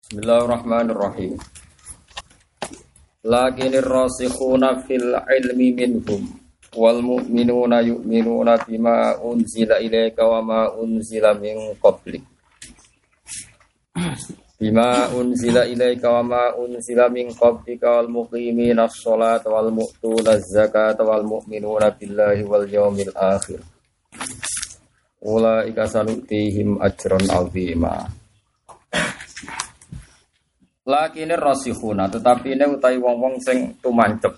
Bismillahirrahmanirrahim. Lakinir rasikhuna fil ilmi minhum wal mu'minuna yu'minuna bima unzila ilaika wa ma unzila min qablik. Bima unzila ilaika wa ma unzila min qablika wal muqiminas sholata wal mu'tunaz zakata wal mu'minuna billahi wal yawmil akhir. Ulaika sanutihim ajran 'azima. Lakine rasikhuna tetapi ini utai wong-wong sing tumancep.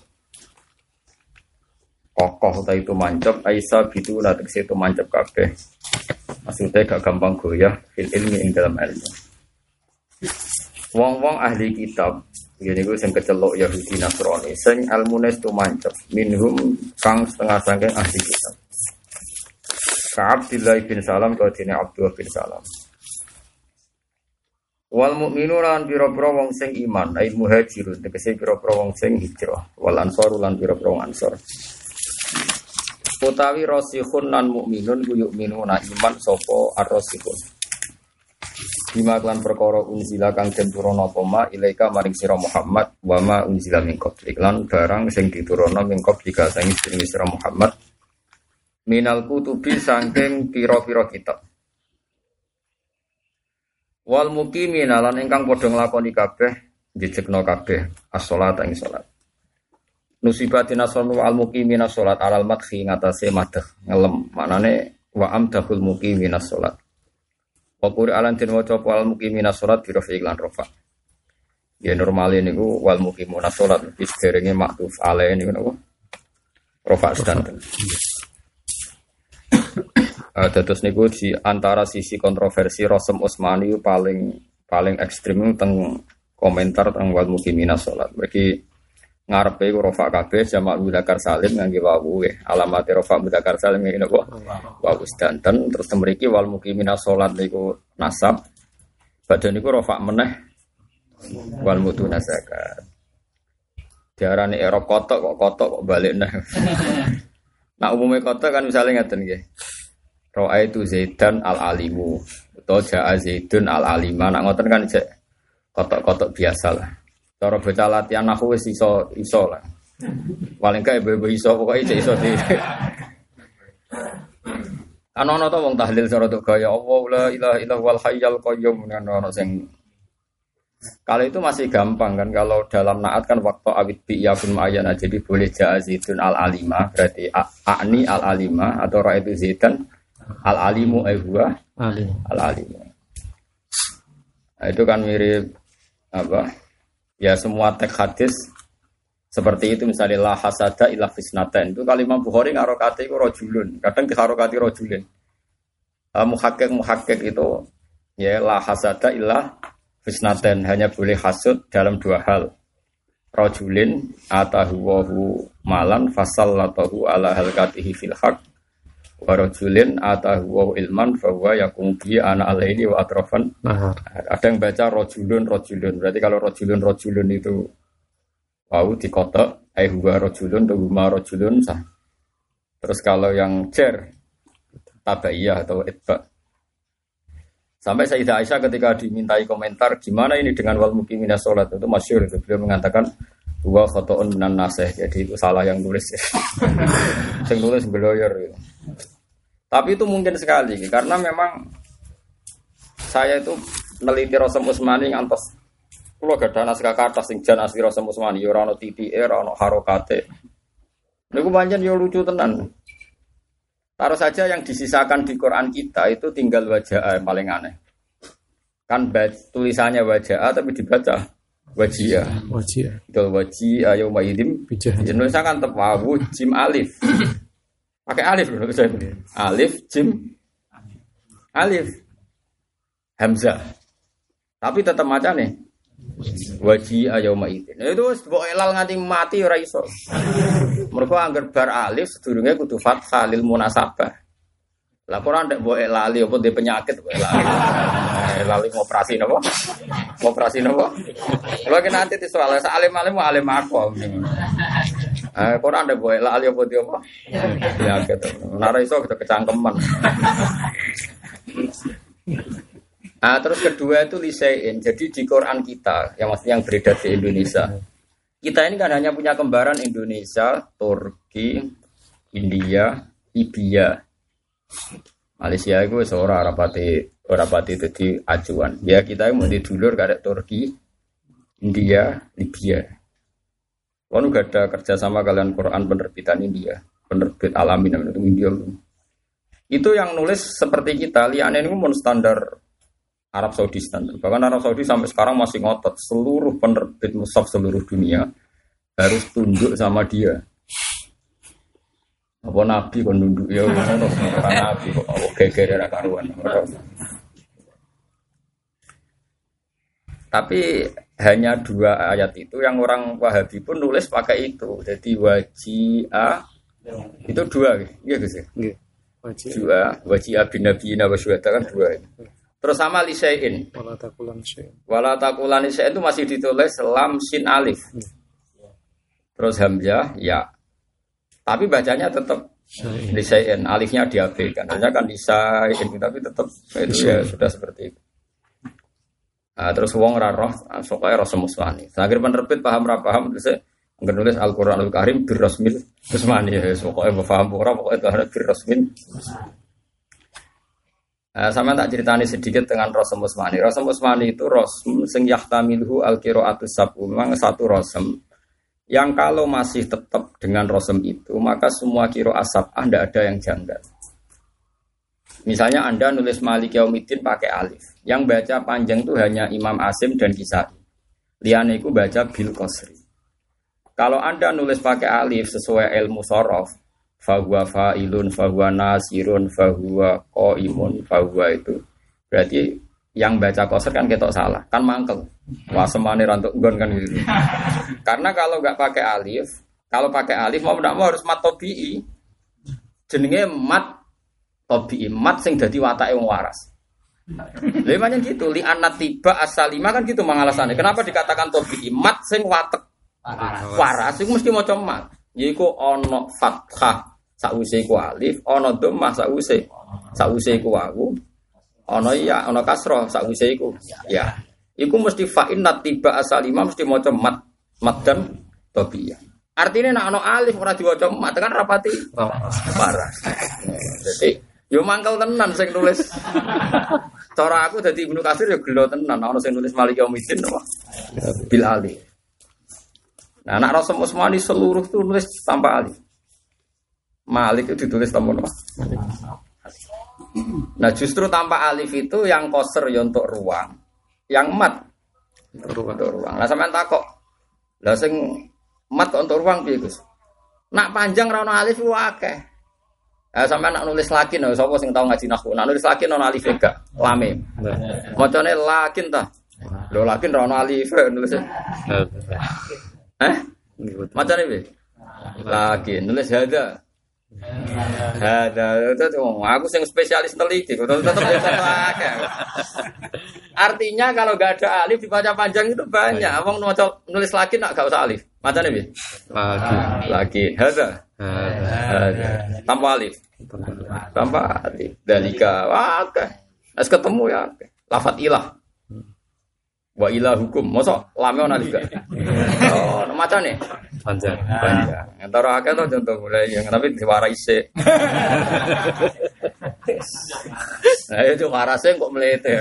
Kokoh utai tumancep aisa bitu tegese tumancep kabeh. Maksudnya gak gampang goyah fil ilmi ing dalam ilmu. Wong-wong ahli kitab ngene iku sing kecelok Yahudi Nasrani sing ilmune tumancep minhum kang setengah saking ahli kitab. Ka Abdullah bin Salam ka dene Abdullah bin Salam. Wal mu'minuna lan pira-pira wong sing iman, ai muhajirun, tegese pira-pira wong sing hijrah, wal ansor lan pira-pira wong ansor. Utawi rasikhun lan mukminun ku yu'minuna iman sapa ar-rasikhun. Bima lan perkara unzila kang den turana apa ma ilaika maring sira Muhammad wa ma unzila min qablik lan barang sing diturana min qablika sing sira Muhammad minal kutubi saking pira-pira kitab. Wal muqimina lan ingkang padha nglakoni kabeh njejegna kabeh as-shalat ing salat. Nusibatin asranu al muqimina salat alal madhi ngatasé madh ngelem maknane wa amdahul muqimina salat. Wa Qur'an den waca al muqimina salat bi rafi lan rafa. Ya normale niku wal muqimuna salat wis derenge maktuf alae niku napa? Rafa sedanten. Dados niku di antara sisi kontroversi Rasul Utsmani paling ekstrem teng komentar teng wal mukimina salat. Mergi ngarepe ku rafa kabeh jamak mudzakkar salim ngangge wawu alamate rafa mudzakkar salim ngene napa wawu sedanten terus mriki wal mukimina salat niku nasab badan niku rafa meneh wal mutuna zakat. Diarani Arab kotok kok balik neh. Nah umumnya kotok kan misalnya ngeten nggih. Ra'aitu Zaidan al-alimu atau ja'a Zaidun al-alima. Nak ngoten kan cek kotok-kotok biasa lah. Cara bocah latihan aku wis iso lah. Paling gak ibu-ibu iso pokoke cek iso di. Ana to wong tahlil cara tok gaya Allah la ilaha illallal hayyul qayyum ana sing kalau itu masih gampang kan kalau dalam naat kan waktu awit bi ya bin ma'ayana jadi boleh ja'a Zaidun al-alima berarti a'ni al-alima atau ra'aitu Zaidan al-alimu huwa al-alimu. Nah, itu kan mirip apa? Ya semua teks hadis seperti itu misalnya la hasada illa fisnatain. Itu kalimat Bukhari ngarokati iku rajulun. Kadang diharokati rajulin. Muhakkik itu ya la hasada illa fisnatain hanya boleh hasud dalam dua hal. Rajulin atahu malan fasallatahu ala halqatihi fil haqq. Warajulin atahu ilman fahuwa yakum bi ana alaini wa atrafan. Ada yang baca rajulun berarti kalau rajulun itu wau dikotok huwa rajulun atau huma rajulun sah. Terus kalau yang jar tabaiyah atau itba. Sampai Sayyidah Aisyah ketika dimintai komentar gimana ini dengan wal muqimina shalat itu masyhur itu beliau mengatakan huwa khata'un minan nasih. Jadi itu salah yang nulis. Sing nulis beloyor gitu. Tapi itu mungkin sekali karena memang saya itu neliti Rasul Utsmani ngantos kula gadah naskah kathah sing jan asli Rasul Utsmani ya ora ono titike ora ono harokate. Niku pancen yo lucu tenan. Taruh saja yang disisakan di Quran kita itu tinggal wajah paling aneh. Kan tulisannya wajah tapi dibaca wajia. Itu wajia yauma idzin Indonesia kan tepawu jim alif. Pakai alif loh saya. Alif jim alif hamzah. Tapi tetap maca nih. Wajia yauma idzin. Itu mbok elal nganti mati ora iso. Mergo angger bar alif sedurunge kudu fathah lil munasabah. Lah ora ndek mbok elali apa ndek penyakit mbok elali. Elali ngoperasi napa? Ngoperasi napa? Lha ki nanti soal alim-alim alim aku. Quran ada boleh lah alih apa dia apa? Ya gitu. Nara iso kita kecangkeman. Nah, terus kedua itu lisein. Jadi di Quran kita, yang maksudnya yang beredar di Indonesia, kita ini kan hanya punya kembaran Indonesia, Turki, India, Libya. Malaysia itu seorang rapati jadi acuan. Ya kita mau di dulur karek Turki, India, Libya. Kalau nggak ada kerjasama kalian Quran penerbitan India, penerbit Alamin itu India. Itu yang nulis seperti kita, liane ini pun standar Arab Saudi standar. Bahkan Arab Saudi sampai sekarang masih ngotot seluruh penerbit mushaf seluruh dunia harus tunduk sama dia. Apa nabi kon nunduk ya ngono ora nabi kok geger ora karuan. Tapi hanya 2 ayat itu yang orang Wahabi pun nulis pakai itu. Jadi wajia itu 2 iya Gus ya? Nggih. Wajia bin nabiyina wa syuhada kan 2. Terus sama lisain. Wala taqulan syai'in itu masih ditulis lam sin alif. Terus hamzah ya. Tapi bacanya tetap lisain, alifnya diabaikan. Hanya kan lisain tapi tetap itu ya sudah seperti itu. Nah, terus wong ra roh sokoe rasa musmani. Akhir penerbit paham ra paham terus nulis Al-Qur'anul Karim birrasmil musmani ya sokoe paham ora pokoke birrasmil. Sama tak ceritani sedikit dengan Rasul Musmani. Rasul Musmani itu Rasul sing yahtamiluhu al-qira'atus sab'u. Memang satu Rasul yang kalau masih tetap dengan Rasul itu, maka semua qira'ah sab'ah tidak ada yang janggal. Misalnya Anda nulis Malik Yaumiddin pakai alif. Yang baca panjang itu hanya Imam Asim dan Kisai. Liane itu baca bil qasri. Kalau Anda nulis pakai alif sesuai ilmu shorof, fahuwa fa'ilun, fahuwa nasirun, fahuwa qaimun, fahuwa itu berarti yang baca qasr kan ketok salah, kan mangkel. Wah semane rantuk nggon kan gitu. Karena kalau enggak pakai alif, kalau pakai alif mau ndak mau harus mat tabi'i. Jenenge mat tabi'i, mat sing dadi watake wong waras. Lha macam gitu, li anat tiba asalima kan gitu mangalasane. Kenapa dikatakan tabi'i? Mat sing watek waras iku mesti maca mat. Yaiku ana fathah sakwise iku alif, ana dhammah sakwise iku wawu, ana ya, ana kasrah sakwise iku ya. Iku mesti fa inna tiba asalima mesti maca mat dan tabi'iyah. Artinya nek ana alif ora diwaca mat kan rapati waras. Jadi yo mangkel tenan sing nulis. Cara aku dadi Ibnu Katsir yo gelo tenan ana sing nulis Malik Yaumiddin apa? Bil alif. Nah, anak Rasul Utsmani seluruh itu nulis tanpa alif. Malik itu ditulis tanpa apa? Nah, justru tanpa alif itu yang qasr ya untuk ruang, yang mat untuk ruang. Lah sampean takok. Lah sing mat kok untuk ruang piye, Gus? Nak panjang ra ono alif ku akeh. Sampean nak nulis lakin lho sapa sing tau ngaji nahwu. Nak nulis lakin ono alif gak? Lamim. Macane lakin ta. Lho lakin ra ono alif nulis. Macam ni, lagi nulis hada, itu aku yang spesialis teliti, artinya kalau nggak ada alif dibaca panjang itu banyak. Abang nulis lagi nak gak usah alif, macam ni, lagi hada, tanpa alif, dalika, as ketemu ya, lafat ilah. Wa ilah hukum, mosok lame ana juga. Oh, macam nih. Panjang. Antara akeh to contoh mulai yang tapi diwara isik. Nah, itu warase kok mlete.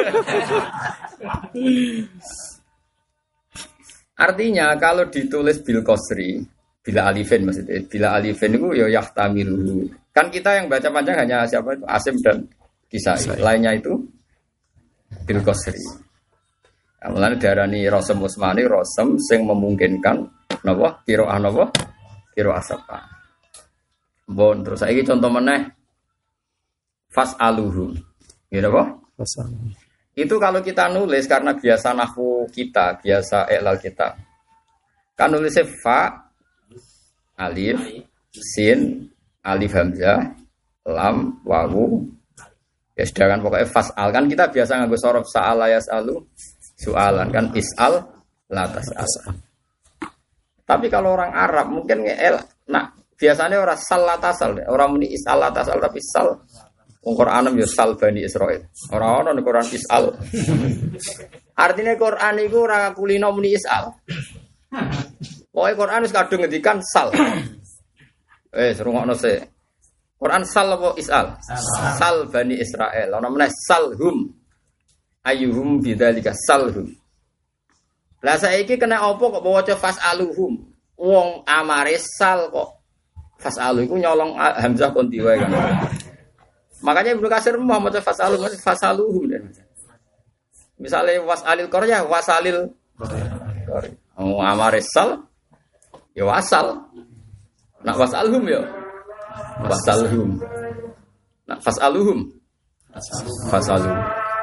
Artinya kalau ditulis bil qasri, bila alifin maksudnya, bila alifin itu ya yahtamilu. Kan kita yang baca panjang hanya siapa itu Asim dan Kisai. Lainnya itu bil qasri. Mulane diarani Rasul Utsmani Rasul sing memungkinkan napa qiraah napa qiraah sapa. Bon terus saiki contoh meneh fas'aluhu. Nggih napa? Fasal. Itu kalau kita nulis karena biasa nahwu kita, biasa i'lal kita. Kan nulisnya fa alif sin alif hamzah lam wawu. Ya sedangkan pokoknya fas'al kan kita biasa nganggo sorof sa'ala yas'alu soalan kan is'al latas asal. Tapi kalau orang Arab mungkin biasanya orang sal latasal, orang muni is'al latasal tapi sal Wong Qur'an yo sal Bani Israil. Ora ono ning Qur'an isal. Artinya Qur'an iku ora kulino muni isal. Pokoke Qur'an wis kadung ngendikan sal. Rungokno sik. Qur'an sal apa isal? Sal Bani Israil. Ana meneh salhum. Ayyuhum bidzalika salhum. Lah saiki kena apa kok waca fasaluhum? Wong amare sal kok fasalu iku nyolong hamzah kon diwae kan. Makanya Ibnu Katsir mau maca fasaluhum. Misale wasalil qarya wasalil qarya. Oh amare sal ya wasal. Nak wasalhum ya wasalhum. Nak fasaluhum fasaluhum.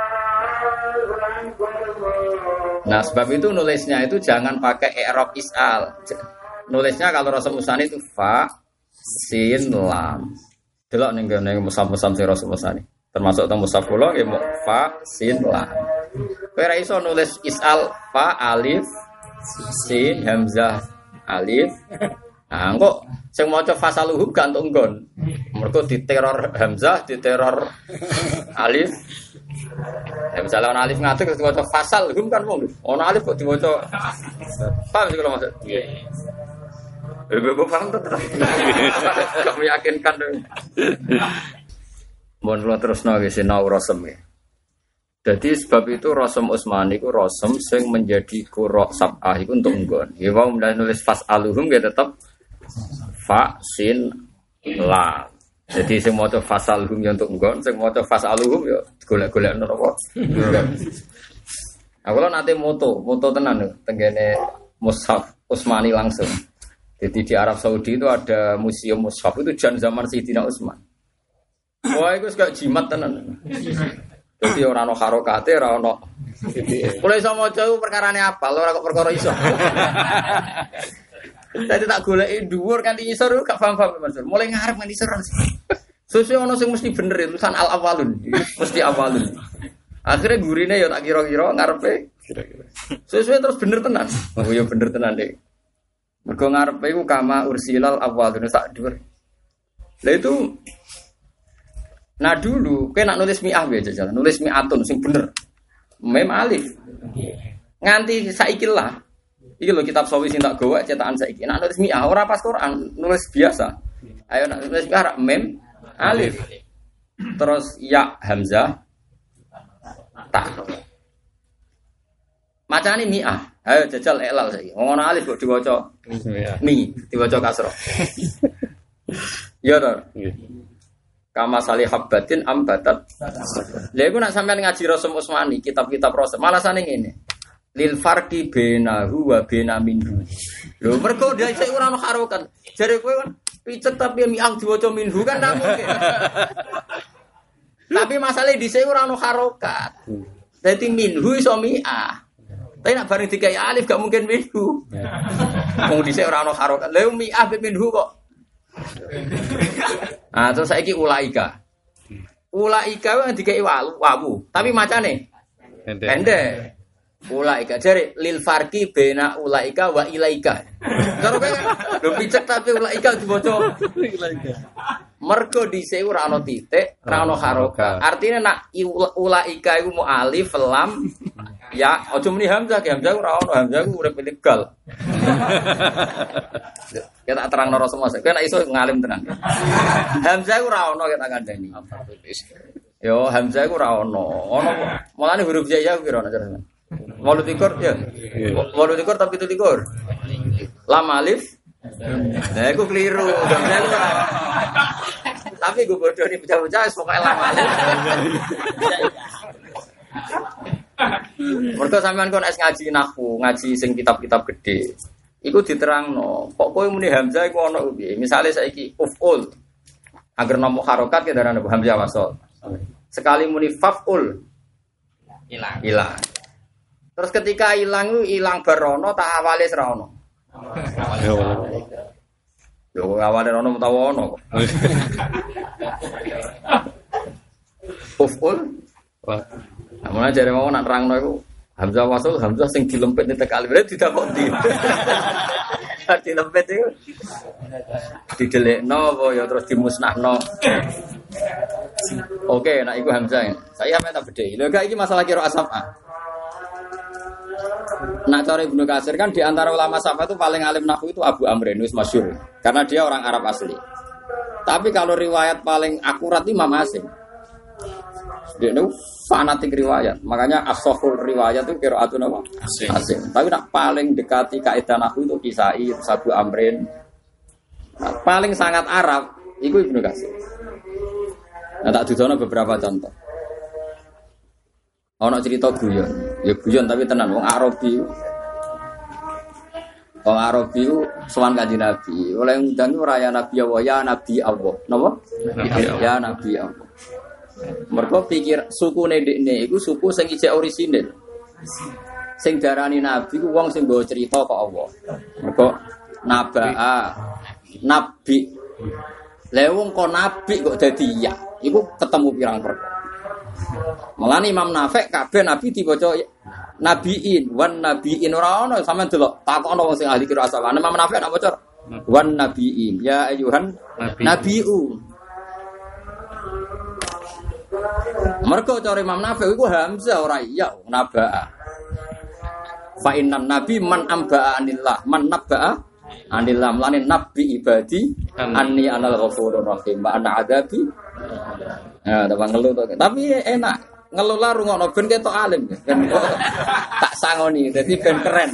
Nah sebab itu nulisnya itu jangan pakai i'rab isal. Nulisnya kalau Rasul Musani itu fa sin lam. Delok ning ngene musab-musab sing Rasul Musani. Termasuk teng musab kula nggih fa sin lam. Kowe ora iso nulis isal fa alif sin hamzah alif. Nah kok sing maca fasaluhum gak entuk nggon. Mergo diteror hamzah, diteror alif. Ya misalnya ana alif ngatur terus diwaca fasal hum kan wong. Ana alif kok diwaca paham sih kalau maksud. Iya. Gue paham tuh. Kamu yakinkan dong. Mohon kula terusno nggih sinau rasem ya. Jadi sebab itu Rasem Utsmani iku rasem sing menjadi qura sab'ah iku untuk nggon. Ya wong mulai nulis fasaluhum ya tetep fa sin lam. Jadi sing maca fasalhum ya untuk nggon, sing maca fasaluhum ya golek-golek neraka. Aku lho nate moto tenan lho tenggene mushaf Utsmani langsung. Jadi di Arab Saudi itu ada museum mushaf itu jan zaman Sayyidina Utsman. Wah iku gak jimat tenan. Jadi ora ono harokate, ora ono. Mulai iso maca iku perkarane apa? Ora kok perkara iso. Dadi tak goleki dhuwur kanthi isor gak paham-paham Mas. Mulai ngarep nganti isor. Susu ono sing mesti bener tulisan al awalun. Mesti awalun. Akhirnya gurine ya tak kira-kira ngarepe kira-kira. Susu terus bener tenan. Oh ya bener tenan Dik. Mergo ngarepe iku kama ursilal awalun sak dhuwur. Lah itu nah dulu kowe nak nulis mi'ah wae jajan, nulis mi'atun sing bener. Mem alif. Nganti saiki lah. Iki lho kitab sawi sing tak gawa cetakan saiki. Nak nulis mi'ah ora pas Quran, nulis biasa. Ayo nak nulis mi'ah mem alif. Terus ya hamzah ta. Macane mi'ah. Ayo jajal elal saiki. Wong ana alif kok diwaca mi, diwaca kasra. Ya to. Kama salih habbatin ambatat. Lha iku nak sampean ngaji Rasem Utsmani, kitab-kitab Rasem, malah sane ngene. Lil farqi bainahu wa baina minhu. Lho mergo dia sik ora ono harokat. Jare kowe kan picet tapi mi'ang diwaca minhu kan ta mungkin. Tapi masalahnya dhisik ora ono harokat. Dadi minhu iso mi'ah. Tapi nak bareng dikai alif gak mungkin minhu. Wong dhisik ora ono harokat. Lha mi'ah be minhu kok. Ah terus saiki ulaika. Ulaika kan dikai wawu, tapi macane pendek. Ulaika jare lil farqi baina ulaika wa ilaika. Karo kowe lho picek tapi ulaika diboco ilaika. Mergo dhisik ora ana titik, ora ana harokat. Artine nak ulaika iku mu alif lam ya aja muni hamzah, hamzah ora ana, hamzah ku urip ilegal. Ya tak terangno ora semua. Kowe nek iso ngalim tenan. Hamzah ku ora ana kita kandhani. Yo hamzah ku ora ana. Ono mulane huruf jaya ku kira ana cara. Walu tikur ya. Walu tikur tapi itu tikur. Lam alif. Nah, aku keliru. Tapi gue bodoh nih bocah-bocah pokoke lam alif. Mergo sampean kon es ngaji nahwu, ngaji sing kitab-kitab gede. Iku diterangno. Kok kowe muni hamzah iku ana piye? Misale saiki uful. Agar nomo harokat ke darane hamzah wasal. Sekali muni faful hilang. Terus ketika hilang barono tak awale ra ono. Yo awale ono utawa ono kok. Uful. Wah. Amun jare mau nak nerangno iku hamzah wasal hamzah sing dilempit ning tekal berarti didakoni. Dilempit iku didelekno apa ya terus dimusnahno. Oke, nah iku Hamzah. Saya minta bedheki. Lho gak iki masalah qiraat sab'ah. Nak cara Ibnu Katsir kan di antara ulama sab'ah itu paling alim nahwu itu Abu Amr wis masyhur. Karena dia orang Arab asli. Tapi kalau riwayat paling akurat Imam Asim. Dia itu fanatik riwayat. Makanya as-sahul riwayat itu qiraatun apa? Asim. Tapi nak paling dekati kaidah nahwu itu Kisai, Abu Amrin. Nah, paling sangat Arab itu Ibnu Katsir. Nah, tak dudono beberapa contoh. Ono cerita guyon. Ya guyon tapi tenan wong Arabi. Wong Arabi sowan Kanjeng Nabi. Oleh ngundang raya Nabi Allah, ya Nabi Allah. Napa? Ya Nabi Allah. Mergo pikir sukune ndekne iku suku sing ijek orisinil. Sing darani nabi ku wong sing nggawa cerita kok Allah. Mergo nabaa nabi. Lah wong kok nabi kok dadi ya. Iku ketemu pirang perkara. Mulane Imam Nafi' kabeh nabi diwaca nabiin, wan nabiin ora ono sampean delok takokno wong sing ahli qiraat asal. Imam Nafi' nak maca wan nabiin, ya ayuhan nabiu. Mergo cara Imam Nafi' iku hamzah ora iya nabaa. Fa innan nabi man ambaa anillah, man nabaa anillah mulane nabi ibadi anni anal ghafurur rahim wa ana adabi. Ya, tak ngeluh to. Tapi enak ngeluh lah rungokno ben ketok alim. Ben tak sangoni dadi ben keren.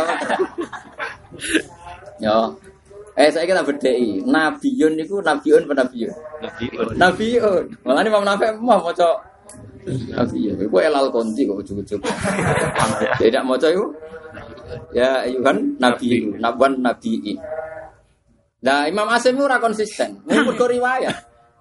Yo. Saya kira bedheki. Nabiyun niku nabiyun apa nabiyun? Nabiyun. Mulane Imam Nafi' mau maca nabiyun. Iku elal konti kok ujug-ujug. Tidak maca iku. Ya ayuhan nabiyun, nabwan nabiin. Nah, Imam Asim ora konsisten. Mergo riwayat.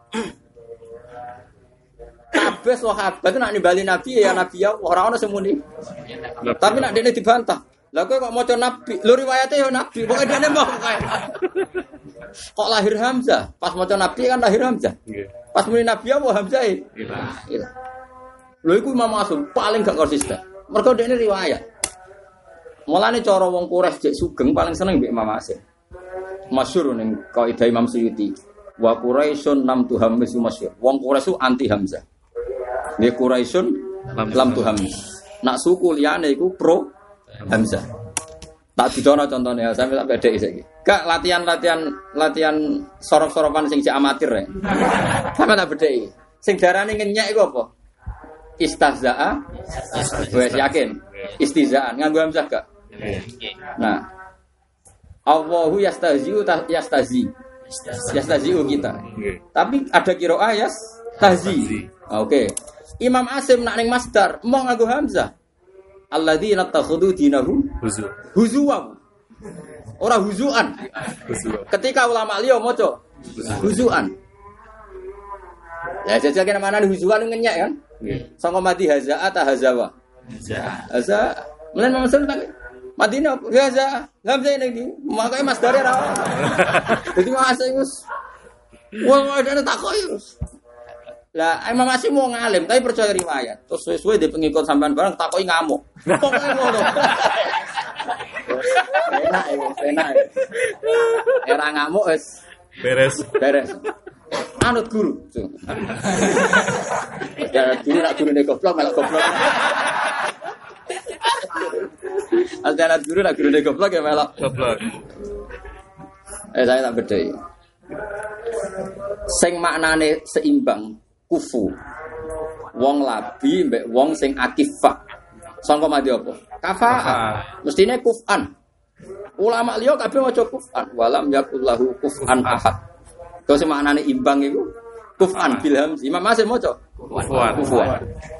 Kabeh sahabat nak nimbali nabi ya nabi ya ora ono semuni. Tapi nak dene dibantah. Lah kowe kok maca nabi, lho riwayate ya nabi, pokoke dene mau kae. Kok lahir Hamzah? Pas maca nabi kan lahir Hamzah. Pas muni nabi apa Hamzah? Iya. Lho iku Imam Asim paling gak konsisten. Mergo dene riwayat. Mulane cara wong Quraisy jek sugeng paling seneng mbek Imam Asim. Masyhur ning kaidah Imam Suyuti. Wa Quraisyun lam tuhammisu masyhur. Wong Quraisy anti Hamzah. Nggih Quraisyun lam tuhammis. Nak suku liyane iku pro Hamzah. Tak didono contohnya, sampe tak bedheki saiki. Gak latihan sorok-sorokan sing cek amatir ya. Sampe tak bedheki. Sing darane ngenyek iku apa? Istahza'a. Wes yakin. Istizaan nganggo hamzah gak? Nah. Allahu yastahzi'u yastahzi. Yastahzi'u kita. Tapi ada qiraah yastahzi. Oke. Imam Asim nak ning masdar mau nganggo hamzah. Alladzina takhudhu dinahum huzuwan. Ora huzuan. Ketika ulama liya maca huzuan. Ya jajake mana huzuan ngenyek kan? Sangka mati haza'a ta hazawa. Haza. Menen maksud tak Madinah haza. Hamzah ning ndi? Makane masdare ra. Dadi Asim wis wong ada takoki. Lah Imam Asim mau ngalim tapi percaya riwayat. Terus suwe-suwe di pengikut sampean bareng takoki ngamuk. Pokoke ngono. Enak. Era ngamuk wis beres. Anut guru. Ya guru nak gurune goblok malah goblok. Ada guru nak gurune goblok ya malah goblok. Saya tak bedheki. Sing maknane seimbang kufu. Wong labi mbek wong sing akifah. Sangka mati apa? Kafa'ah. Mestine kuf'an. Ulama liya kabeh maca kuf'an. Walam yakullahu kuf'an ahad. Kok sing maknane imbang iku kuf'an bil hamz. Imam Asim maca kuf'an.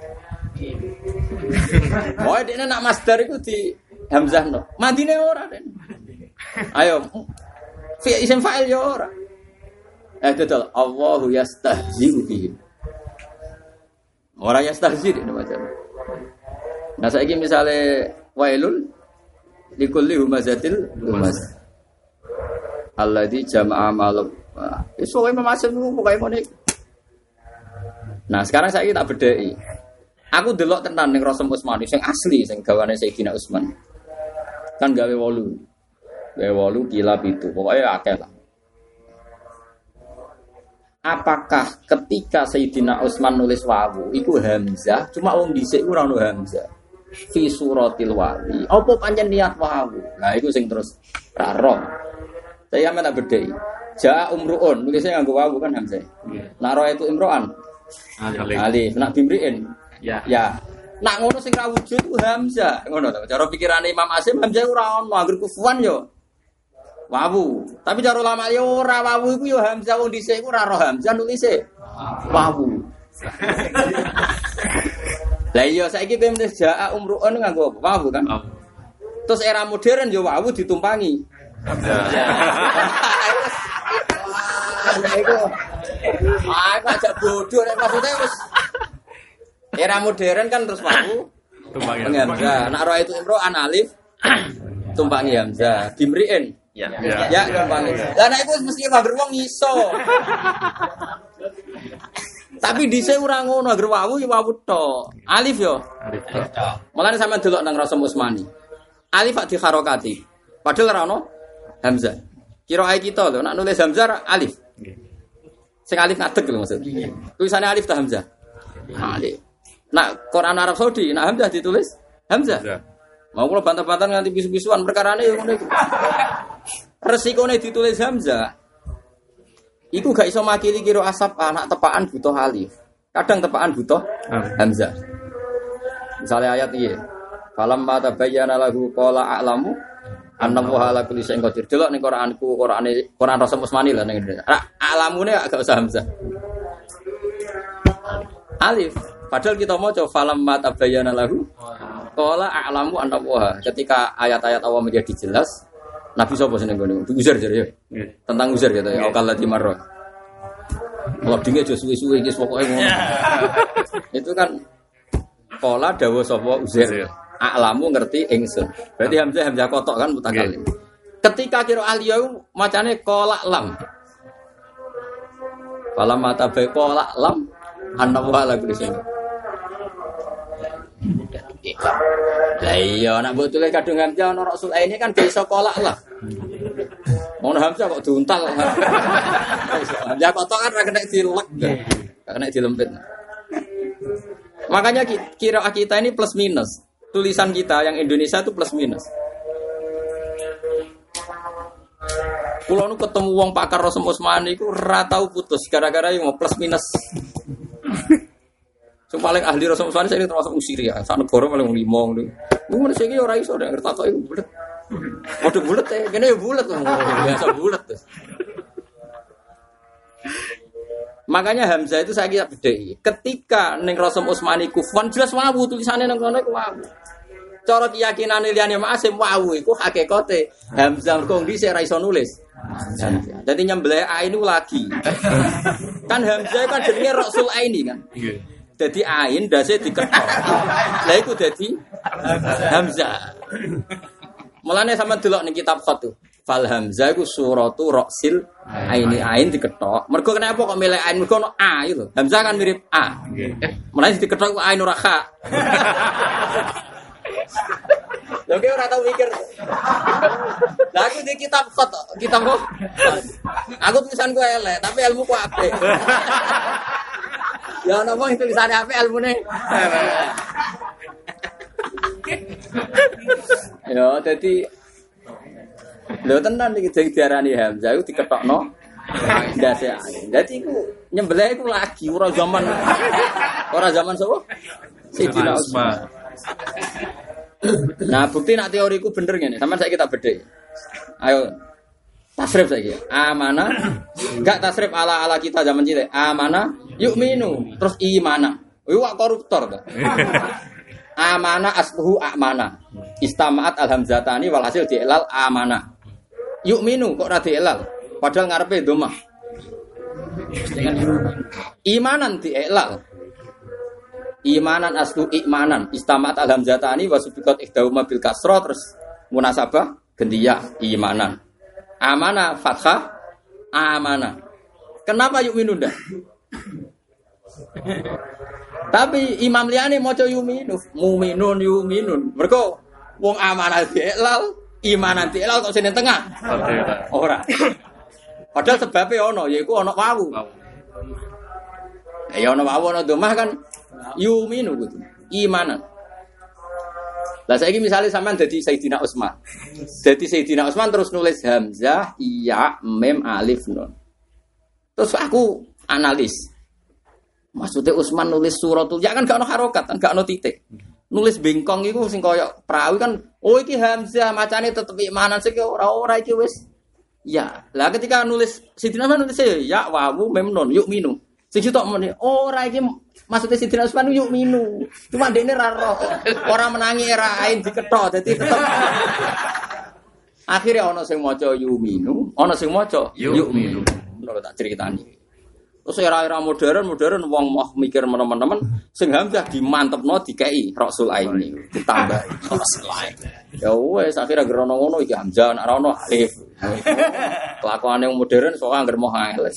Oh, dene nak masdar iku di hamzahno. Madine ora den. Ayo. Fi isim fa'il ya ora. Betul. Allahu yastahzi'u bihi. Ora yastahzi' ini macam. Nah saiki misale wailul likulli humazatil lumaz. Alladzi jama'a malum. Iso wae Asim pokoke ngene. Nah sekarang saiki tak bedheki. Aku delok tenan ning Rasul Utsmani sing asli sing gawane Sayyidina Utsman. Kan gawe 8. Gawe 8 kilap itu. Pokoke akeh lah. apakah ketika Sayyidina Utsman nulis wawu iku hamzah cuma wong dhisik ora ono hamzah fi suratil wali apa pancen niat wawu nah iku sing terus ra roh saya mana bedhei ja umruun nulisnya nganggo wawu kan hamzah naro itu imroan alif nak bimriin ya nak ngono sing ra wujud ku hamzah ngono to cara pikirane Imam Asim hamzah ora ono anggere kufuan yo wawu tapi cara ulama yo ora wawu iku yo hamzah wong dhisik iku ora roh hamzah nulise wawu lah iya saiki kowe menes jaa umruun nganggo wawu kan terus era modern yo wawu ditumpangi iku agak bodoh nek maksudnya wis era modern kan terus wawu tumpangi hamzah nek ora itu imro'an alif tumpangi hamzah bimriin ya tumpangi lah nek iku mesti nganggo wong iso tapi dhisik ora ngono agar wawu ya wawu tok. Alif yo. Alif tok. Mulane sampean delok nang Rasul Utsmani. Alif di harokati. Padahal ora ono hamzah. Kira-kira kita lho nek nulis hamzah alif. Nggih. Sing alif ngadeg lho maksud. Tulisane alif ta hamzah? Alif. Nak Quran Arab Saudi nak hamzah ditulis hamzah. Mau kula bantah-bantah nganti bisu-bisuan perkarane yo ngono iku. Resikone ditulis hamzah. Iku gak iso makili kira asap anak tepaan butuh alif. Kadang tepaan butuh hamzah. Misalnya ayat iki. Falam ma tabayyana lahu qala a'lamu annahu ala kulli syai'in qadir. Delok ning Quran Rasul Utsmani lah ning. A'lamune gak usah hamzah. Alif. Padahal kita maca falam ma tabayyana lahu qala a'lamu annahu ketika ayat-ayat Allah menjadi jelas. Nabi sapa seneng ngene? Uzair jare ya. Tentang Uzair gitu ya. Okal lati marra. Loadinge aja suwi-suwi iki pokoke ngono. Itu kan qala dawuh sapa Uzair. A'lamu ngerti ingsun. Berarti hamzah kotok kan mutakallim. Ketika kira aliyau macane qala lam. Falam mata bae qala lam annahu ala kulli syai'in. Lah iya nek mbok tulis kadung hamzah ana Rasul ini kan bisa kolak lah. Ono hamzah kok diuntal. Hamzah kotok kan ora kena dilek. Enggak kena dilempit. Makanya kira kita ini plus minus. Tulisan kita yang Indonesia itu plus minus. Kulo nu ketemu wong pakar Rasul Utsmani iku ora tau putus gara-gara yang plus minus. Sing paling ahli Rasul Utsmani saya termasuk usir ya. Sak negara paling 5 ngono. Ngono sing ora iso nek ngertakok iku bulet. Padha bulet e, kene ya bulet kok. Biasa bulet. Makanya hamzah itu saya kira bedheki. Ketika ning Rasul Utsmani kufwan jelas wawu tulisane nang kono iku wawu. Cara keyakinane liyane Ma'asim wawu iku hakikate hamzah kok dhisik ra iso nulis. Jadi nyembelih a ini lagi. Kan hamzah kan jenenge Rasul Aini kan. Jadi ain dase diketok. Lah iku dadi hamzah. Mulane sampean delok ning kitab khat tuh. Fal hamzah iku suratu Rasil aini ain diketok. Mergo kenapa kok milih ain mergo ono a itu. Hamzah kan mirip a. Mulane diketok ku ain ora kha. Lha kowe ora tau mikir. Lah aku di kitab khat, kitab kok. Aku tulisanku elek, tapi ilmuku apik. Ya ana wong tulisane apik ilmune. Ya dadi lho tenan iki diarani hamzah iku diketokno ndase. Dadi iku nyembelih iku lagi ora zaman sapa? Sayyidina Utsman. Nah, bukti nak teoriku bener ngene. Sampeyan saiki kita bedhe. Ayo tasrif saiki. Amana enggak tasrif ala kita zaman cilik. Amana yu'minu terus imana. Iku koruptor ta. Amana asluhu amana. Istama'at alhamzatani walhasil di'lal amana. Yu'minu kok ora di'lal. Padahal ngarepe dhammah. Imanan di'lal. Imanan aslu imanan istamat alhamzatani wasubiqat ihdahuma bil kasra terus munasabah gendiyah imanan amana fathah amana. Kenapa yu'minu ndak? Tapi Imam liyane maca yu'minu yu'minun mergo wong amanah di'lal imanan di'lal kok sing tengah ora. Padahal sebabnya ono yaiku ono wawu. Ya ono wawu ono domah kan yuminu gitu. Imanan. Lah saiki misale sampean dadi Sayyidina Utsman. Dadi Sayyidina Utsman terus nulis hamzah, ya, mim, alif, nun. Terus aku analis. Maksudnya Utsman nulis suratul ya kan gak ono harokat, kan gak ono titik. Nulis bengkong iku sing kaya perawi kan, oh iki hamzah macane tetep imanan sik ora iki wis. Ya, lah ketika nulis Sayyidina Utsman nulis ya wawu mim nun yuk minu. Sing sitok muni ora iki maksudnya Sayyidina Utsman yuk minu. Cuma dekne ra roh. Ora menangi era ain diketok dadi tetep. Akhirnya ana sing maca yuk minu, ana sing maca yuk minu. Ngono tak critani. Terus era-era modern wong mau mikir teman-teman sing hamzah dimantepno dikei Rasul Aini ditambah Rasul Aini. Ya wes akhirnya gerono ngono iki hamzah nek ora ono alif. Kelakuane modern sok anggere mau ngeles.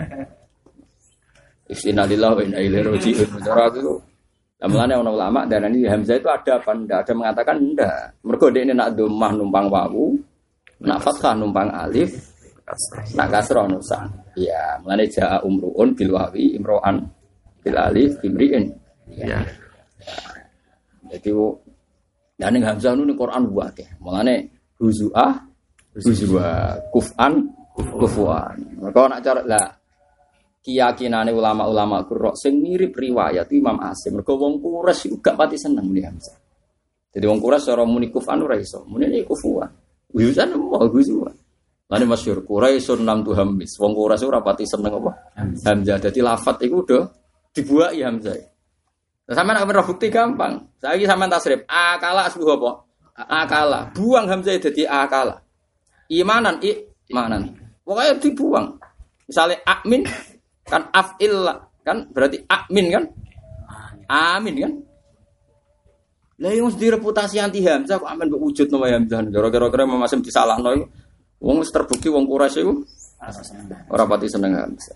Innalillahi wa inna ilaihi raji'un. Cara itu Mulane ana ulama darani hamzah itu ada apa ndak? Ada mengatakan ndak. Mergo dekne nak dhammah numpang wawu, nak fathah numpang alif, nak kasrah nusan. Ya, mulane jaa umruun bil wawi imro'an bil alif imri'in. Ya. Jadi ning hamzah nu ning Quran wae. Mulane huzua, kufan, kufuan. Mergo nak cara lah keyakinane ulama-ulama Qurra sing mirip riwayat Imam Asim. Mergo wong Quraisy iku gak pati seneng muni hamzah. Jadi wong Quraisy cara muni kufan ora iso. Muni kufuan. Wisan mau huzua. Lane masyhur Quraisyun lam tuhammis. Wong Quraisy ora pati seneng apa? Hamzah. Dadi lafadz iku udah dibuaki hamzah. Nah, sampean nek ora bukti gampang. Saiki sampean tasrif akala asbuh apa? Akala. Buang hamzah dadi akala. Imanan. Pokoknya dibuang. Misalnya amin kan af'il kan berarti amin kan? Amin kan? Lah yang mesti reputasi anti hamzah kok amin mbok wujud nama hamzah. Gara-gara masih disalahno iku. Wong wis terbukti wong Quraisy iku ora pati seneng hamzah.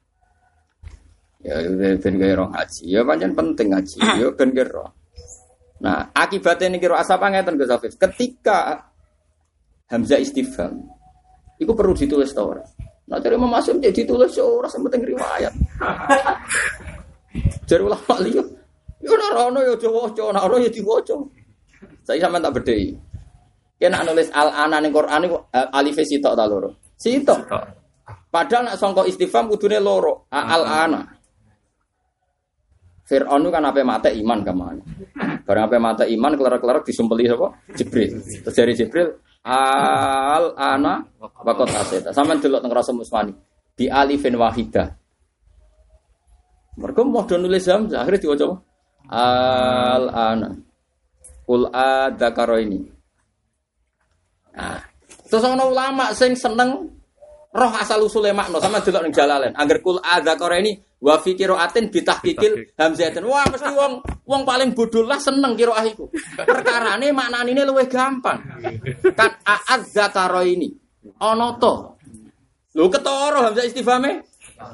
Ya ben gawe roh haji. Ya pancen penting haji. Ya ben gawe roh. Nah, akibatnya niki roh asap ngeten Gus Hafiz. Ketika hamzah istifham iku perlu ditulis ta ora? Nah, dari Imam Asim jadi ditulis ora sementing riwayat. Jare ulama liya, yo ora ono yo diwaca, ora ono yo diwaca. Saiki sampean tak bedheki. Kena nulis al-ana ning Quran iku alif sitok ta loro? Sitok. Padahal nek sangka istifham kudune loro, al-ana. Fir'aun kan ape mate iman kamane. Barang ape mate iman kelar-kelar disumpeli sapa? Jibril. Terus dari Jibril al-ana waqat aseta. Sampeyan delok teng Rasul Musmani di alifin wahidah. Mergo modho nulis hamzah akhire diwaca apa? Al-ana. Qul adzakara ini. Nah, terus ana ulama sing seneng roh asal usule makna sampeyan delok ning Jalalain. Angger qul adzakara ini wa fi qiraatin bitahqiqil hamzatin. Wah, mesti wong paling bodoh lah seneng qiraah iku. Perkarane maknane luwih gampang. Kan adzakara ini ana to. Lho ketara hamzah istifhame?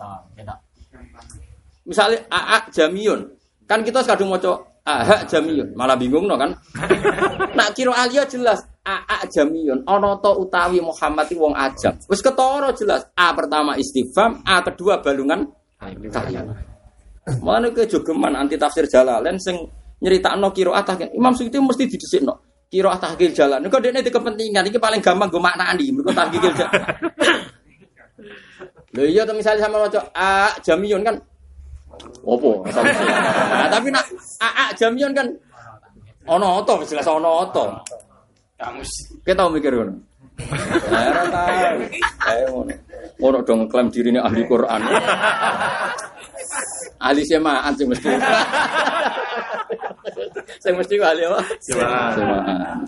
Misale jamiyun. Kan kita kadung maca jamiyun, malah bingung no kan. Nak qiraah liya jelas jamiyun ana to utawi Muhammad iki wong ajam. Wis ketara jelas. A pertama istifham, A kedua balungan kalimat. Mulane kejogeman anti tafsir Jalalain sing nyeritakno qiraah tahqiq. Imam Suyuti mesti didhisikno. Qiraah tahqiq Jalalain. Niku dekne di kepentingan iki paling gampang go maknani. Mergo tahqiq Jalalain. Lho iya to misale sama maca jamiyun kan opo? Nah, tapi nak jamiyun kan ono to jelas ono to. Kamus. Kita mikir ngono. Ora tahu. Ayo ngono. Ono dong klaim dirine ahli Quran. Ahli semaan sing mesti. Sing mesti ahli apa? Semaan.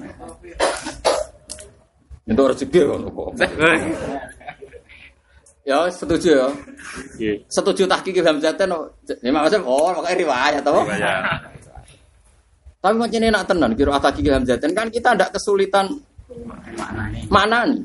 Itu rezeki kok. Ya setuju ya. Setuju tahqiq hamzatan. Memang maksud pakai riwayat toh. Tapi macam enak tenan kira tahqiq hamzatan kan kita ndak kesulitan maknani.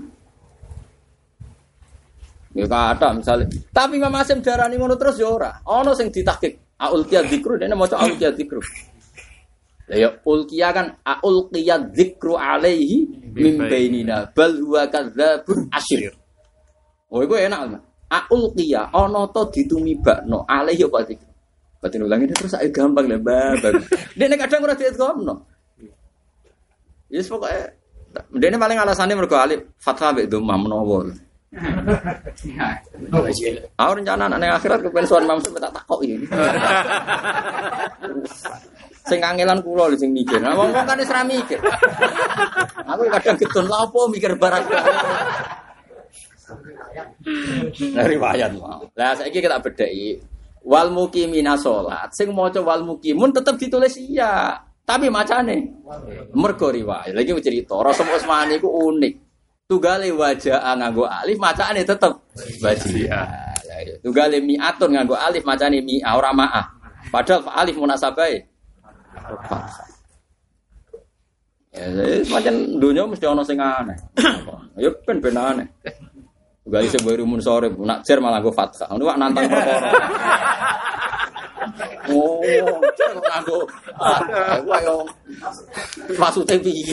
Ya kata misalnya. Tapi Imam Asim darani ngono terus ya ora. Ono sing ditahqiq aulqiya dzikru dene maca aulqiya dzikru. Lah ya ulqiya kan aulqiya dzikru alaihi min bainina bal huwa kadzabun asyir. Oh iku enak. Aulqiya ana to ditumibakno alih ya pati. Batin ulangi terus ae gampang lah babak. Dene kadang ora dietkomno. Yes pokoke dene paling alasane mergo alif fathah mek dhammah menawa. Aku rencana nek akhirat kepen sowan Imam Syafi'i tak takoki. Sing kangelan kula lho sing mikir. Nah wong-wong kan wis ra mikir. Aku kadang getun lha opo mikir barang. Riwayat mau. Lah saiki kita bedheki wal muqimina salat. Sing maca wal muqimun tetep ditulis iya, tapi macane mergo riwayat. Lagi cerita Rasul Utsmani iku unik. Tunggale wajah nganggo alif macane tetep wajia. Tunggale mi'atun nganggo alif macane mi'a ora ma'ah. Padahal alif munasabahe ya, semacam dunia mesti ono sing aneh. Ya ben aneh. Gali sebaru mun sore nak cer malah go fathah. Ngono wak nantang perkara. Oh, cer kok nganggo. Wah yo. Maksude piye?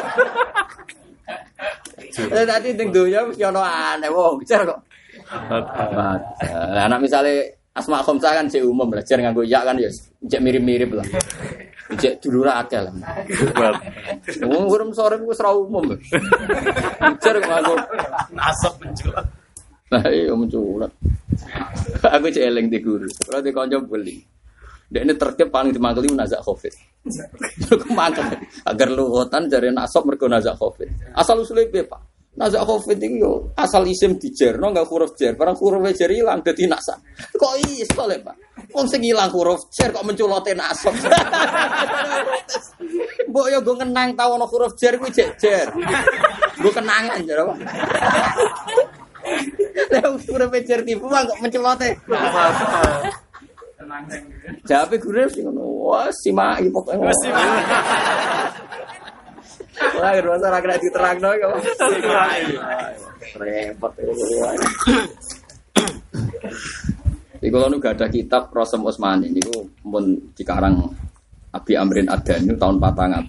Tadi ning dunia mesti ono aneh wong cer kok. Lah anak misale asma khamsah kan cek umum belajar nganggo ya kan ya cek mirip-mirip lah. Cek dulur akeh lah. Wong urung sore wis ra umum. Belajar nganggo nasab menculat. Nah, iya menculat. Aku cek eling di guru. Ora di kanca beli. Dekne tertib paling dimangkeli nazak Covid. Kemangkel agar luhotan jare nasab mergo nazak Covid. Asal usule piye, Pak? Nazak Covid iki yo asal isim dijerno enggak huruf jer, barang huruf jer ilang dadi nasa. Kok iso le, Pak? Wong sing ilang huruf jer kok menculote nasab. Mbok yo go kenang tau ana huruf jer kuwi jek jer. Go kenangan jare, Pak. Lah huruf jer tipu kok menculote. Jawabe guru sing ngono. Wah, simak iki pokoke. Ora ngerasa ora kena diterangno kok. Repot. Iku kalau gak ada kitab Rasul Utsmani niku pun dikarang Abi Amrin Ad-Dani tahun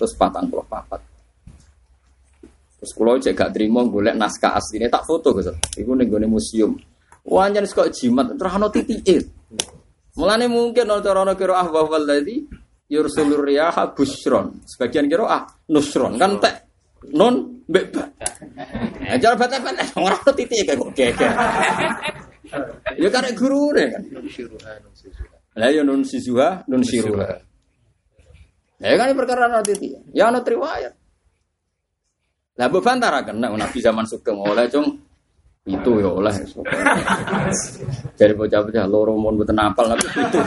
444. Terus kula cek gak trimo golek naskah asline tak foto Gus. Iku ning gone museum. Wah nyen kok jimat terano titike. Mulane mungkin ana kira wa wallazi yursulur riyaha busyron. Sebagian kira nusron kan tek nun mbek ba. Ajar bata-bata ora titik kok geger. Ya karek gurune kan. Lah ya nun sizuha, nun siruha. Lah kan perkara ana titik. Ya ana riwayat. Lah mbok bantaraken nek Nabi zaman Sugeng oleh cung itu ya oleh. Jadi bocah-bocah loro mun mboten apal tapi itu.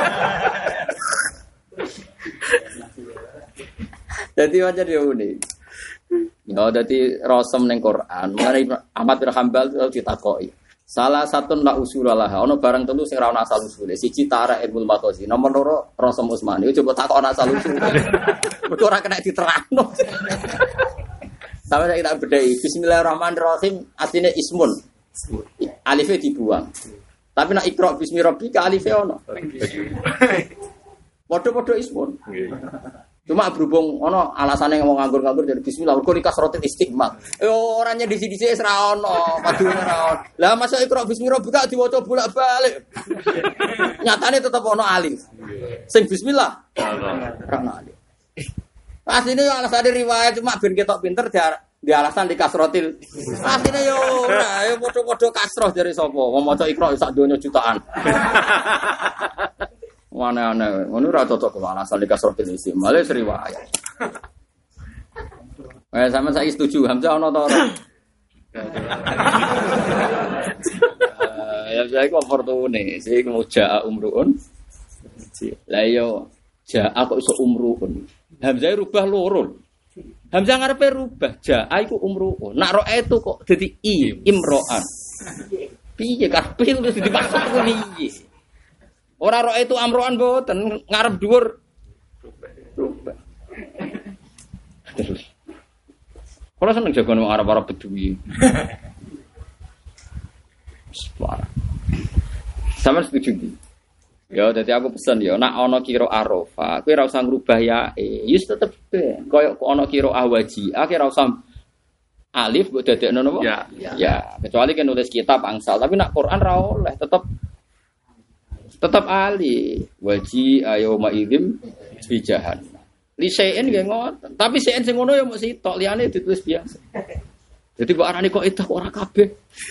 Jadi wajar dia unik. Ya, jadi Rasul ning Quran. Mari Ahmad bin Hanbal ditakoki. Salah satu la usulalah. Ono barang telu sing ra ono asal usule. Siji Tara Ibnu Matozi. Nomor loro Rasul Utsmani. Coba takok ono asal usule. Mergo ora kena diterangno. Sampai kita bedai. Bismillahirrahmanirrahim. Artinya ismun. Alifnya dibuang. Tapi nak ikra bismi rabbika alifnya ono. Podo-podo ismun. Cuma berhubung ono alasane ngomong nganggur-nganggur dari bismillah mergo kasrotil istiqmal. Orangnya di sini wis ra ono, padune ra ono. Lah masa ikra bismi rabbika diwaca bolak-balik. Nyatane tetep ono alif. Sing bismillah. Ra ono alif. Asline yo alasane riwayat cuma ben ketok pinter di alasan di kasrotil. Asline yo ora, yo padha-padha kasroh jare sapa. Wong maca ikra sak donya jutaan. Aneh-aneh, ngono ora cocok kok asal dikasrotil isim. Male riwayat. Sama saya setuju Hamzah ono to ora? Ya saya kok fortune, sing muja umruun. Lah yo jaa kok iso umruun. Hamzah rubah loro. Hamzah ngarepe rubah, jaa iku umruun. Nak roe itu kok dadi imroan. Piye karepe wis dimaksud kok piye? Ora roe itu amroan mboten ngarep dhuwur. Rubah. Kalau seneng jagoan wong Arab-Arab Bedui. Suara. Sama setuju iki. Ya dadi aku pesen ya nek ana kira Arafah, kowe ora usah ngrubah ya. Yus tetep koyo ana kira Ahwaji, ora usah alif mbok dadekno napa? Ya, kecuali kan nulis kitab angsal, tapi nak Quran ra oleh, tetap alif. Waji ayyuma idzim bijahan. Li sein nggih ngoten, tapi sein sing ngono ya mung sitok, liyane ditulis biasa. Jadi kok arane kok itu ora kabeh.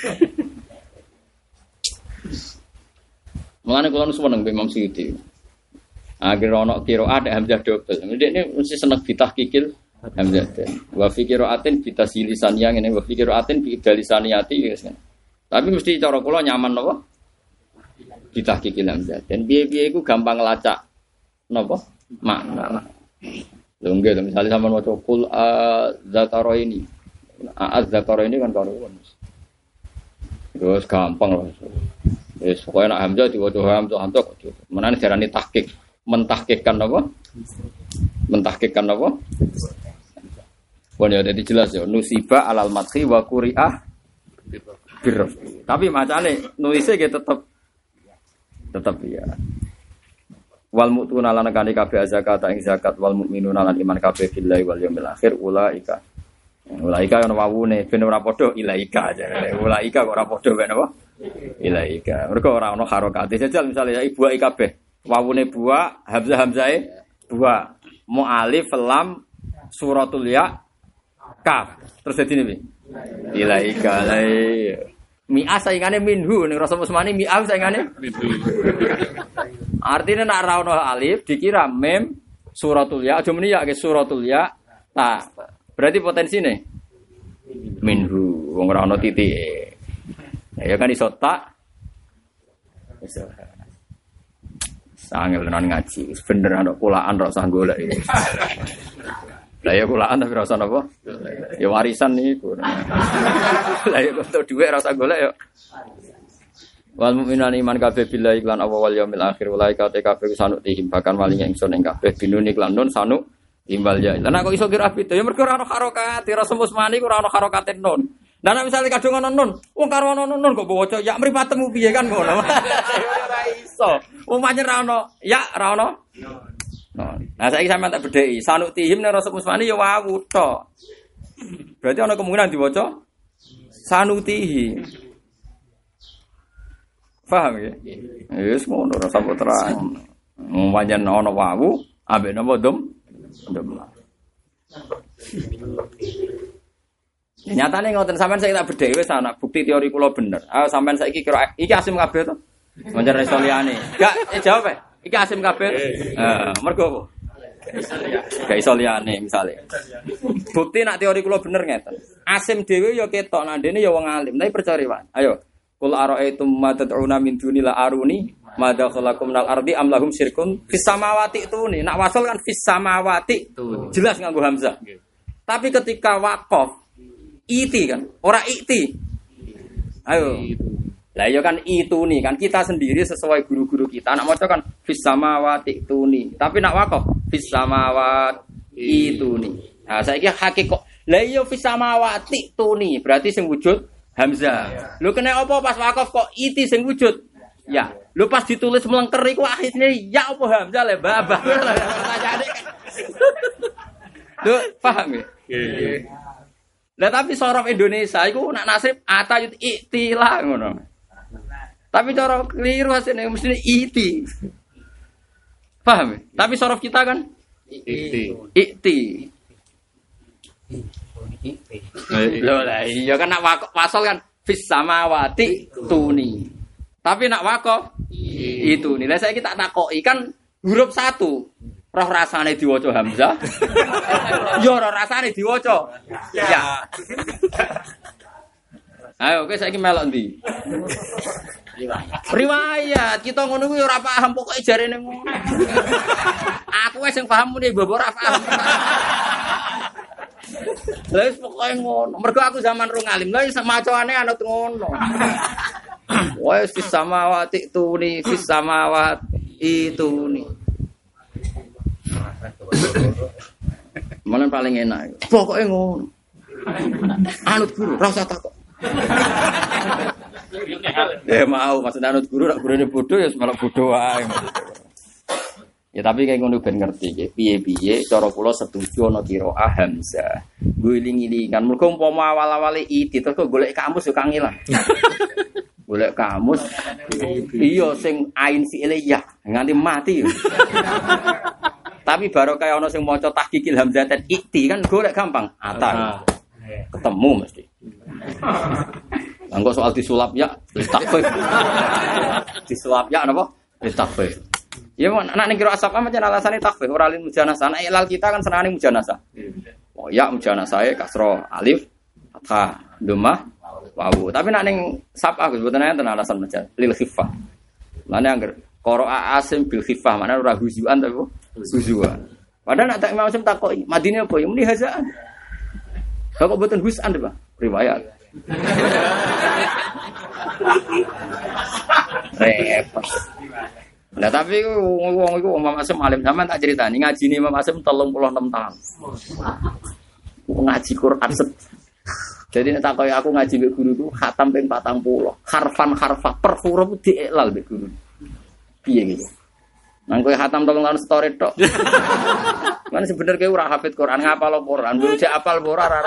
Mulane kula seneng Imam Suyuti. Akhir ono qiraat hamzah double. Ndekne mesti seneng ditahqiqil hamzah. Wa fi qiraatin bitasilisaniyah ngene wa fi qiraatin bi idalisaniyati wis. Tapi mesti cara kula nyaman napa? Ditahqiqil hamzah. Dan piye-piye iku gampang ngelacak napa? Makna. Lho nggih misalnya sampean maca qul az-zakaraini. Az-zakaraini kan karuan. Terus gampang lho. Wis pokoke nek hamzah diwaca hamzah kok. Menane diarani tahqiq. Mentahkikkan apa? Mentahkikkan apa? Bon ya jadi jelas ya. Nusiba alal madhi wa quri'ah birraf. Tapi macane nuise ge tetep ya. Wal mu'tuna lan kane kabeh zakat ing zakat wal mukminuna lan iman kabeh billahi wal yaumil akhir ulaika. Ulaika ana wawune ben ora padha ilaika aja. Ulaika kok ora padha ben apa? Ilaika. Mergo ora ana harokate. Jajal misale ya ibu kabeh. Wawune buah, hamzah-hamzahe buah. Mu alif lam suratul ya kaf. Terus dadi piye? Ilaika lai. Mi'ah saingane minhu ning rasa musmani mi'ah saingane minhu. Artinya nek ora ono alif dikira mim suratul ya, aja muni ya ke suratul ya. Nah, berarti potensine minhu wong ora ono titik. Ya kan iso tak. Iso. Sangel tenan ngaji, bener ana kulaan ra usah golek. Lah ya kulaan tapi ra usah napa? Ya warisan niku. Lah ya kok dhuwit ra usah golek ya. Wal mukminan iman kabeh billahi lan Allah wal yaumil akhir ulaika kabeh sanuk tihim bahkan walinge ingsun ing kabeh binuni lan nun sanuk timbal ya. Lah kok iso kira beda ya mergo ora ana harokat, ra semus mani ora ana harokate nun. Lah nek misale kadung ana nun, wong karo ana nun kok waca ya mripatemu piye kan ngono. Ora iso. Wong pancen ra ono ya ra ono. Nah saiki sampean tak bedheki, sanuk tihim nek rasa musmani ya wawu tok. Berarti ana kemungkinan diwaca sanuti. Paham ya? Wis ngono ora sampe terang. Pancen ana wawu ambek napa dom. Nyatane ngoten sampean saiki tak bedheki wis ana bukti teori kula bener. Ah sampean saiki kira iki asim kabeh to? Manjar iso liyane. Gak jawab ae. Iki asim kabeh. Mergo apa? Gak iso liyane misale. Bukti nak teori kula bener ngeten. Asim dhewe ya ketok nak dene ya wong alim, tapi percaya wae. Ayo. Qul ara'aytum ma tad'una min dunillah aruni madza khalaqakum minal ardi am lahum syirkun fis samawati tuni. Nak wasal kan fis samawati. Jelas nganggo hamzah. Tapi ketika waqaf iti kan, ora ikti. Ayo. Lah ya kan itu nih kan kita sendiri sesuai guru-guru kita. Nak maca kan fis samawati tuni. Tapi nak waqaf fis samawati tuni. Nah, saiki hakikat. Lah ya fis samawati tuni, berarti sing wujud hamzah. Lho kena apa pas waqaf kok iti sing wujud? Ya. Lho pas ditulis melengker iku akhirnya ya apa hamzah le babah. Pertanyaane kan. Lho paham ya? Nggih. Lah tapi sorof Indonesia iku nak nasib atayut iktilah ngono. Tapi cara keliru hasilnya mesti iti. Paham ya? Tapi sorof kita kan ikti. Loh lah iya kan nak wasol kan fis samawati tuni. Tapi nak wakof itu nih. Lah saya kita takoki kan huruf 1. Roh rasane diwaca hamzah. Ya roh rasane diwaca. Ya. Ayo kowe saiki melok ndi? Riwayat. Kita ngono kuwi ora paham pokoke jarene ngono. Aku wis sing paham muni mbok ora paham. Lah wis pokoke ngono. Mergo aku zaman rung alim. Lah iso macaane anut ngono. Wes fis samawati tuni fis samawati tuni. Malah paling enak. Pokoke ngono. Anut guru, ora usah takok. Ya mau maksud anut guru, nek gurune bodoh ya malah bodoh wae. Ya tapi kayak ngono ben ngerti nggih. Piye-piye cara kula setuju ana qiraah hamzah. Guling-gilingan mergo umpama awal-awale itu terus golek kamus yo kang ilang. Golek kamus. Iya sing ain fi'ile ya nganti mati yo. Tapi baru kayak ana sing maca tahqiqil hamzaten ikti kan golek gampang. Ata. Ketemu mesti. Engko soal disulap ya takfif. Disulap ya napa? Takfif. Ya mon anak ning kira asap macam alasane takfif ora lin mujanasah. Anak ilal kita kan senane mujanasah. Oh ya mujanasah kasra alif fathah dhammah wawu. Tapi nek ning sapa Gus mboten enten alasan mujan lil khifah. Mane angger qira'a asim bil khifah mana ora huzuan ta kok? Huzuan. Padahal nek tak Imam Asim takoki, madine apa ya muni hazaan. Kok mboten husan Pak? Riwayat. Repot. Nah tapi wong iku Imam Asim alim sampean tak critani ngajine Imam Asim 36 tahun. Ngaji Quran jadi nek takoki aku ngaji mbek guruku khatam ping 40. Harfan per huruf diiklal mbek guru. Piye gitu. Nang kowe khatam 3 tahun story tok. Kan sebenarnya kowe ora hafid Quran ngapal Quran, mbok apal ora ora.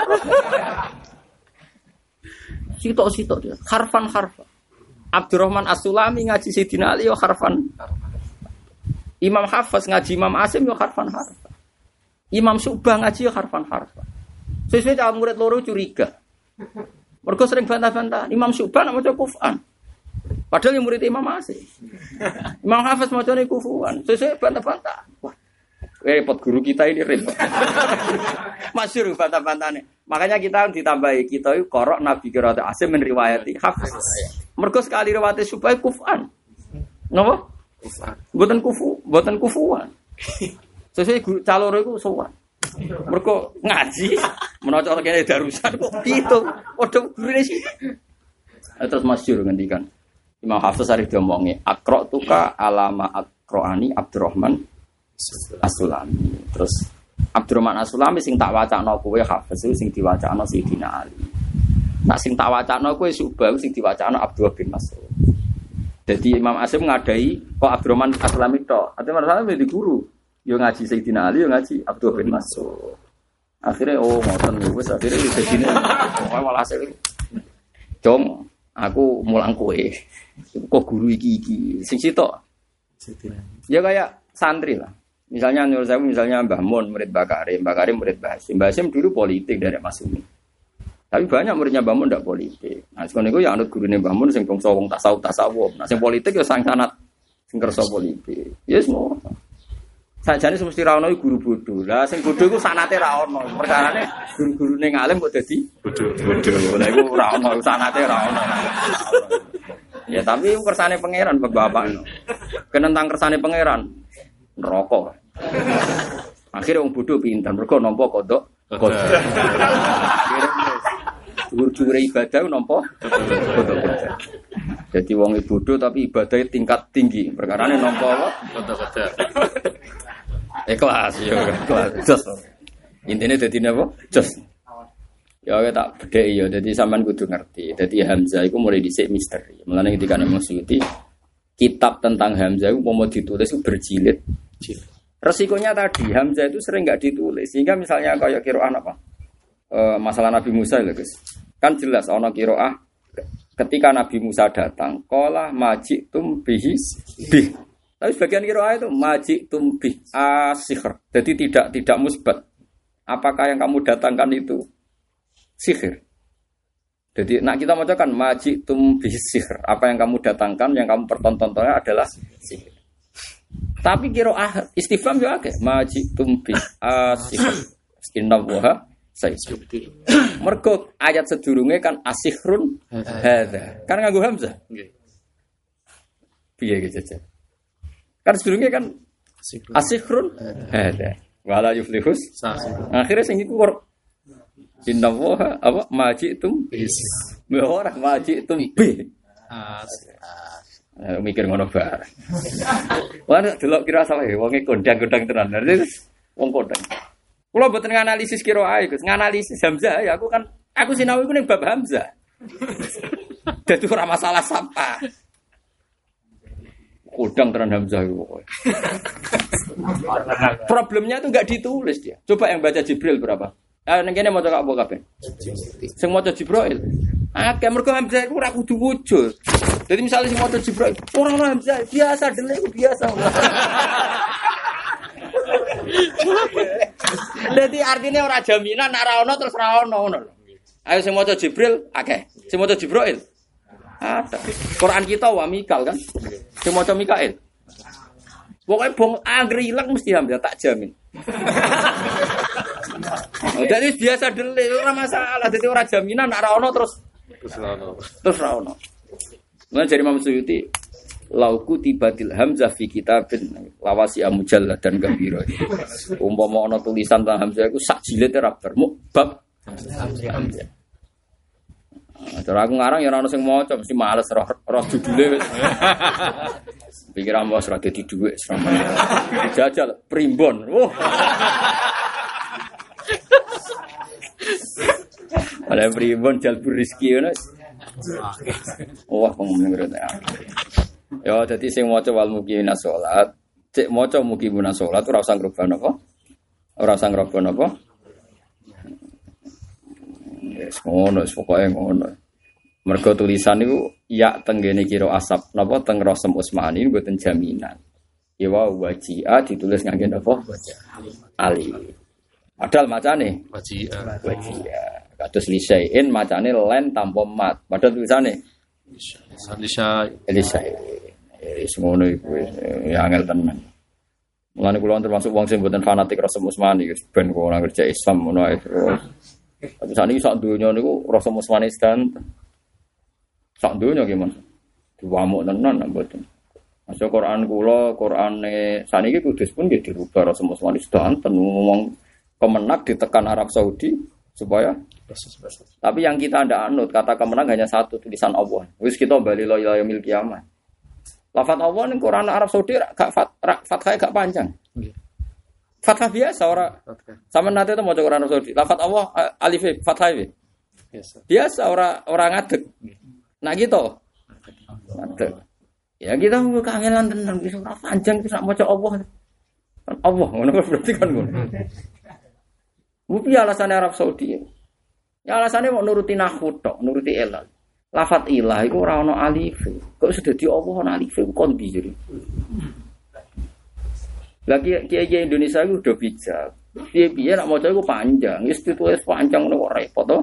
Sitok-sitok dia. Harfan. Abdurrahman As-Sulami ngaji Sayyidina Ali yo harfan. Imam Hafiz ngaji Imam Asim yo harfan. Imam Syu'bah ngaji yo harfan. Sesuai cara murid loro curiga. Mergo sering bantah-bantah. Imam Syu'bah nak maca Qur'an. Padahal yang murid Imam Asim. Imam Hafiz macane kufuan. Sesuai bantah-bantah. Wah. Repot guru kita ini repot. Masyhur bantah-bantahane. Makanya kita ditambahi kita itu korok Nabi qiraat Asim men riwayati Hafiz. Mergo sekali riwayat supaya kufan. Napa? Kufan. Mboten kufuan. Sesuk caloro iku sowan. Mergo ngaji menawa kene darusan kok gitu. Padha gurune sih. Terus masyhur ngendikan. Imam Hafiz arep diomongi, "Aqra tuka alama aqraani Abdurrahman As-Sulami." Terus Abdurrahman As-Sulami sing tak wacana kowe Hafiz sing diwacana Sayyidina Ali. Nak sing tak wacana kowe Subah sing diwacana Abdullah bin Mas'ud. Jadi Imam Asim ngadai kok Abdurrahman As-Sulami tok. Ate masalah di guru. Yo ngaji Sayyidina Ali, yo ngaji Abdullah bin Mas'ud. Akhirnya ngoten wis akhire dadine malah hasil. Jom aku mulang kowe. Kok guru iki sing sitok. Ya kayak santri lah. Misalnya Nur Zaim, misalnya Mbah Mun murid Mbah Karim murid Mbah Hasim. Mbah Hasim dulu politik dari Mas Umi. Tapi banyak muridnya Mbah Mun ndak politik. Nah, sekono iku ya anut gurune Mbah Mun sing bangsa wong tasawuf. Nah, sing politik ya sang sanad sing kersa politik. Ya semua. Sajane semesti ra ono guru bodho. Lah sing bodho iku sanate ra ono. Perkarane guru-gurune ngalim kok dadi bodho. Lah iku ora ono sanate ra ono. Ya tapi kersane pangeran bapak. Kenentang kersane pangeran neraka. Akhirnya wong bodho pinter mergo nampa kodok. Dhuwur-dhuwure ibadah nampa kodok. Jadi wong bodho tapi ibadahnya tingkat tinggi. Perkarane nampa apa? Kodok. Ikhlas ya, ikhlas. Jos. Intine dadi napa? Jos. Ya tak bedheki ya, dadi sampean kudu ngerti. Dadi Hamzah iku mulai dhisik misteri. Mulane ketika Imam Suyuti kitab tentang Hamzah itu mau ditulis itu berjilid. Resikonya tadi Hamzah itu sering enggak ditulis. Sehingga misalnya kayak qiraah apa? Masalah Nabi Musa lho, Guys. Kan jelas ana qiraah ketika Nabi Musa datang, qala majitum bihis bih. Tapi sebagian qiraah itu majitum bih asihr. Jadi tidak musbat. Apakah yang kamu datangkan itu sihir? Jadi nak kita bacakan majitum bih sihr. Apa yang kamu datangkan, yang kamu pertontonnya adalah sihir. Tapi qiraah istifham yo akeh majitum bih asihr. Innallaha sayyidu. Mergo ayat sedurunge kan asihrun hadza. Kan nganggo hamzah. Nggih. Piye iki jajan? Kan sedurunge kan asihrun hadza. Wala yuflihus. Akhire sing iku innallaha apa majitum bis. Ora majitum bi. Mikir ngono bar. Wah delok kira salah wonge kondang-kondang tenan. Wong kondang. Kula mboten nganalisis qiraah Gus, nganalisis hamzah ya aku sinau iku ning bab hamzah. Dadi ora masalah sapa. Kodang tenan Hamzah itu pokoknya. Problemnya itu enggak ditulis dia. Coba yang baca Jibril berapa? Nang kene maca apa kabeh? Sing maca Jibril. Akeh mergo Hamzah iku ora kudu wujud. Jadi misalnya sing maca Jibril, ora ono Hamzah, biasa dene iku biasa. Jadi artinya ora jaminan nek ora ono terus ora ono ngono lho. Ayo sing maca Jibril akeh. Sing maca Jibril ada. Quran kita wa Mikal kan? Sing maca Mikail. Pokoke bong anggere ilang mesti Hamzah tak jamin. Jadi biasa dele ora masalah. Dadi ora jaminan nek ora ono terus ora ono. Lan jare Imam Suyuti lauku tibatil hamzah fi kitabin lawasi amujallad dan gambira. Umpama ana tulisan tentang hamzah iku sak jilid ora bar bab hamzah. Cara aku ngarang ya ora ono sing maca mesti males roh judule wis. Pikiran bos ora dadi dhuwit selama. Jajal primbon. Ada primbon jalbur rezeki ngono. Wah pengen ngerti. Ya dadi sing maca wal muqimina salat, cek maca muqimina salat ora usah ngrubah napa? Ora usah ngrubah napa? Wis ngono, pokoke ngono. Mergo tulisan niku ya tenggene kira asap napa teng Rasem Utsmani mboten jaminan. Ya wajia ditulis ngangge napa? Ali. Padahal macane wajia. Kados lisain macane len tanpa mat. Padahal tulisane Elisa. Wis ngono iku ya angel tenan. Mulane kula termasuk wong sing mboten fanatik Rasem Utsmani wis ben kok ora kerja Islam ngono ae. Tapi sakniki sak donya niku Rasem Utsmani sedan. Sak donya gimana? Diwamuk tenan mboten. Masuk Quran kula, Qurane saniki kudus pun nggih dirubah Rasem Utsmani sedan ngomong kemenak ditekan Arab Saudi supaya tapi yang kita ndak anut kata kemenang hanya satu tulisan Allah. Wis kita bali la ilaha yaumil kiamah. Lafaz Allah ning Quran Arab Saudi gak fathah gak panjang. Nggih. Fathah biasa ora. Sama nate itu maca Quran Arab Saudi. Lafaz Allah alif fathah biasa. Biasa ora ngadeg. Nah gitu. Ngadeg. Ya kita kangenan tenan wis ora panjang wis maca Allah. Allah ngono berarti kan ngono. Wupi alasan Arab Saudi. Ya alasannya mau nuruti nahwu tok, nuruti ilal. Lafat ilah iku ora ana alif. Kok sudah di Allah ana alif ku kon bijiri. Lagi kiai Indonesia iku udah bijak. Piye-piye nak maca iku panjang, wis ditulis panjang ngono kok repot to.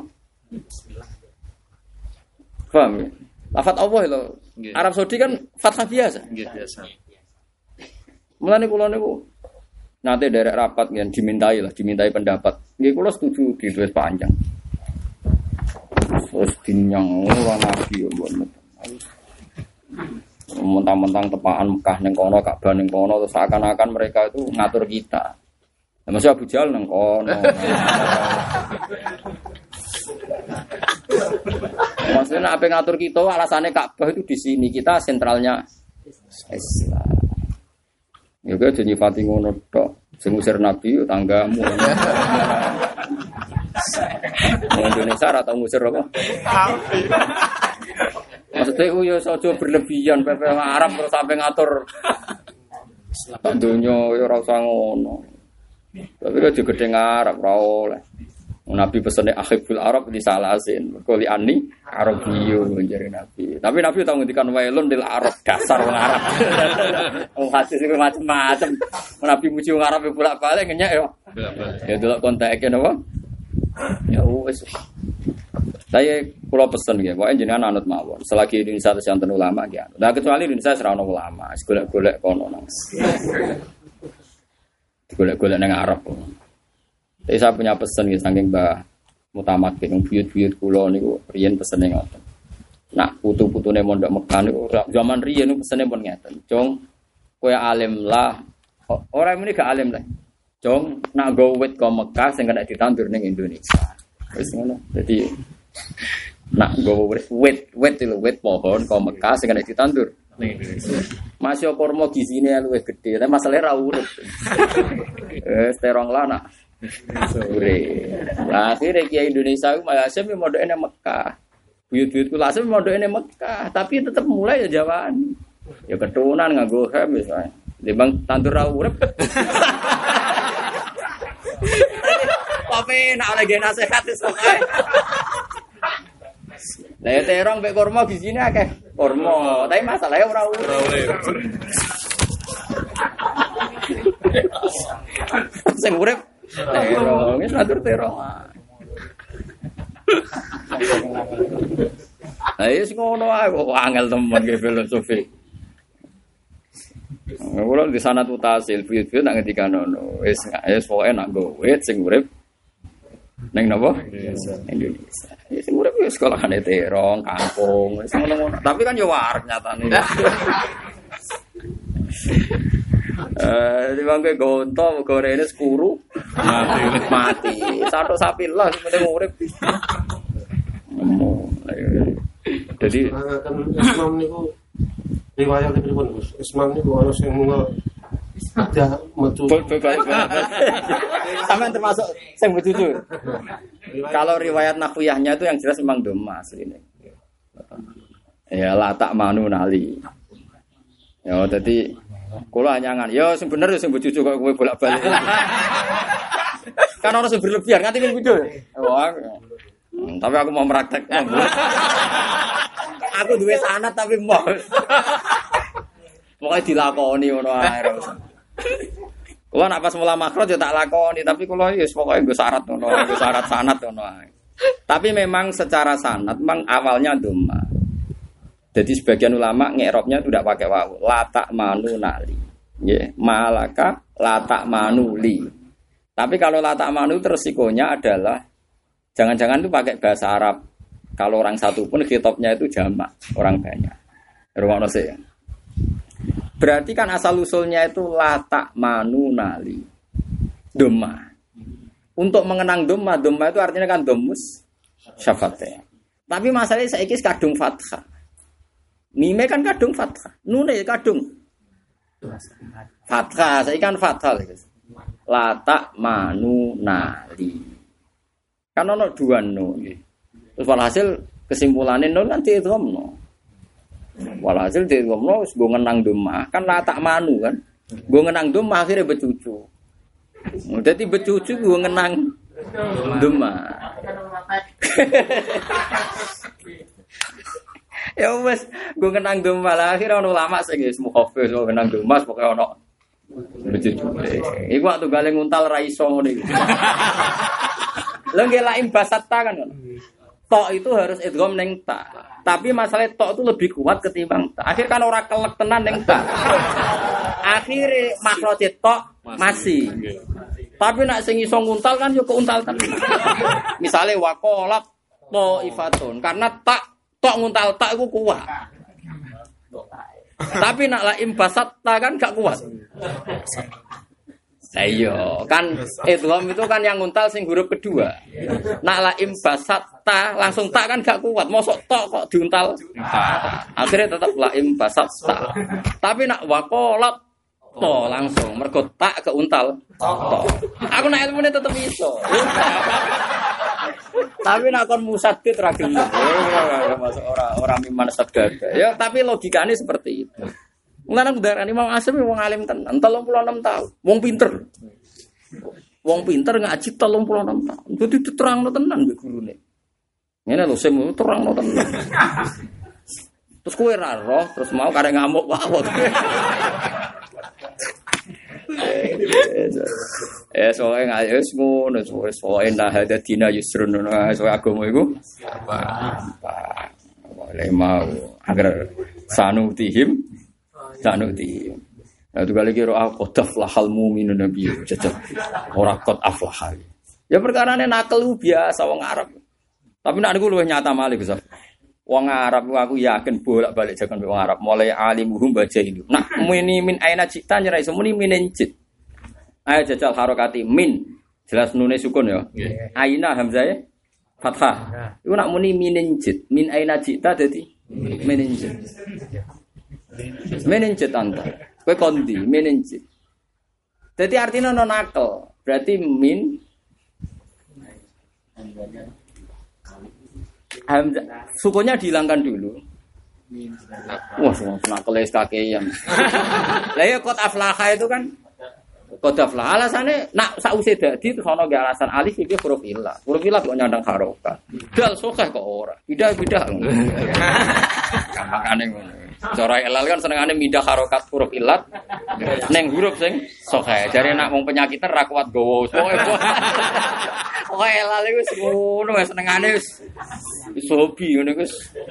Paham ya? Lafat Allah lho. Arab Saudi kan fathah biasa. Nggih biasa. Mulane kula niku nate derek rapat yang dimintai pendapat. Nggih kula setuju ditulis panjang. Terus dinyang ora nabi yo mbon. Mentang-mentang tepaan Mekah ning kono, Ka'bah ning kono terus seakan-akan mereka itu ngatur kita. Ya masih Abu Jahal ning kono. Maksudnya apa ngatur kita alasannya Ka'bah itu di sini, kita sentralnya Islam. Ya kok nyifati ngono tok. Sing ngusir nabi tanggamu. Indonesia ora tau ngusir apa? Maksudnya yo aja berlebihan pepe Arab terus sampai ngatur dunya yo ora usah ngono. Tapi kok digedhe Arab ora oleh. Nabi pesene akhibul Arab di salasin. Mergo li ani Arabiyyu njare Nabi. Tapi Nabi tau ngendikan wailun lil Arab dasar wong Arab. Wong hadis iku macam-macam. Nabi muji wong Arab bolak-balik ngenyek yo. Ya delok konteke napa? Ya wis. Saya kula pesen nggih, pokoke jenengan anut mawon. Selagi Indonesia santen ulama nggih. Nah kecuali Indonesia ora ono ulama, golek-golek kono nang. Golek-golek nang Arab. Jadi saya punya pesan nggih saking Mbah Mutamakin yang buyut-buyut kula niku riyen pesene ngoten. Nak putu-putune mondok Mekah niku zaman riyen niku pesene pun ngeten. Jong kowe alim lah. Ora muni gak alim lah. Jong nak go wit ke Mekah sing kena ditandur ning Indonesia. Wis ngono. Jadi nak go wit pohon ke Mekah sing kena ditandur ning Indonesia. Masih kormo gizine luwih gedhe, tapi masalahe ra urip. Terong lah nak. Sore. Lah akhire kiai Indonesia ku Malaysia mondoke nang Mekah. Buyut-buyutku langsung mondoke nang Mekah, tapi tetep mulai ya Jawaan. Ya keturunan nganggo hem wis ae. Timbang tandur ra urip. Tapi nak oleh gen nasihat wis ae. Lah ya terong mek kurma gizine akeh. Kurma, tapi masalahnya ora urip. Sing urip terong, wis atur terong. Ayo sing ngono ae kok angel temen ge filosofi. Ora di sana tuh tasil video nak ngendikan ngono. Wis pokoke nak nggo wit sing urip ning napa? Indonesia. Ya sing urip wis sekolahane terong, kampung, wis ngono-ngono. Tapi kan yo wareg nyatane. Di bangke gonto gorene sekuru mati. Satu sapi lah penting urip. Jadi kan Islam niku riwayat pripun Gus? Islam niku ana sing ada metu. Sampeyan termasuk sing bejuju. Kalau riwayat nahwiyahnya itu yang jelas memang doma asline. Ya la tak manu nali. Ya dadi kula nyangan. Ya sing bener ya sing bejuju kok kowe bolak-balik. Kan orang sing berlebihan nganti ning video. Wah. Tapi aku mau meraktek. Aku duwe sanad tapi mau. Pokoke dilakoni ngono ae. Kula nak pas mula makhraj ya tak lakoni, tapi kula ya pokoke nggo syarat ngono, nggo syarat sanad ngono ae. Tapi memang secara sanad memang awalnya dhamma. Jadi sebagian ulama ngi'rabnya itu tidak pakai wawu. La ta'manu nali. Nggih, malaka la ta'manu li. Tapi kalau la ta'manu resikonya adalah jangan-jangan itu pakai bahasa Arab. Kalau orang satu pun khitabnya itu jamak, orang banyak. Rungokno sik. Berarti kan asal usulnya itu la ta'manu nali. Dhamma. Untuk mengenang dhamma itu artinya kan domus syafate. Tapi masalahnya saiki kadung fathah. Mime kan kadung fathah. Nune kadung fathah, saiki kan fathah. La ta'manu nali. Kan ono dua no. Terus walhasil kesimpulannya no kan diidghamno. Walhasil diidghamno wis go ngenang dhamma kan la ta'manu kan. Go ngenang dhamma akhirnya becucu. Dadi becucu go ngenang dhamma. Ya wis go ngenang dhamma lah akhirnya ono ulama sing wis mukhaffiz go ngenang dhamma pokoke ono becucu. Iku waktu gale nguntal ra iso ngene iki. Lha nggih laim basatta kan. Tok itu harus idgham ning ta. Tapi masalah tok itu lebih kuat ketimbang ta. Akhir kan ora kelek tenan ning ta. Akhire makhraj tok masih. Tapi nak sing iso nguntal kan yo keuntal tenan. Misale waqalat ifatun karena tak tok nguntal tak iku kuat. Tapi nak laim basatta kan gak kuat. Ayo, kan idgham itu kan yang nguntal sing huruf kedua. Nak laim basatta langsung tak kan gak kuat. Mosok tok kok diuntal. Akhirnya tetap laim basatta. Tapi nak waqalat to langsung mergo tak keuntal. To. Aku nak ilmune tetep iso. Tapi nak kon musaddid ra gelem. Masuk ora miman sadada. Ya tapi logikane seperti itu. Mulane darani Imam Asy'ari wong alim tenan, 36 tahun. Wong pinter. Wong pinter ngaji 36 tahun. Dadi diterangno tenan mbek gurune. Ngene lho sing terangno tenan. Terus kowe ra roh, terus mau karek ngamuk wae. Soalnya nggak wis ngono, soalnya nah ada dina yusrun, soalnya agama itu apa, boleh mau agar sanutihim. Nah itu kali kira aku daflahal mu'minun nabi jajak orang kot aflahal. Ya perkara ini nakal biasa wong Arab. Tapi nak aku luwih nyata malih Gus. Wong Arab aku yakin bolak-balik jagon wong Arab mulai alimuhum baca ini. Nah min aina cita nyerai semuni minencit. Ayo jajal harokati min jelas nune sukun ya. Aina hamzah fathah. Iku nak muni minencit. Min aina cita dadi minencit. Meninjit anta, kue kondi meninjit. Jadi artinya non nakal, berarti min hamzah sukunya dihilangkan dulu. Wah, nak keles kakean. Lah ya qad aflaha itu kan qad aflaha alasannya nak sause dadi terus ana ge alasan alif iki huruf illah. Huruf illah kok nyandang harokat. Dal sokeh kok ora. Bidah-bidah. Makane ngono. Cara ilal kan senengane mindah harokat huruf illat ning huruf sing sokeh. Jare nak wong penyakitan ra kuat gowo. Pokoke ilal iku wis ngono wis senengane wis hobi ngono wis.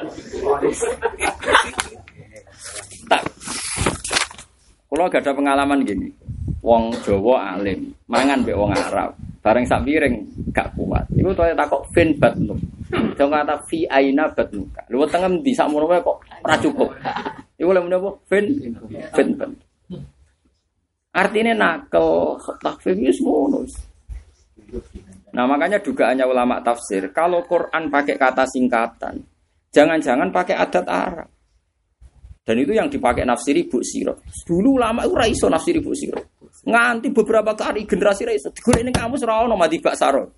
Tak. Kula gak ada pengalaman gini. Wong Jawa alim, mangan mbek wong Arab. Bareng sak piring gak kuat. Iku to takok fin batnu. Jong kata fi aina batnu. Lu wetenge ndi sak mono wae kok ora cukup. Iku lha menapa fin bat. Artinya nakel takfir wis ngono. Nah, makanya dugaannya ulama tafsir, kalau Quran pakai kata singkatan, jangan-jangan pakai adat Arab. Dan itu yang dipakai nafsiri Bu Sirot. Dulu ulama itu ra iso nafsiri Bu Sirot. Nganti beberapa kali generasi ra iso. Digoleki ning kamus ora ono mati bak saro.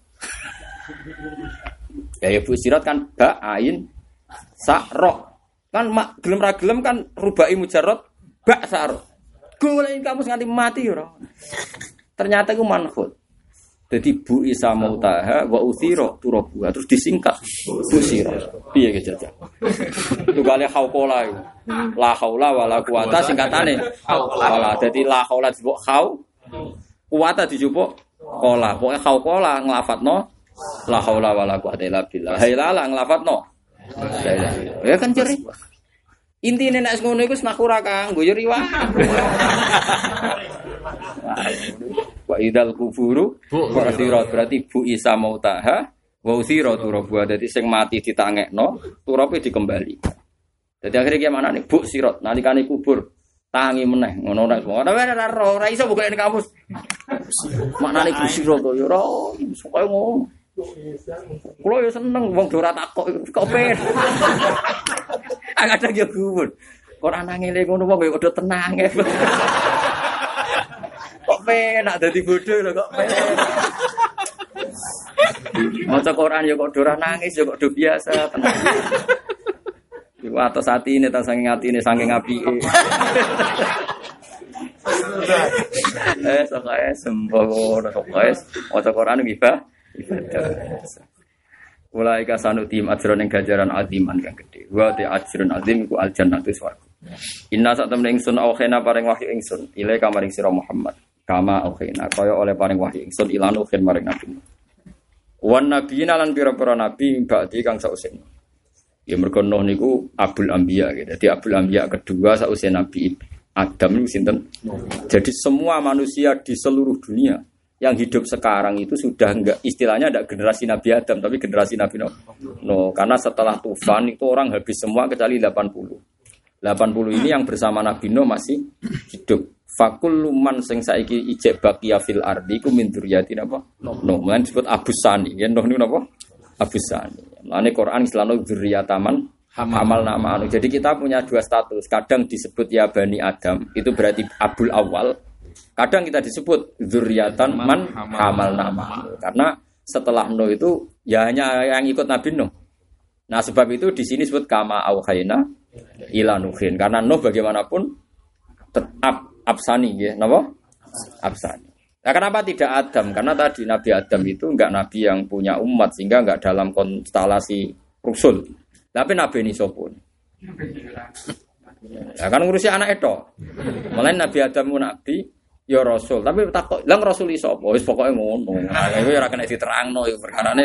Ya Bu Sirot kan ba ain sa ro. Kan gelem ra gelem kan rubai mujarrad ba saro. Goleki kamus nganti mati ora. Ternyata itu manhud. Jadi Bu Isa Mautaha wa uthiro turabuha terus disingkat Bu Sirah. Piye ge jajal. Tugale hauqala iku. La haula wala quwata singkatane hauqala. Dadi la haula disebut hau. Quwata dijupuk qala. Pokoke hauqala nglafatno la haula wala quwata illa billah. Hailala nglafatno. Ya kan jere. Intine nek ngono iku nak ora kanggo yo riwah. Wa idal kuburu berarti Bu Isa Mautaha wa uthira turabuha. Dadi sing mati ditangekno turape dikembali. Dadi akhire ki manane Bu Sirot nalikane kubur tangi meneh ngono nek ora iso buka ning kamus. Maknane Bu Sirot yo ora pokoke ngono. Kulo yo seneng wong ora takok kok pengen. Agak yo kubur. Kok ana ngene ngono wong yo kudu tenang. Kok penak dadi bodho lho kok penak. Maca Quran ya kok ora nangis ya kok do biasa tenang. Iku atos atine ta saking atine saking apike. Sokae semboh sokae maca Quran ibadah. Mulai ka sanutim ajron ing ganjaran aziman kang gedhe. Wa ta ajrun azim iku aljannatu swarga. Inna sak temne ingsun aukhena paring wahyu ingsun ile kamaring sira Muhammad. Kama aukhena kaya oleh paring wahyu ingsun ilanu khen maring nabi. Wan nabiyina lan pira-pira nabi ba'di kang sausen. Ya mergo Nuh niku Abul Anbiya gitu. Dadi Abul Anbiya kedua sausen Nabi Adam niku sinten? Jadi semua manusia di seluruh dunia yang hidup sekarang itu sudah enggak istilahnya ada generasi Nabi Adam tapi generasi Nabi Nuh. No, karena setelah tufan itu orang habis semua kecuali 80. 80 ini yang bersama Nabi Nuh masih hidup. Fakul man sing saiki ijek baqiya fil ardi ku min dzurriyyatin apa? Nuh, mulane disebut Abusani. Ya Nuh niku napa? Abusani. Mulane Quran istilahnya dzurriyyataman hamal nama anu. Jadi kita punya dua status. Kadang disebut ya Bani Adam, itu berarti Abul Awal. Kadang kita disebut dzurriyyatan man hamal nama. Karena setelah Nuh itu ya hanya yang ikut Nabi Nuh. Nah, sebab itu di sini disebut kama auhayna ila Nuhin. Karena Nuh bagaimanapun tetap Absani ya, napa? Absani. Nah, kenapa tidak Adam? Karena tadi Nabi Adam itu enggak nabi yang punya umat sehingga enggak dalam konstelasi rusul. Tapi Nabi ini sopun. Ya kan ngurusi anak itu. Mulai Nabi Adam itu Nabi, ya Rasul. Tapi takut, lang Rasul iso apa? Wis pokoke ngono. Nah, iku ora kena diterangno iku perkarane.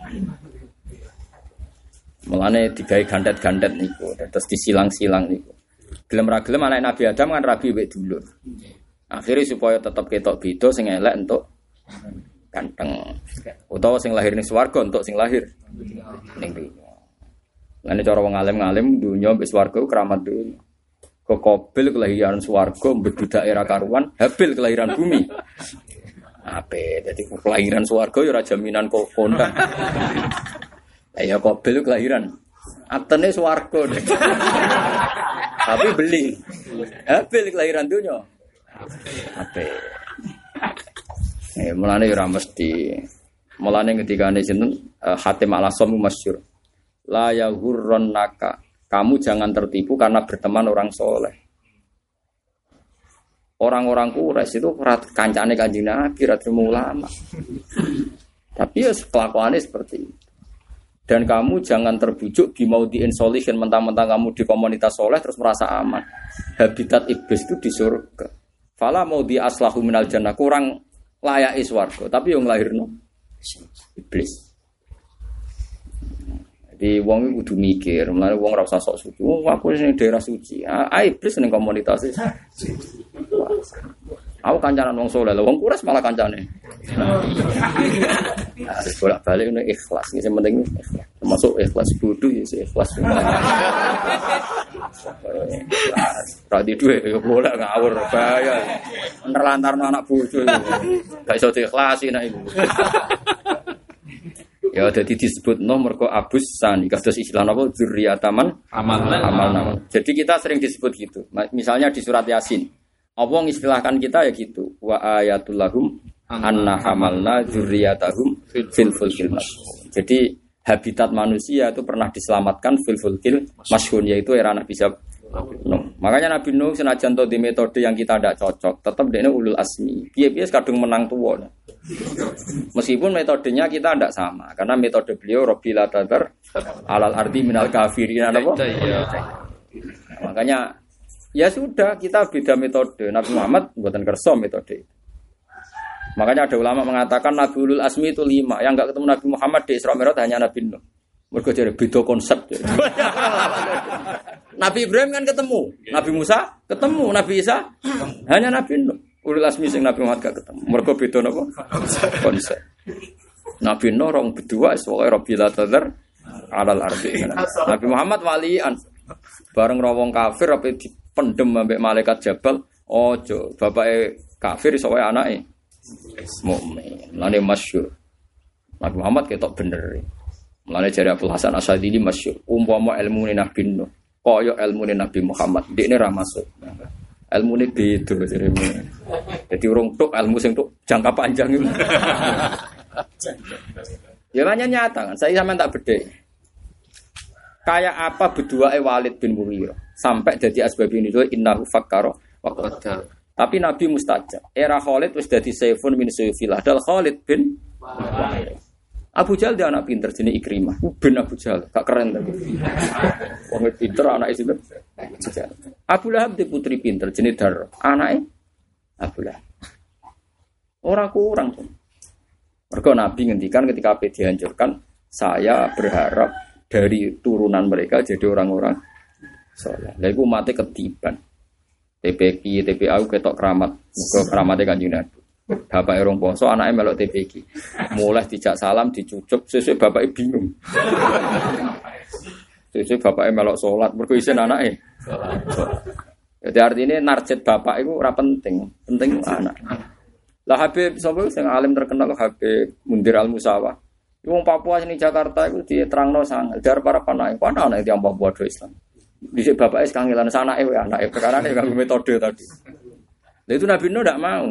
Mulane digawe gandet-gandet niku, terus disilang-silang niku. Gelem ra gelem anak Nabi Adam kan rabi wek dulur. Akhirnya supaya tetap ketok beda sing elek entuk ganteng. Utawa sing lahir ning swarga entuk sing lahir ning dunya. Lan cara wong alim-alim dunya mbek swarga keramat dunya. Kok Qabil kelahiran swarga mbedudak era karuan, Habil kelahiran bumi. Ape dadi kelahiran swarga ya ora jaminan kok kondang. Ya Qabil kelahiran atene swarga. Tapi beli. Habil kelahiran dunya. Ape. Mulane ora mesti. Mulane ketikane sinten Hatim Al-Asam masyhur. La yaghurrannaka Kamu jangan tertipu karena berteman orang soleh. Orang-orang Quraisy itu kancane Kanjeng Nabi, terima ulama. Tapi ya kelakuannya seperti itu. Dan kamu jangan terbujuk di mau di insolation mentang-mentang kamu di komunitas soleh terus merasa aman. Habitat iblis itu di surga. Fala mau di aslahu minal jannah, kurang layak swarga, tapi yang lahirno iblis. Jadi wong iku kudu mikir, mulane wong ora usah sok suci. Wong aku sing daerah suci. Iblis ning komunitas e. Aku kancanan wong saleh, wong Quraisy malah kancane. Harus bolak-balik ini ikhlas, ini yang penting ikhlas. Termasuk ikhlas bodoh ya, ikhlas. Radi duwe ya bolak ngawur bahaya. Nerlantarno anak bodoh. Gak iso diikhlasi nek iku. Ya dadi disebut mergo abus sani kados istilah napa dzurriyataman amal. Jadi kita sering disebut gitu. Misalnya di surat Yasin. Allah mengistilahkan kita ya gitu. Wa ayatul lahum anna hamalna dzurriyyatahum fil fulkil mashhun. Jadi habitat manusia itu pernah diselamatkan fil fulkil mashhun, yaitu era Nabi Nuh. Makanya Nabi Nuh senajan to di metode yang kita tidak cocok, tetap dia ulul asmi. Piye-piye kadung menang tuwa. Meskipun metodenya kita tidak sama, karena metode beliau Rabbil Tadar alal ardi minal kafirin apa? Makanya ya sudah, kita beda metode. Nabi Muhammad buatan kerso metode. Makanya ada ulama mengatakan Nabi ulul asmi itu 5. Yang enggak ketemu Nabi Muhammad di Isra Mi'raj hanya Nabi Nuh. Mergo jare beda konsep. Nabi Ibrahim kan ketemu, Nabi Musa ketemu, Nabi Isa hanya Nabi Nuh. Ulul asmi sing Nabi Muhammad gak ketemu. Mergo beda napa? Konsep. Nabi Nuh rong berdua pokoke Rabbil Tadar alal ardi. Nabi Muhammad walian. Bareng rawong kafir apa dipendem ambek malaikat Jabal. Ojo, bapake kafir iso wae anake mukmin. Lane masyhur. Nabi Muhammad ketok bener. Mulane jare Abdul Hasan Asy'adili masyhur. Umpama ilmu Nabi Nuh kaya ilmu Nabi Muhammad, dekne ra masuk. Ilmune beda jarene. Dadi urung tok ilmu sing tok jangka panjang itu. Ya banyak nyata kan, saya sampean tak bedhe. Kayak apa berduae Walid bin Mughirah sampai jadi asbab ini itu innahu fakkara wa qaddar. Tapi Nabi mustajab. Era Khalid wis dadi saifun min sayfillah. Dal Khalid bin Walid. Abu Jahal dia anak pinter jenis Ikrimah. Ben Abu Jahal, gak keren tapi. Wong pinter anak itu. Abu Lahab di putri pinter jenis Dar. Anaknya Abu Lahab. Orang kurang tuh. Mergo Nabi ngendikan ketika api dihancurkan, saya berharap dari turunan mereka jadi orang-orang saleh. Lha iku mate ketiban. TPQ, TPA ketok keramat. Muga keramate Kanjeng Nabi. Bapak erong poso, anaknya melok TPQ. Mulai dijak salam, dicucuk, sesuai bapaknya bingung. Sesuai bapaknya melok sholat, berkuisin anaknya. Jadi artinya narjet bapak itu ora penting, penting anak. Lah Habib sapa sing alim terkenal Habib Mundir Al Musawa. Wong Papua sini Jakarta itu diterangno sangat. Dar para panai, ana anak yang Papua do Islam. Dhisik bapake kangelan sanake wae anake perkarane kanggo metode tadi. Lah itu Nabi Nuh ndak mau.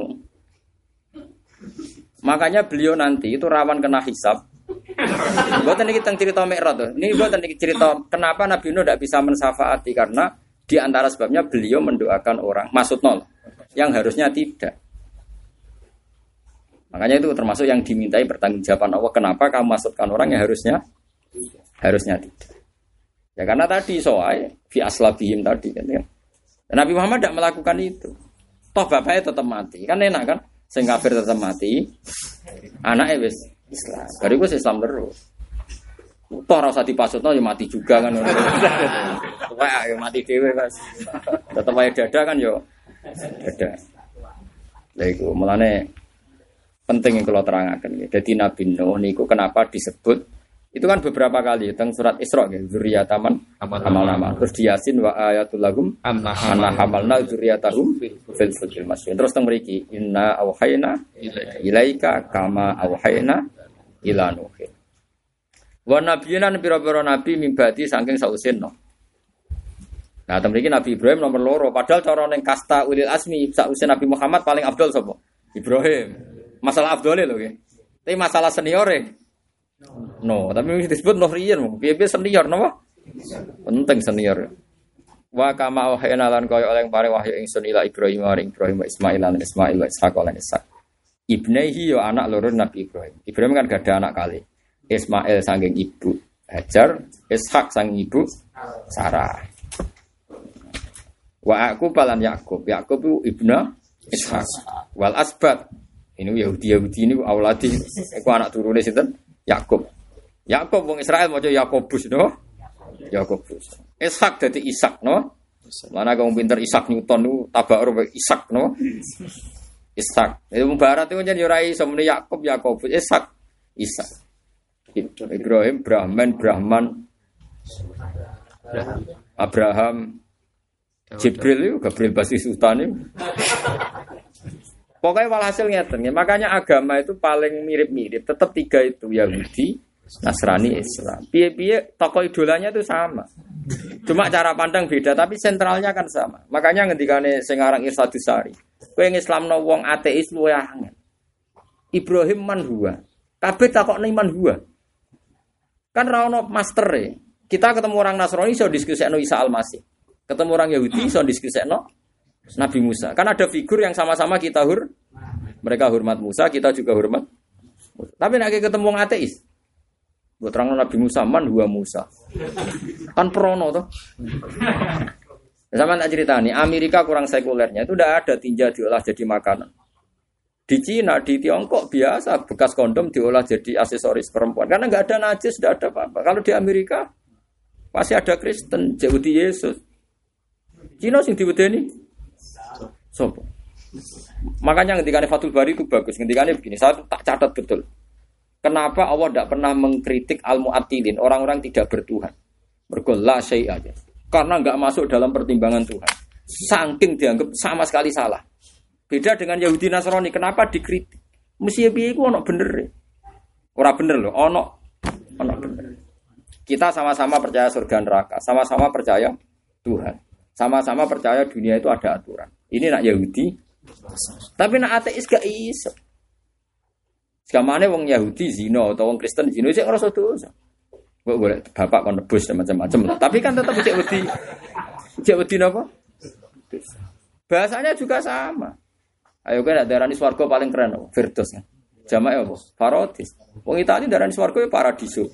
Makanya beliau nanti itu rawan kena hisab. Buatan ini tentang cerita Mi'raj tuh. Ini buatan cerita kenapa Nabi Nuh tidak bisa mensyafaati karena di antara sebabnya beliau mendoakan orang maksud nol yang harusnya tidak. Makanya itu termasuk yang dimintai pertanggungjawaban Allah. Kenapa kamu masukkan orang yang harusnya tidak? Ya karena tadi soal fi aslabihim tadi kan. Nabi Muhammad tidak melakukan itu. Toh bapaknya tetap mati kan enak kan? Sing kafir tetap mati, anaknya wis Islam. Dari gue Islam terus. Toh rasa dipasutno ya mati juga kan. Wah, ya mati dhewe Mas. Tetep wae dada kan yo. Dada. Lha iku mulane penting yang kalau terangaken. Dadi Nabi Nuh niku kenapa disebut itu kan beberapa kali teng surat Isra nggih dzurriyyataman amal-amal. Terus di Yasin wa ayatul lahum anna hamalna dzurriyyatahum fil fulkil mashhun. Terus teng mriki inna auhayna ilaika kama auhayna ila nuh. Wa nabiyina pira-pira nabi mimbati saking sausin no. Nah, teng mriki Nabi Ibrahim nomor 2 padahal cara ning kasta ulil asmi sausin Nabi Muhammad paling afdal sapa? Ibrahim. Masalah afdale lho nggih. Tapi masalah seniore No, tapi disebut Nuh riyen, piye-piye senior napa? Penting senior. Wa kama wahayna lan kaya oleh paring wahyu ingsun ila Ibrahim maring Ibrahim Ismail lan Ismail wa Ishaq lan Ishaq. Ibnehi yo anak loro Nabi Ibrahim. Ibrahim kan gak ada anak kali. Ismail saking ibu Hajar, Ishaq saking ibu Sarah. Wa aku palan Yakub. Yakub itu ibnu Ishaq. Wal asbat. Ini Yahudi ini auladi. Iku anak turune sinten? Yakub. Yakub wong Israel maca Yakobus no. Yakobus. Ishak dadi Ishak no. Mana kamu pinter Ishak Newton nu tabakur Ishak no. Ishak. Itu barat itu jan yo ora iso muni Yakobus Ishak. Ishak. Ibrahim Brahman Abraham Jibril itu Gabriel Basis Utani. Pokoknya walhasil ngeten. Makanya agama itu paling mirip-mirip. Tetap tiga itu Yahudi, Nasrani, Islam. Piye-piye tokoh idolanya itu sama. Cuma cara pandang beda tapi sentralnya kan sama. Makanya ngendikane sing aran Irsadus Sari. Kowe ngislamno wong ateis luwih angel. Ibrahim man huwa. Kabeh takokne man huwa. Kan ra ono mastere. Kita ketemu orang Nasrani iso diskusikno Isa Al-Masih. Ketemu orang Yahudi iso diskusikno Nabi Musa. Kan ada figur yang sama-sama kita mereka hormat Musa, kita juga hormat Musa. Tapi nek ketemu wong ateis, mbok terangno Nabi Musa man huwa Musa. Kan prono toh. Sama tak ceritani, Amerika kurang sekulernya itu udah ada tinja diolah jadi makanan. Di Cina, di Tiongkok biasa bekas kondom diolah jadi aksesoris perempuan karena nggak ada najis, nggak ada apa-apa. Kalau di Amerika pasti ada Kristen, Yahudi Yesus. Cina sing diwedeni sopo. Makanya ketika Fathul Bari itu bagus. Ketika begini, saya tak catat betul. Kenapa Allah tidak pernah mengkritik al-mu'attilin, orang-orang tidak bertuhan? Mergo la syai'a aja. Karena enggak masuk dalam pertimbangan Tuhan. Saking dianggap sama sekali salah. Beda dengan Yahudi Nasrani, kenapa dikritik? Mesti piye iku ono bener. Ora bener lho, ono bener. Kita sama-sama percaya surga neraka, sama-sama percaya Tuhan. Sama-sama percaya dunia itu ada aturan. Ini nak Yahudi, tapi nak ateis gak iso. Sekamane wong Yahudi zina atau wong Kristen zina sik ngrasa dosa. Kok golek bapak kon nebus macam-macam. Tapi kan tetap cek wedi napa? Bahasanya juga sama. Ayo kan darani swarga paling keren apa? Firdaus kan. Jamae apa? Paradis. Wong Itali darani swarga paradiso.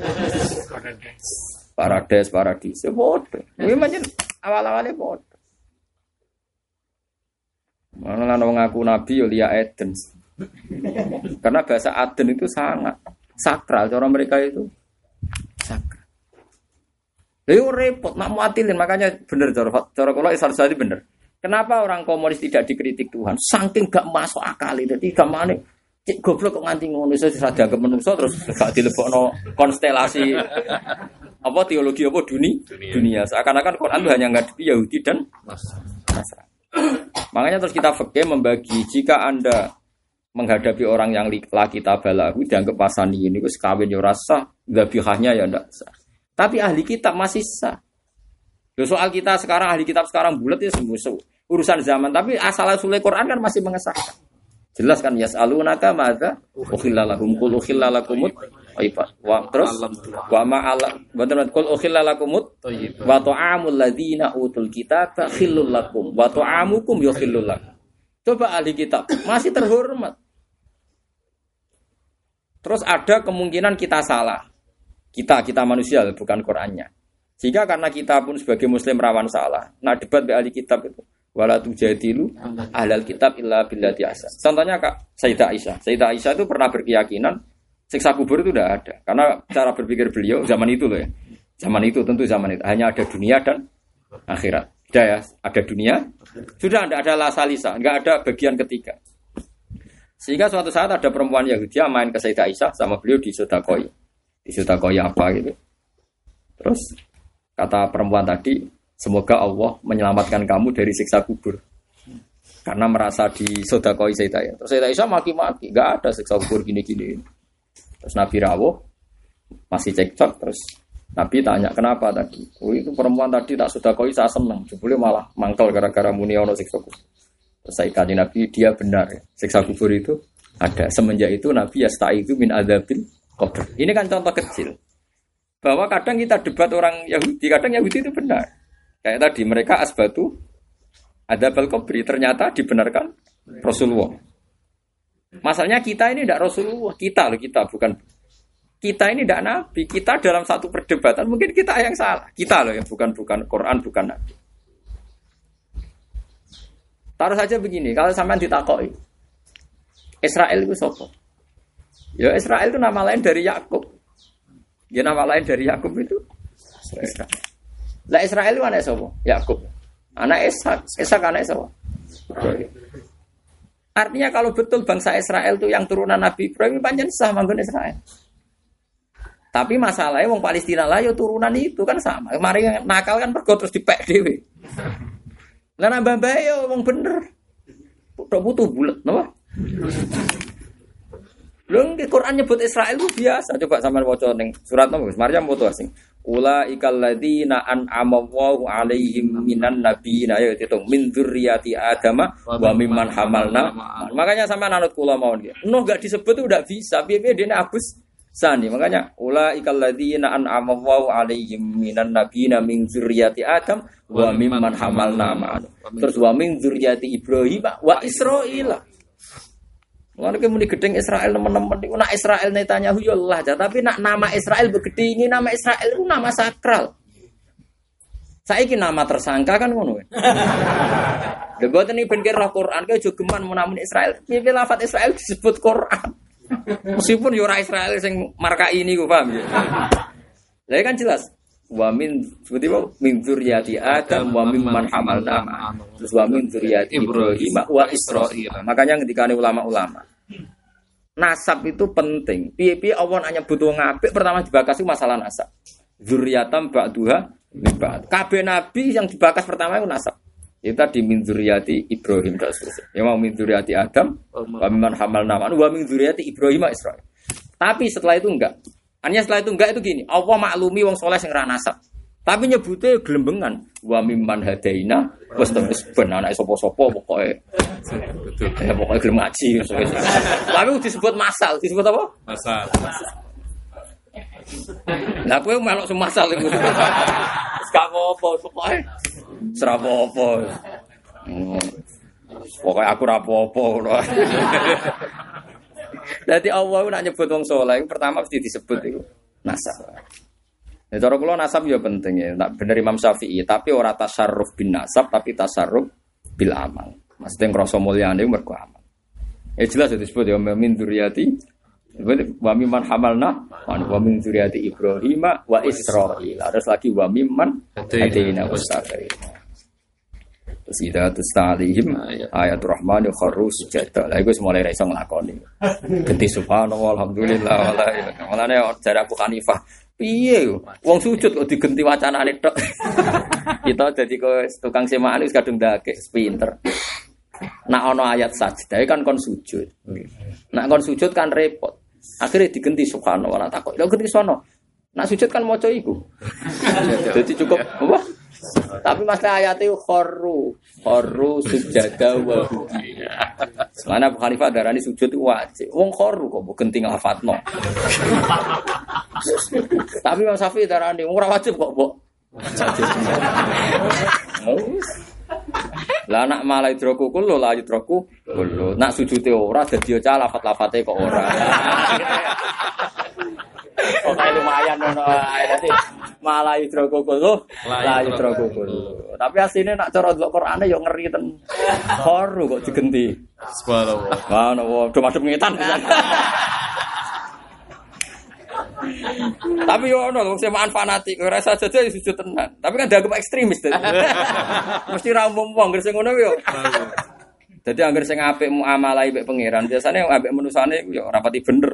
Paradiso padha. Kuwi pancen awal-awale padha. Mana lan wong ngaku nabi yo liya Eden. Karena bahasa Aden itu sangat sakral, cara mereka itu sakral. Lha repot nak muatilin, makanya bener cara kula Isar-Sari bener. Kenapa orang komunis tidak dikritik Tuhan? Saking gak masuk akal itu. Jadi gamane cek goblok kok nganti ngono iso ora dianggap menungso terus gak dilebokno konstelasi apa teologi apa dunia. Seakan-akan Quran itu hanya ngadepi Yahudi dan Nasrani. Makanya terus kita fikih membagi jika Anda menghadapi orang yang laki tabalahu dianggap pasani ini wis kawin yo rasa dzabihahnya ya ndak sah. Tapi ahli kitab masih sah. Loh, soal kita sekarang ahli kitab sekarang bulat ya sembuh urusan zaman tapi asal-usul Quran kan masih mengesahkan. Jelas kan yasalunaka madza ukhillalahum qul ukhillalakumut thayyibat. Wa terus wa ma'ala bener qul ukhillalakumut thayyibat wa ta'amul ladzina utul kitaba khillul lakum wa ta'amukum yukhillul lakum. Coba ahli kitab masih terhormat. Terus ada kemungkinan kita salah. Kita manusia bukan Qur'annya. Sehingga karena kita pun sebagai muslim rawan salah. Nah debat be ahli kitab itu wala tujadilu ahlal kitab illa billati ahsan. Contohnya Kak Sayyidah Aisyah. Sayyidah Aisyah itu pernah berkeyakinan siksa kubur itu tidak ada. Karena cara berpikir beliau zaman itu loh ya. Zaman itu tentu zaman itu hanya ada dunia dan akhirat. Sudah ya, ada dunia. Sudah tidak ada lasalisa, enggak ada bagian ketiga. Sehingga suatu saat ada perempuan Yahudi main ke Sayyidah Aisyah sama beliau di Sodakoi. Di Sodakoi apa gitu. Terus kata perempuan tadi, semoga Allah menyelamatkan kamu dari siksa kubur. Karena merasa di Sodakoi Sayyidah Aisyah. Terus Sayyidah Aisyah maki-maki, enggak ada siksa kubur gini-gini. Terus Nabi rawuh, masih cekcok, terus Nabi tanya kenapa tadi? Oh itu perempuan tadi tak Sodakoi saya senang. Jebule malah mangkel gara-gara muni ono siksa kubur. Saya kaji Nabi dia benar ya. Siksa kubur itu ada. Semenjak itu Nabi yastaizu min adzabil qabr. Ini kan contoh kecil. Bahwa kadang kita debat orang Yahudi, kadang Yahudi itu benar. Kayak tadi mereka asbatu ada balkobri, ternyata dibenarkan Rasulullah. Masalahnya kita ini tidak Rasulullah, kita bukan kita ini tidak Nabi. Kita dalam satu perdebatan mungkin kita yang salah. Kita loh yang bukan Quran, bukan Nabi. Taruh saja begini, kalau sampean ditakoi, Israel itu siapa? Ya Israel itu nama lain dari Yakub. Ya nama lain dari Yakub itu Israel. Lah Israel itu anak siapa? Yakub. Anak Ishak anak siapa? Artinya kalau betul bangsa Israel itu yang turunan Nabi Ibrahim, pancen sah manggon Israel. Tapi masalahnya wong Palestina lah yo turunan itu kan sama. Kemarin nakal kan pergo terus dipek dhewe. Lah nambah bae yo wong bener. Tok butuh bulet, napa? Lho nggih Quran nyebut Israel itu biasa. Coba sampean waca ning surat napa Gus? Maryam foto asing. Ulaikal ladzina an'ama Allahu 'alaihim minan nabiyyin ya ditung min dzurriyyati adama wa mimman hamalna. Makanya sampean anut kula mawon nggih. Nuh enggak disebut itu enggak bisa. Piye-piye dene Abus Sani. Makanya ulaikal ladzina an'ama Allahu 'alaihim minan nabiyyin min dzurriyyati adam wa mimman hamalna. Terus wa min dzurriyyati Ibrahim wa Israil. Mulane muni gedeng Israel teman-teman niku nak Israel Netanyahu ya Allah, tapi nak nama Israel begede ini nama Israel itu nama sakral. Saiki nama tersangka kan ngono. Lha boten iki ben kira Quran kaya aja geman menawa Israel. Piye lafaz Israel disebut Quran. Meskipun yo ora Israel sing markai niku paham ya. Lah kan jelas wa min sebutipun min dzurriyyati Adam wa mimman hamalna terus wa min dzurriyyati Ibrahim wa Israil. Makanya ngendikane ulama-ulama nasab itu penting. Piye-piye Allah nak nyebut wong apik pertama dibakas itu masalah nasab. Dzurriyatam ba'duha min ba'd. Kabeh nabi yang dibakas pertama itu nasab. Itu tadi min dzurriyyati Ibrahim dan seterusnya. Ya mau min dzurriyyati Adam wa mimman hamalna wa min dzurriyyati Ibrahim wa Israil. Tapi setelah itu enggak. Hanya setelah itu enggak itu gini, Allah maklumi wong soleh sing ra nasab. Tapi nyebutnya gelembengan wa mimman hadaina wis terus ben anake sapa-sapa pokoke. Betul. Ya pokoke gelem ngaji. Tapi disebut masal, disebut apa? Masal. Lah kowe melok semasal iku. Wis gak apa-apa pokoke. Ora apa-apa. Pokoke aku ora apa-apa ngono. Dadi Allah nak nyebut wong saleh pertama mesti disebut iku nasab. Ya cara kula nasab ya penting ya. Tak bener Imam Syafi'i, tapi ora tasarruf bin nasab tapi tasarruf bil amal. Maksudnya ngrasa mulyane mergo amal. Ya jelas disebut ya min dzurriyyati wa mimman hamalna wa min dzurriyyati Ibrahim wa Israil. Terus lagi wa mimman hadaina wastaghfir. Terus ida tusta'alihim ayatul rahmani kharru sujada. Lah iku mulai ra iso nglakoni. Genti subhanallah alhamdulillah wala ilaha. Mulane jare Abu Hanifah, piye wong sujud kok digenti wacanane tok. Kita dadi tukang semaan wis kadung ndake pinter. Nak ana ayat sajdah kan kon sujud. Nak kon sujud kan repot. Akhirnya digenti subhanallah takok. Lha genti sono. Nak sujud kan maca iku. Jadi cukup apa? Tapi masalah ayat itu kharru sujada wa bukiya. Mana Abu Hanifah darani sujud itu wajib. Wong kharru kok genti nglafatno. Tapi Imam Syafi'i darani ora wajib kok, Mbok. Lah nak malah idroku kulo la idroku kulo. Nak sujude ora dadi aja lafat-lafate kok ora. Pokoke lumayan ngono ae dadi malah idroku kulo la idroku kulo. Tapi asline nak cara delok Qur'ane yo ngeri ten. Kharu kok digenti. Subhanallah. Subhanallah, do madhep ngetan. Tapi yo ono wong semaan fanatik, ora saja sujud tenan. Tapi kan dianggap ekstremis. Mesti ra umum wong sing ngono yo. Dadi anggere sing apik muamalah mbek pangeran, biasane ambek manusane yo ora pati bener.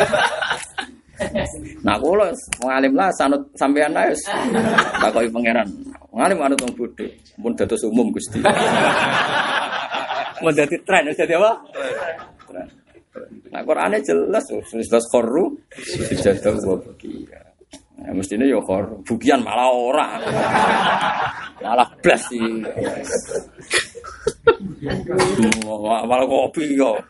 Nah kula ngalim lah sanut sampean ae wis takoki pangeran. Ngalim anut wong bodho, pun dados umum Gusti. Mau dadi tren, dadi apa? Tren. Nah Qur'ane jelas jelas kharru sujada wa bukiya. Nah mestine ya kharru, bukian malah ora. Malah blas iki. Malah kopi yo.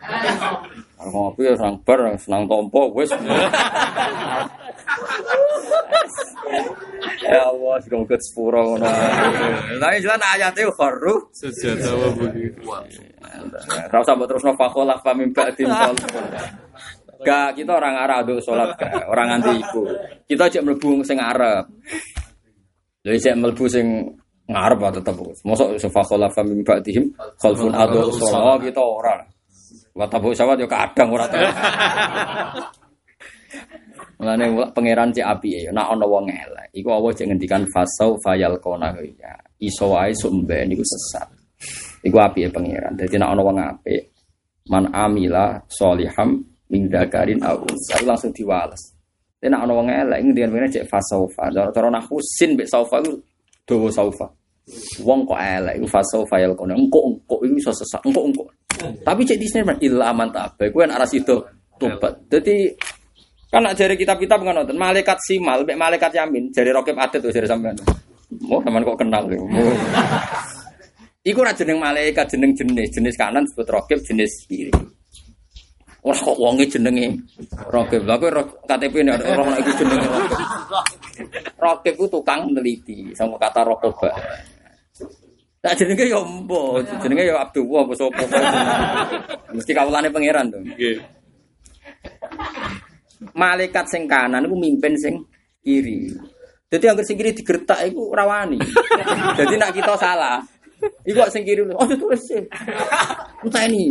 Ngopi orang bar senang tompo wis. Ya Allah, semoga sepuro ngono. Tapi jelas ayate kharu Sejata wa budi. Ora usah mbok terusno fakhola fa mim ba'din khalfun. Gak, kita orang Arab untuk sholat gak, orang anti iku. Kita aja mlebu sing Arab. Jadi saya mlebu sing ngarep tetep. Mosok fakhola fa mim ba'dihim khalfun adu sholat kita ora. Wa tabu sawat yo kadang ora tau. Mulane pangeran cek apike, nek ana wong elek, iku Allah cek ngendikan fasau fayal kona ya. Iso wae sumben niku sesat. Iku apike pangeran. Dadi nek ana wong apik, man amila sholiham min dzakarin aw unsa langsung diwales. Nek ana wong elek ngendikan cek fasaufa. Cara nahwu sin mek saufa iku dawa saufa. Wong kok elek iku fasau fayal kona. Engko iku iso sesat. Engko. Tapi cek disine illa man tabe. Kuwi nek arah situ tobat. Dadi kan nak jari kitab-kitab ngono, malaikat simal, mek malaikat yamin, jari rokib adet tuh jari sampean. Oh, sampean kok kenal lho. Iku ora jeneng malaikat, jeneng jenis kanan disebut rokib, jenis kiri. Ora kok wonge jenenge rokib. Lah kowe KTP nek ora ana iku jenenge rokib. Rokib ku tukang neliti, sama kata rokoba. Tak jenenge yo empo, jenenge yo Abdullah apa sapa. Mesti kawulane pangeran to. Nggih. Malaikat sing kanan iku mimpin sing kiri. Dadi anggere sing kiri digertak iku ora wani. Dadi nek kita salah, iku sing kiri oh tulis sih. Enteni.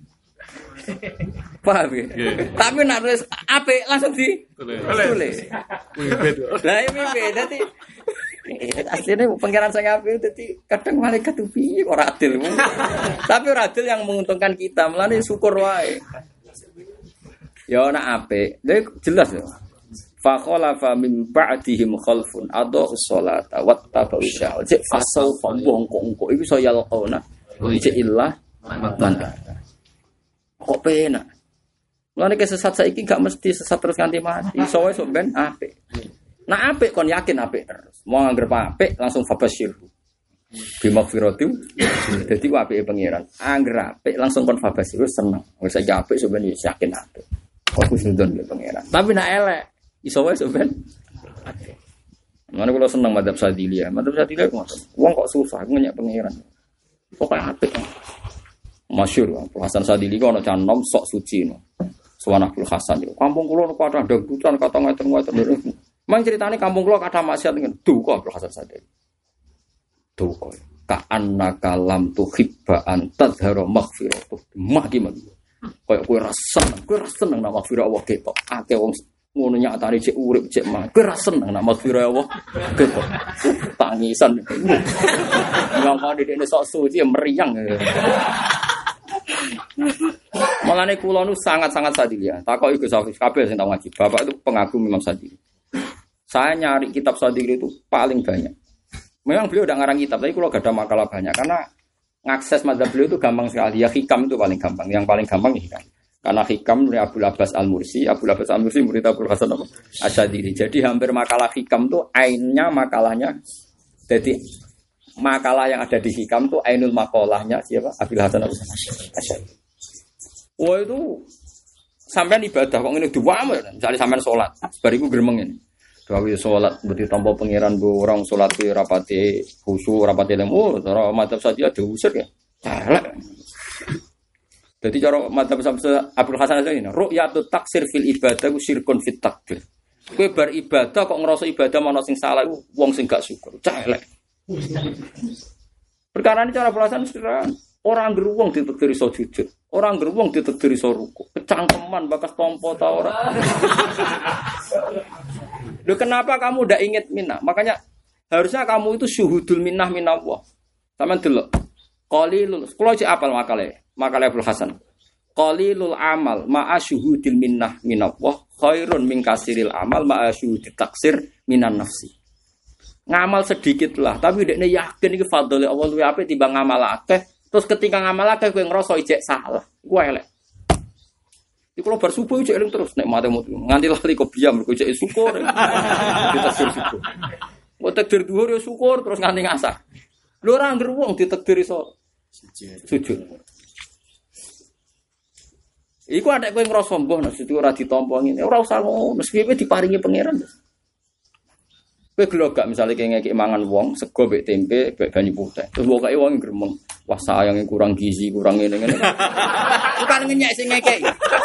Paham ya? Tapi nek wis apik langsung tulis. Lah iki mimpin dadi asline pangeran sing apik dadi kadang malaikat tuh piye ora adil. Tapi ora adil yang menguntungkan kita. Mulane syukur wae. Ya ana apik. Lha jelas ya. Fa khalafa min ba'dihim khalfun adau sholata wattaba'u syahwat. Cek fasau bongko-bongko iku iso yalqona. Cek illah man. Kok penak. Mulane kesesat saiki gak mesti sesat terus nganti mati. Iso wae sok ben apik. Nah apik kon yakin apik terus. Mau anggere apik langsung fabasyir. Bimakfirati. Dadi apike pangeran. Anggere apik langsung kon fabasyir seneng. Wis saiki apik sok ben yakin apik. Aku sudon ke pangeran. Tapi nak elek, iso wae sampean. Mana kalau seneng madzhab Sadiliyah. Madzhab Sadiliyah kok wong kok susah ngenyek pangeran. Pokoke apik. Masyhur Hasan Sadili kok ana canom sok suci no. Suwana Abdul Hasan yo. Kampung kula niku ada dangdutan kata ngaten-ngaten. Mang ceritane kampung kula kathah maksiat ngene. Duka Abdul Hasan Sadili. Duka. Ka annaka lam tuhibba an tadhara maghfiratuh. Maki. Kayak kowe ra seneng nak maghfirah Allah ketok. Akeh wong ngono nyatane cek urip cek mah. Kowe ra seneng nak maghfirah Allah ketok. Tangisan. Ngangkane dekne sok suci meriang. Malane kula nu sangat-sangat Sadili ya. Takoki Gus Hafiz kabeh sing tau ngaji. Bapak itu pengagum Imam Sadili. Saya nyari kitab Sadili itu paling banyak. Memang beliau udah ngarang kitab, tapi kula gak ada makalah banyak karena ngakses madzhab beliau itu gampang sekali. Ya hikam itu paling gampang. Yang paling gampang hikam. Karena hikam dari Abdul Abbas Al-Mursi. Abdul Abbas Al-Mursi murid Abdul Hasan Asyadili. Jadi hampir makalah hikam itu ainnya makalahnya. Jadi makalah yang ada di hikam itu ainul makalahnya siapa? Abdul Hasan Asyadili. Wah itu sampean ibadah kok ngene diwame. Misalnya sampean salat, bariku gremeng ini. Gawe salat berarti tanpa pangeran bu orang salat ki rapati khusyuk rapati lemu cara madzhab saja diusir ya. Elek. Dadi cara madzhab Abdul Hasan ini ru'yatut taksir fil ibadah ku syirkun fit takbir. Kowe bar ibadah kok ngerasa ibadah ana sing salah iku wong sing gak syukur. Elek. Perkara ini cara belasan sederhana. Orang geruwong ditekdir iso jujur. Orang geruwong ditekdir iso ruku. Kecangkeman bakas tompo ta ora. Loh kenapa kamu udah inget minnah? Makanya harusnya kamu itu syuhudul minnah minallah. Sampeyan delok. Qalilul, kula cek apal makale Abdul Hasan. Qalilul amal ma'a syuhudil minnah minallah khairun min kasiril amal ma'a syuhudit taksir minan nafsi. Ngamal sedikit lah, tapi dekne yakin iki fadhole Allah luwih apik timbang ngamal akeh. Terus ketika ngamal akeh kowe ngrasa ijek salah. Iku elek. Iku kalau bar subuh ijek eling terus nek mate nganti lali kok biam mergo ijek syukur. Ditakdir syukur. Kok takdir dhuwur ya syukur terus nganti ngasar. Lho ora ngger wong ditakdir iso sujud. Iku adek kowe ngrasa mbah nek ora ditampa ngene. Ora usah ngono, mesti diparingi pangeran. Kowe gelo gak misale ngekek mangan wong sego mbek tempe mbek banyu putih. Terus pokoke wong gremeng. Wah sayange kurang gizi, kurang ngene-ngene. Bukan ngenyek sing ngekek.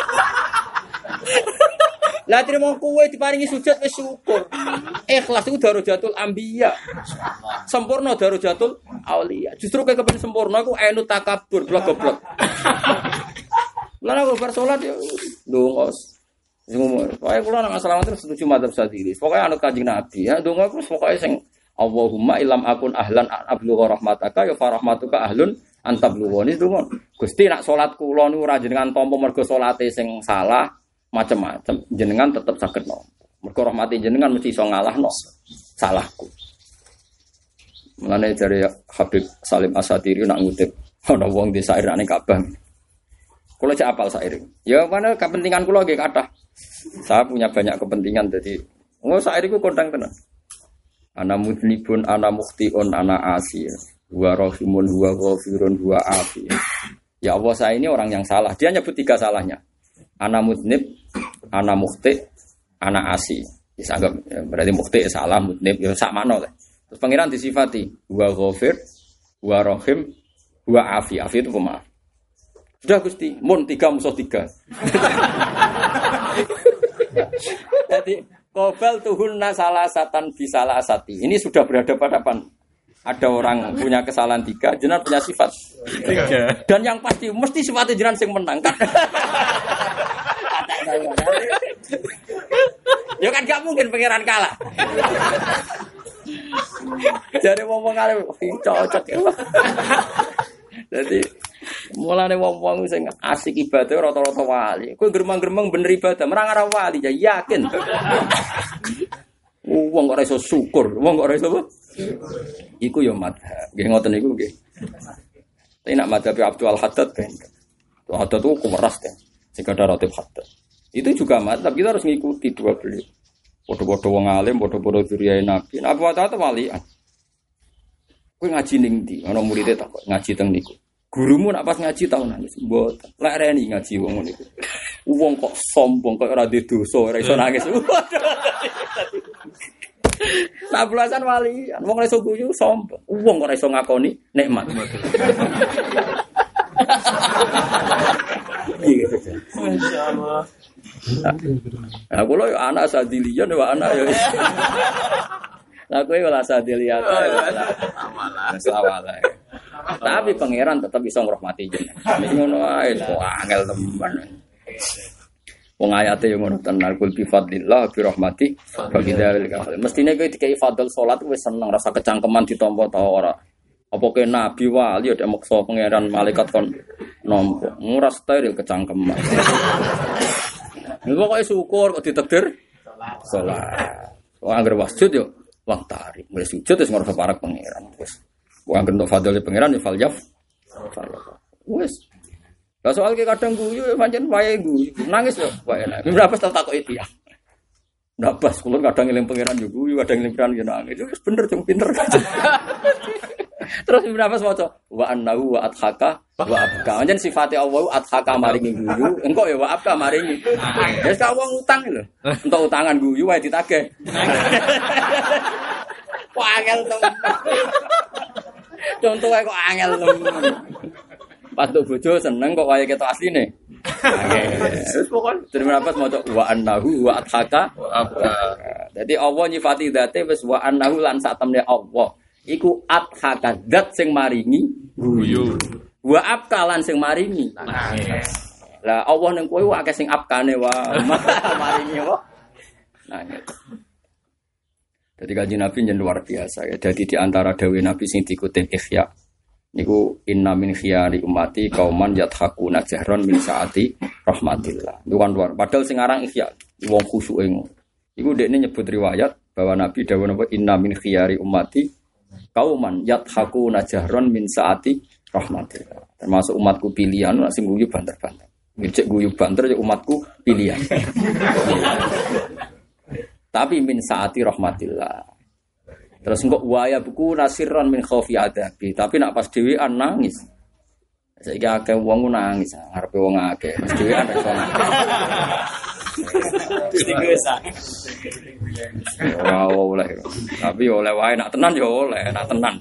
Lah trimo kowe diparingi sujud wis syukur. Ikhlas iku darajatul anbiya. Sempurna darajatul auliya. Justru kowe kepen sempurna iku enu takabur blok-blok. Lah nek bar salat ya ndongos. Sing umur. Pokoke kula nang asalamat terus setuju madzhab Syafi'i. Pokoke anut Kanjeng Nabi ya ndonga terus pokoke sing Allahumma ilam akun ahlan ablugha rahmataka ya farahmatuka ahlun antablughani ndonga. Gusti nak salat kula niku ora jenengan tampa mergo salate sing salah macam-macam jenengan tetep saged nampa. Mergo rahmati jenengan mesti iso ngalahno salahku. Mulane jare Habib Salim Asatiri nak ngutip ana wong di sair ning Ka'bah. Kula cek apal sair. Ya mana kepentingan kula nggih kathah. Saya punya banyak kepentingan jadi sair iku kondang tenan. Ana mudnibun ana mukhtiun ana asi. Wa rahimun wa ghafirun wa afi. Ya Allah saya ini orang yang salah. Dia nyebut 3 salahnya. Ana mudnib, ana mukhti, ana asi. Disanggap berarti mukhti salah, mudnib ya sak makna lah. Terus pangeran disifati wa ghafir, wa rahim, wa afi. Afi itu pemaaf. Sudah Gusti, mun 3 musuh 3. Jadi qobal tuhunna salasatan bisalasati. Ini sudah berhadapan-hadapan. Ada orang punya kesalahan 3, jenengan punya sifat 3. Dan yang pasti mesti sifatnya jenengan sing menang kan. Ya kan gak mungkin pangeran kalah. Jadi ngomong kali cocok ya. Jadi mulane wong-wong sing asik ibadah rata-rata wali. Kowe gremeng-gremeng bener ibadah, merang ora wali ya yakin. Wong kok ora iso syukur, wong kok ora iso apa? Iku ya madhab. Nggih ngoten niku nggih. Tapi nak madhab Abdul Haddad kan. Abdul Haddad itu kemeras kan. Sing ada ratib Haddad. Itu juga madhab, kita harus ngikuti dua beliau. Padha-padha wong alim, padha-padha dzurriyae Nabi. Nah, Abu Haddad walian. Kowe ngaji ning ndi? Ana murid takok ngaji teng niku. Gurumu nak pas ngaji tau nangis. Mboten. Lek reni ngaji wong niku. Wong kok sombong kok ora duwe dosa, ora iso nangis. Lah belasan walian, wong ora iso guyu sombong. Wong ora iso ngakoni nikmat. Masyaallah. Aku lho anak sadilian wa anak ya. Lah kowe ora sadilian. Amalah. Tapi pangeran tetap bisa ngrahmati jenengan. Wis ngono ae kok angel teman. Wong ayate yo ngono tenan kul bi fadlillah bi rahmati bagi dalil kafir. Mestine kowe dikai fadl salat wis seneng rasa kecangkeman ditampa ta ora. Apa ke nabi wali ada maksa pangeran malaikat kon nampa. Ora steril kecangkeman. Niku kok syukur kok ditakdir salat. Wong anggere wasjud yo wong tarik. Mulai sujud wis ngrasa parek pangeran wis. Wong anggere fadl pangeran yo faljaf. Wis. Lah soal ki kadang guyu pancen wae guyu. Nangis yo wae enak. Berapa tak takoki dia. Ndak pas kula kadang eling pangeran yo guyu, kadang eling pangeran yo nangis. Wis bener cung pinter. Terus berapa maca wa annahu wa adhaka wa abka. Pancen sifate Allah adhaka maringi guyu, engko ya wa abka maringi. Wis ka wong utang lho. Entuk utangan guyu wae ditagih. Kok angel temen. Contohe kok angel temen. Patu bojo seneng kok wae ketok asline. Wis pokon terima dapat maca wa annahu wa adhaka wa abka. Dadi Allah nyifati dzate wis wa annahu lan sak temne Allah. Iku adhaka zat sing maringi guyu. Wa abka lan sing maringi nangis. Lah Allah ning kowe akeh sing abkane wae maringi apa? Nangis. Dadi kanjeng Nabi yen luar biasa ya. Dadi di antara dawuh Nabi sing dikutip Ihya niku inna min khiyari ummati qauman yathaquna jahran min saati rahmatillah. Niku kan luar. Padahal sing aran Ihya wong khusyuke ngono. Iku dekne nyebut riwayat bahwa Nabi dawuh napa inna min khiyari ummati kauman yathaquna jahran min saati rahmatillah. Termasuk umatku pilihan sing guyu banter-banter. Ngecek guyu banter ya umatku pilihan. Tapi min saati rahmatillah. Terus engko waya buku nasirran min khaufi adabi. Tapi nak pas dhewean nangis. Saiki akeh wong nangis, ngarepe wong akeh. Pas dhewean iso nangis. Istighosah. Ora oleh. Tapi oleh wae nak tenan ya oleh, nak tenan.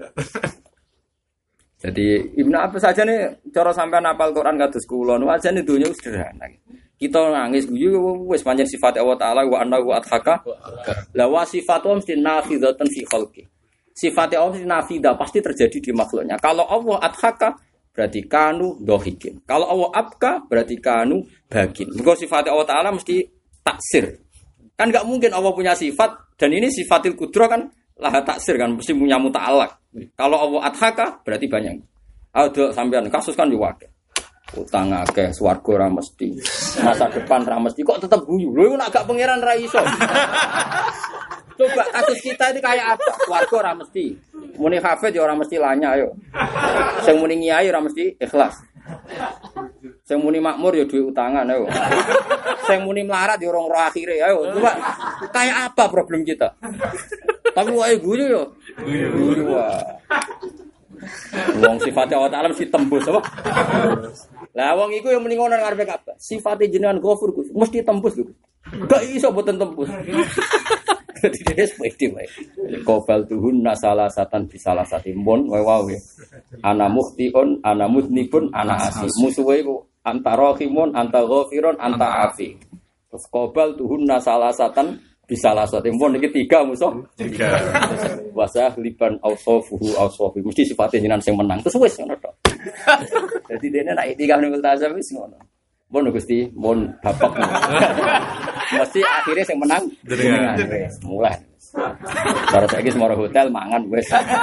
Jadi Ibnu Abbas saja nih cara sampean hafal Quran kados kula nu ajane donya sederhana. Kita nangis guyu wis pancen sifat Allah taala wa annahu adhaka. La wa sifatu mesti nafidatan fi khalqi. Sifat Allah mesti nafidah pasti terjadi di makhluknya. Kalau Allah adhaka berarti kanu dohikin. Kalau Allah abka berarti kanu bagin. Mergo sifat Allah taala mesti taksir. Kan enggak mungkin Allah punya sifat dan ini sifatil qudrah kan lah taksir kan mesti punya muta'alaq. Kalau Allah adhaka berarti banyak. Ada sampean kasus kan yo akeh. Utang akeh swarga ora mesti. Masa depan ora mesti kok tetep guyu. Lho nek gak pangeran ra iso. Coba kasus kita ini kayak apa? Swarga ora mesti. Muni hafid ya ora mesti lanya yo. Sing muni ngiyai ora mesti ikhlas. Sing muni makmur ya duwe utangan ayo. Sing muni melarat ya ora roh akhire ayo. Coba kayak apa problem kita? Tapi wae guyu yo. Guyu wae. Wong sifatnya Allah Ta'ala mesti tembus apa? Lah wong iku yang mending ngono ngarepe kabeh. Sifate jenengan Ghafur Gus, mesti tembus lho. Gak iso boten tembus. Dadi dhewe pede wae. Qobal tuhun nasalasatan bisalasati mon wae. Ana mukhtiun, ana mudnibun, ana asi. Musuhe iku antara khimun, anta ghafirun, anta afi. Terus qobal tuhun nasalasatan bisalasati mon iki tiga musuh. Tiga. Wasah liban ausofuhu ausofi mesti sifatnya jenengan sing menang terus wis ngono tok. Dadi dene nek tiga ning multazam wis ngono. Mun Gusti, mun bapak. Mesti akhirnya sing menang jenengan wis mulai. Cara saiki semua hotel mangan wis.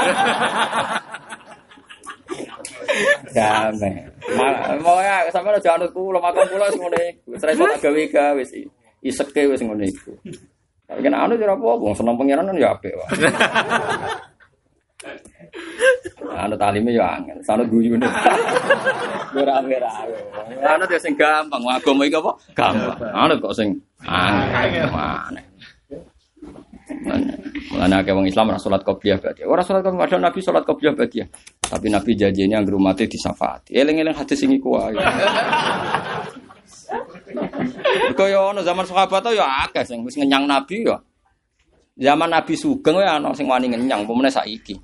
Damai. Mau ya sampeyan aja anut kula makan kula wis ngene iku. Wis iso tak gawe wis iseke wis ngene iku. Tapi kan anu ora apa-apa, seneng pangeran kan ya apik wae. Anu talime ya angel, sanut guyune. Ora merah. Anu yo sing gampang, agama iki apa? Gampang. Anu kok sing angel. Mulane akeh wong Islam ora salat qobliyah ba'diyah. Ora salat qobliyah padahal Nabi salat qobliyah ba'diyah. Tapi Nabi janjine anggere umate disyafaati. Eling-eling hadis sing iku wae. Kaya ana zaman sahabat ya akeh sing wis ngenyang Nabi ya. Zaman Nabi sugeng wae ana sing wani ngenyang, pemene saiki.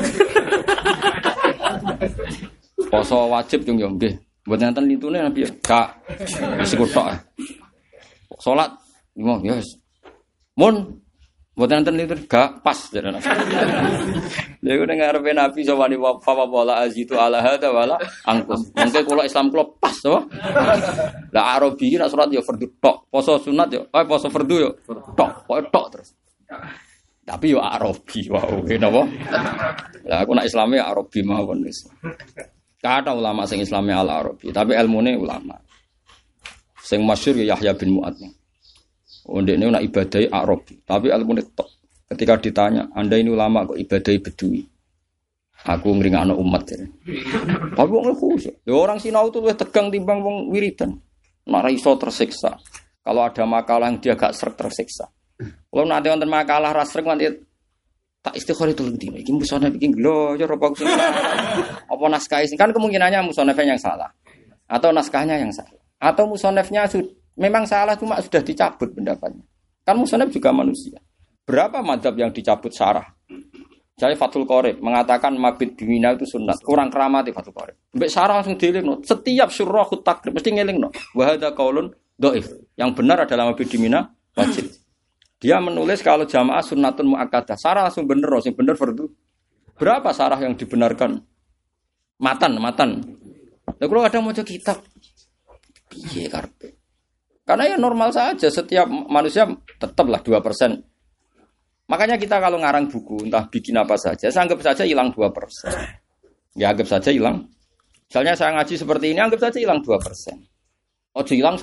Poso wajib yo nggih. Mboten enten litune Nabi ya. Gak wis kutok. Salat yo ya wis. Mun mboten enten litune gak pas jare Nabi. Lha iku ning ngarepe Nabi sawani fa wala azitu ala hada wala angkus. Mengke kula Islam kula pas to. Lah Arabi iki nek salat ya fardu tok, poso sunat ya, poso fardu ya tok, pokoke tok terus. Tapi yo Arabi wae napa? Lah aku nek Islame ya Arabi mawon wis. Kata ulama sing Islame al Arabi, tapi ilmune ulama. Sing masyhur ya Yahya bin Mu'adz. Ndekne nek ibadahe Arabi, tapi ilmune tok. Ketika ditanya, Anda ini ulama kok ibadahi bedui? Aku ngringakno umat jare. Tapi wong khusyuk. Lho orang sinau itu luwih tegang timbang wong wiridan. Nek iso tersiksa. Kalau ada makalah yang dia gak sreg tersiksa. Kalau nanti wonten makalah ra sreg nanti tak istighfar itu dino. Iki musonef iki lho ya apa sing apa naskah sing kan kemungkinannya musonefnya yang salah. Atau naskahnya yang salah. Atau musonefnya memang salah cuma sudah dicabut pendapatnya. Kan musonef juga manusia. Berapa madhab yang dicabut syarah? Jadi Fathul Qorib mengatakan mabit bimina itu sunat. Kurang keramati Fathul Qorib. Mbak syarah langsung dielingno. Setiap surah takrib mesti ngelingno. Wa hadza qaulun dhaif. Yang benar adalah mabit bimina wajib. Dia menulis kalau jamaah sunnatun muakkadah. Syarah langsung bener, sing bener fardu. Berapa syarah yang dibenarkan? Matan. Lah kalau kadang maca kitab piye karepe? Karena ya normal saja setiap manusia tetaplah 2%. Makanya kita kalau ngarang buku, entah bikin apa saja, saya anggap saja hilang 2%. Ya anggap saja hilang. Misalnya saya ngaji seperti ini, anggap saja hilang 2%. Oh hilang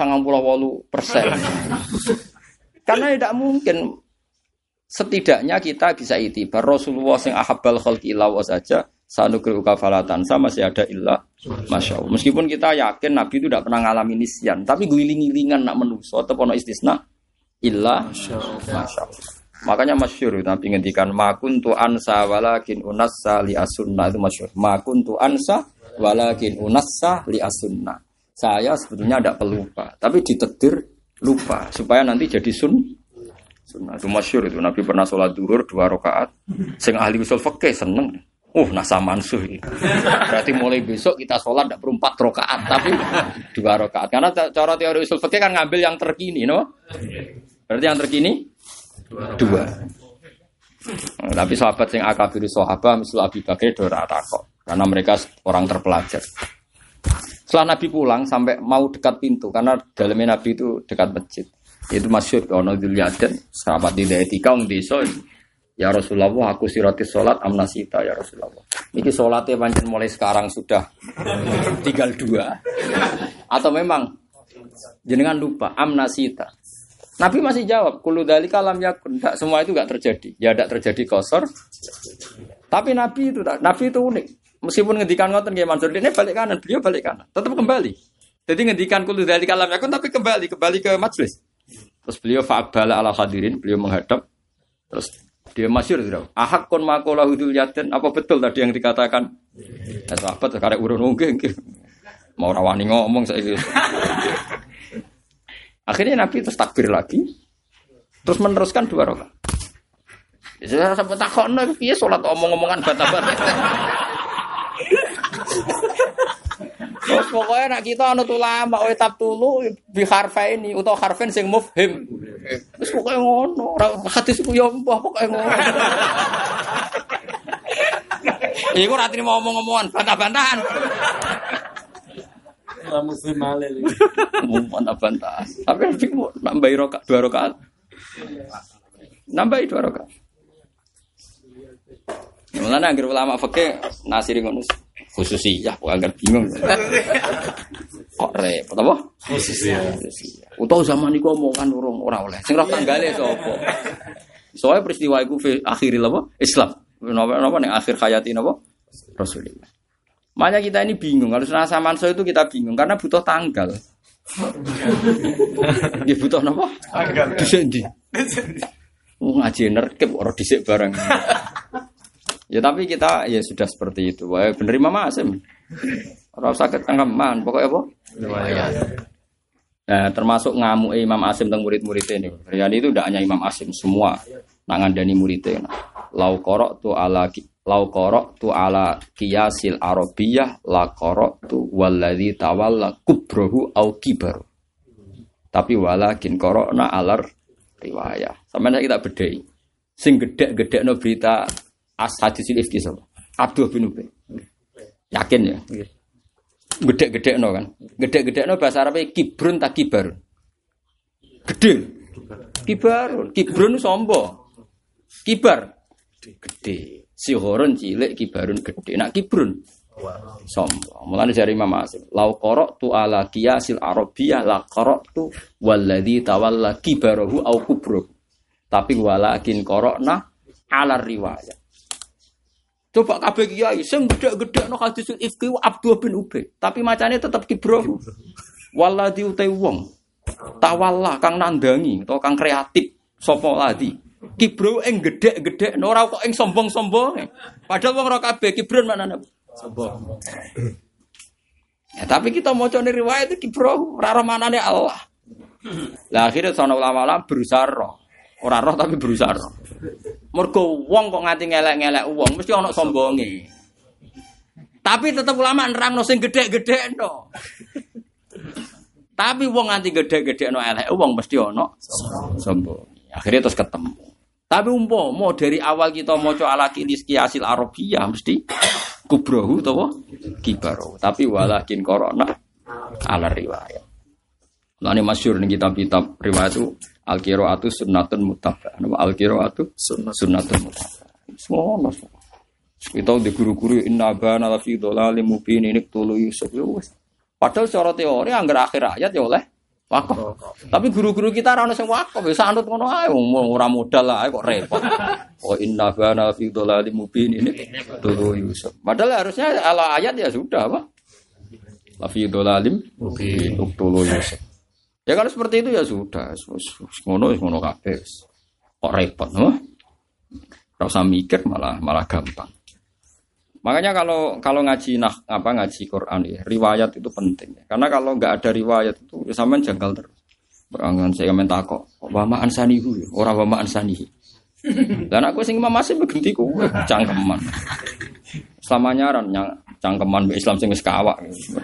98%. Karena tidak mungkin. Setidaknya kita bisa itibar. Rasulullah yang ahabbal khalqi illa wa saja, sanukri'uka falatan, sama masih ada illa Masya Allah. Meskipun kita yakin Nabi itu tidak pernah ngalami nisyan, tapi guling-gilingan nak menuso, atau pono istisna illa Masya Allah. Makanya masyhur Nabi ngendikan makuntu ansa walakin unassa li as-sunnah, itu masyhur. Makuntu ansa walakin unassa li as-sunnah. Saya sebetulnya tidak pelupa, tapi ditedir lupa supaya nanti jadi sunnah. Itu masyhur itu Nabi pernah sholat duhur 2 rakaat. Sing ahli usul fikih seneng. Nasa mansuh ini. Berarti mulai besok kita sholat tidak perlu 4 rakaat tapi 2 rakaat. Karena cara teori usul fikih kan ngambil yang terkini, no? Berarti yang terkini 2. Tapi sahabat sing akabir sahabat misal Abi Bakar ora takok karena mereka orang terpelajar. Setelah Nabi pulang sampai mau dekat pintu karena dalamnya Nabi itu dekat masjid. Itu masyhur ono Dzulyaden sahabat di etika wong desa. Ya Rasulullah aku sirati salat amnasita ya Rasulullah. Niki salatnya pancen mulai sekarang sudah tinggal 2. Atau memang jenengan lupa amnasita. Nabi masih jawab, kullu dzalika lam yakun. Enggak, semua itu enggak terjadi. Ya enggak terjadi qasar. Tapi Nabi itu unik. Meskipun ngendikan ngoten nggih Mansur, ini balik kanan, beliau balik kanan, tetap kembali. Jadi ngendikan kullu dzalika lam yakun tapi kembali ke majelis. Terus beliau fa'abala ala hadirin, beliau menghadap. Terus dia masyhur itu. Ahakun maqala hudul yaden, apa betul tadi yang dikatakan? Ya sahabat karek urun nggih. Mau rawani ngomong saiki. Akhirnya Nabi terus takbir lagi. Terus meneruskan 2 rakaat. Saya sampai takokno piye salat omong-omongan bata-bata. Terus pokoknya nak kita ana ulama wae tab tulu bi harfaini utawa harfen sing mufhim. Wis pokoke ngono, ora hadis iku ya mbah pokoke ngono. Iku ora trimo omong-omongan bantah-bantahan. Ora muslim malih. Bantah-bantahan. Tapi nambahi 2 rakaat. Nambahi 2 rakaat. Mulane anggere ulama fikih nasiri ngono khususiyah kok anggere bingung. Kok repot apa? Khususiyah. Utawa zaman iku omongan urung ora oleh. Sing roh tanggale sapa? Soale peristiwa iku akhiril apa? Islam. Napa ning akhir hayati napa? Rasulullah. Makanya kita ini bingung. Kalau senasa manso itu kita bingung karena butuh tanggal. Nggih butuh napa? Tanggal. Dhisik ndi? Ngaji nerkep ora dhisik bareng. Ya tapi kita ya sudah seperti itu. Wah, bener Imam Asim. Ora usah ketangkeman, pokoknya apa? Riwayat. Nah, termasuk ngamuk Imam Asim tentang murid-muridnya ini. Rian itu tidak hanya Imam Asim, semua nangandani muridnya. Lau qara'tu ala qiyasil arabiyyah la qara'tu wallazi tawalla kubrahu au kibaru. Tapi walakin qara'na alar riwayah. Sampeyan kita bedhei. Sing gedhek-gedhekno berita hadisul ifki sapa? Abdullah bin Ubay. Yakin ya? Nggih. Gedhek-gedhekno kan. Gedhek-gedhekno bahasa Arabe kibrun tak kibar. Gedhe. Kibarun. Kibrun sombo. Kibar. Gedhe. Sihorun cilik kibarun gedhe. Nak kibrun sombo. Mulane jare Imam Asim, lau qara'tu ala qiyasil arabiyyah la qara'tu walladzi tawalla kibarahu au kubrahu. Tapi walakin qara'na ala riwayah. Coba kabeh kiai sing gedhe-gedhekno hadisul ifki Abdullah bin Ubay, tapi macane tetep kibro. Waladhi utai wong tawalla kang nandangi utawa kang kreatif sapa ladi. Kibro ing gedhe-gedhekno ora kok ing sombong-sombong. Padahal wong ora kabeh kibron maknane sombong. Ya, tapi kita macane riwayat iki kibro ora ora manane Allah. Lah akhirnya sono ulama-ulama berusaha roh. Ora roh tapi berusaha roh. Mergo wong kok nganti ngelek-ngelek wong mesti ana sombonge. Tapi tetep ulama nerangno sing gedhe-gedhekno. Tapi wong nganti gedhe-gedhekno elek wong mesti ana sombong. Akhirnya terus ketemu. Tapi umpama dari awal kita maca ala qiyasil arabiyyah mesti kubrohu utawa kibaru. Tapi walakin qara'na ala riwayat. Lah ini masyhur ning kitab-kitab riwayat itu al-qiraatu sunnatun mutaba'ah. Al-qiraatu sunnatun mutaba'ah. Semua. Kita di guru-guru inna bana la fi dhalalim mubin ini tulu Yusuf. Padahal secara teori anggar akhir ayat ya oleh wakaf. Tapi guru-guru kita ora ono sing wakaf, wis anut ngono ae ora modal ae kok repot. Oh inna bana la fi dhalalim mubin ini tulu Yusuf. Padahal harusnya ala ayat ya sudah apa? La fi dhalalim mubin tulu Yusuf. Ya kalau seperti itu ya sudah, ngono kabeh. Kok repot, no? Ora usah mikir malah gampang. Makanya kalau ngaji ngaji Quran ya, riwayat itu penting. Karena kalau enggak ada riwayat itu sampean janggal terus. Berangan saya minta kok wa ma ansanihu ora wa ma ansanihi. Lah aku sing Imam Asim genti ku cangkeman. Selama nyaran cangkeman Islam sing wis kawak.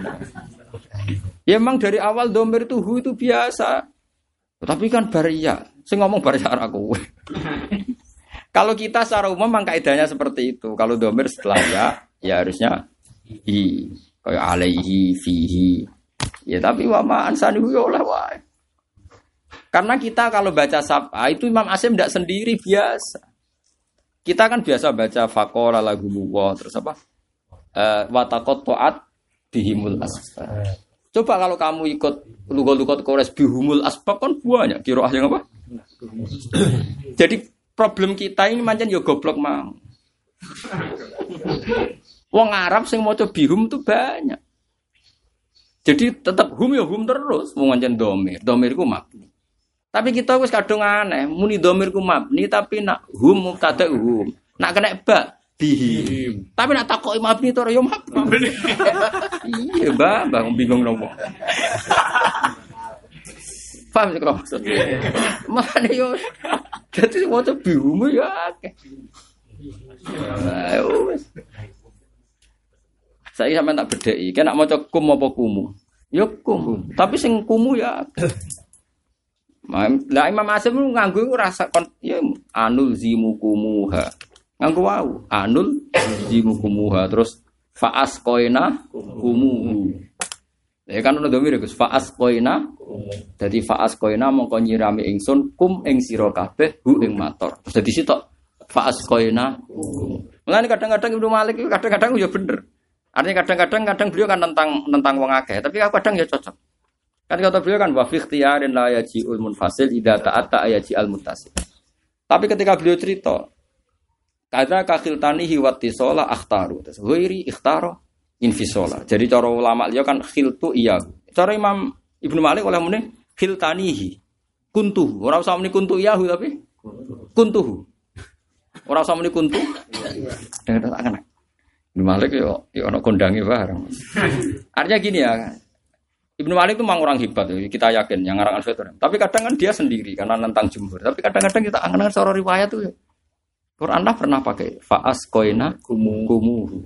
Ya memang dari awal domir itu hu itu biasa. Tapi kan baria, sing ngomong baria aku. Kalau kita secara umum memang kaidahnya seperti itu. Kalau domir setelah ya harusnya hi, kayak alaihi, fihi. Ya tapi wa ma ansanihu ya oleh wae. Karena kita kalau baca sapa itu Imam Asim tidak sendiri biasa. Kita kan biasa baca faqala lahumullah terus apa? Wa taqatta'at bihimul asbab. Coba kalau kamu ikut lugat-lugat Quraisy bihumul asbab kan banyak qiraah yang apa? Jadi problem kita ini mancen yo goblok mang. Wong Arab sing maca bihum tuh banyak. Jadi tetap hum ya hum terus wong mancen domir. Domir ku mabni. Tapi kita wis kadung aneh, muni domir ku mabni tapi nak hum mubtada hum. Nak kena ba bihim. Tapi nak takoki mabni to yo mabni. Iya, Mbak bingung nopo. Paham sik kok maksud. Mane yo dadi maca bihum ya akeh. Ayo wis. Saya sampean tak bedheki, kena maca kum apa kumu? Ya kum, tapi sing kumu ya. Lah Imam Asim nganggo rasa ya anul zimukumuha. Nganggo wau, anul zimukumuha terus faas koina kumuhu. Ya kan ono domir Gus faas koina. Dadi faas koina mongko nyirami ingsun kum ing sira kabeh hu ing mator. Terus dadi sitok faas koina. Mulane kadang-kadang Ibnu Malik kadang-kadang ya bener. Artinya kadang-kadang beliau kan tentang wong akeh, tapi kadang ya cocok. Kan kata beliau kan wa fi ikhtiyarin la yaji'ul munfasil idza ta'atta yaji'al muttasil. Tapi ketika beliau cerita kadza ka khiltanihi wa tisala akhtaru. Terus ghairi ikhtaro infisola. Jadi cara ulama liya kan khiltu iya. Cara Imam Ibnu Malik oleh muni khiltanihi kuntuhu. Ora usah muni kuntu iyahu tapi kuntuhu. Ora usah muni kuntu. Dengan tak kena. Ibnu Malik yo ono kondange bareng. Artinya gini ya. Ibnu Malik itu memang orang hebat, kita yakin yang ngarang Al-Fitrah. Tapi kadang kan dia sendiri karena nentang jumhur. Tapi kadang-kadang kita angan-angan seorang riwayat tuh. Quran lah pernah pakai faas koina kumuhu.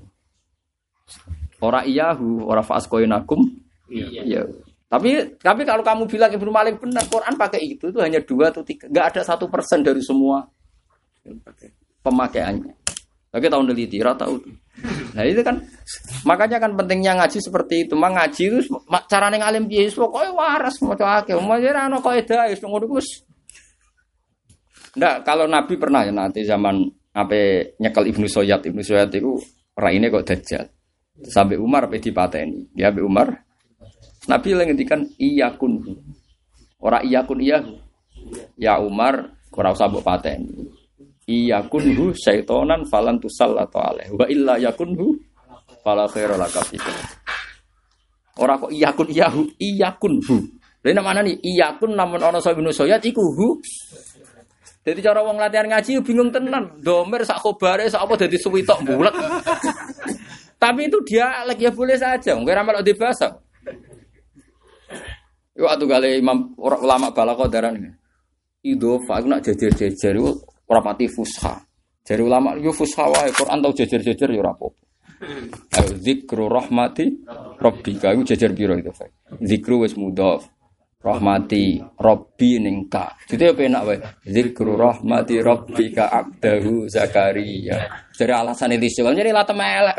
Ora iyahu, ora faas koina kum. Iya. Tapi kalau kamu bilang Ibnu Malik benar, Quran pakai itu hanya 2 atau 3. Enggak ada 1% dari semua pemakaiannya. Lagi tahun neliti, rata tahu. Nah itu kan, makanya kan pentingnya ngaji seperti itu. Mang ngaji itu carane ngalim piye pokoke waras maca akeh. Ora ana kaidah wis ngono Gus. Ndak, kalau Nabi pernah ya nanti zaman ape nyekel Ibnu Soyad itu raine kok dajjal. Sampai Umar pe dipateni. Ya Abi Umar. Nabi lagi ngendikan iyakun. Ora iyakun iyahu. Ya Umar ora usah mbok pateni. Iyakunhu syaitonan falan tusallatu alaihi wa illa yakunhu fala khaira laka fikum. Ora kok iyakunhu. Lha nek manane iyakun namun ana Ibnu Soyad iku hu. Dadi cara wong latihan ngaji bingung tenan. Domir sak khobare sak apa dadi suwitok bulet. Tapi itu dia lagi ya boleh saja. Wong ora melok dibahas. Yo atu gale imam ulama balagha daran. Idhofa nak jejer-jejer iku ora pati fusha. Jare ulama yo fusha wae Quran tau jejer-jejer yo ora apa-apa. Ayo zikru rahmati rabbika iku jejer piro itu, Pak. Zikru wis mudhaf. Rahmati rabbi ning ka. Dite yo penak wae. Zikru rahmati rabbika abdahu Zakaria. Jare alasane liso, jadi la temelek.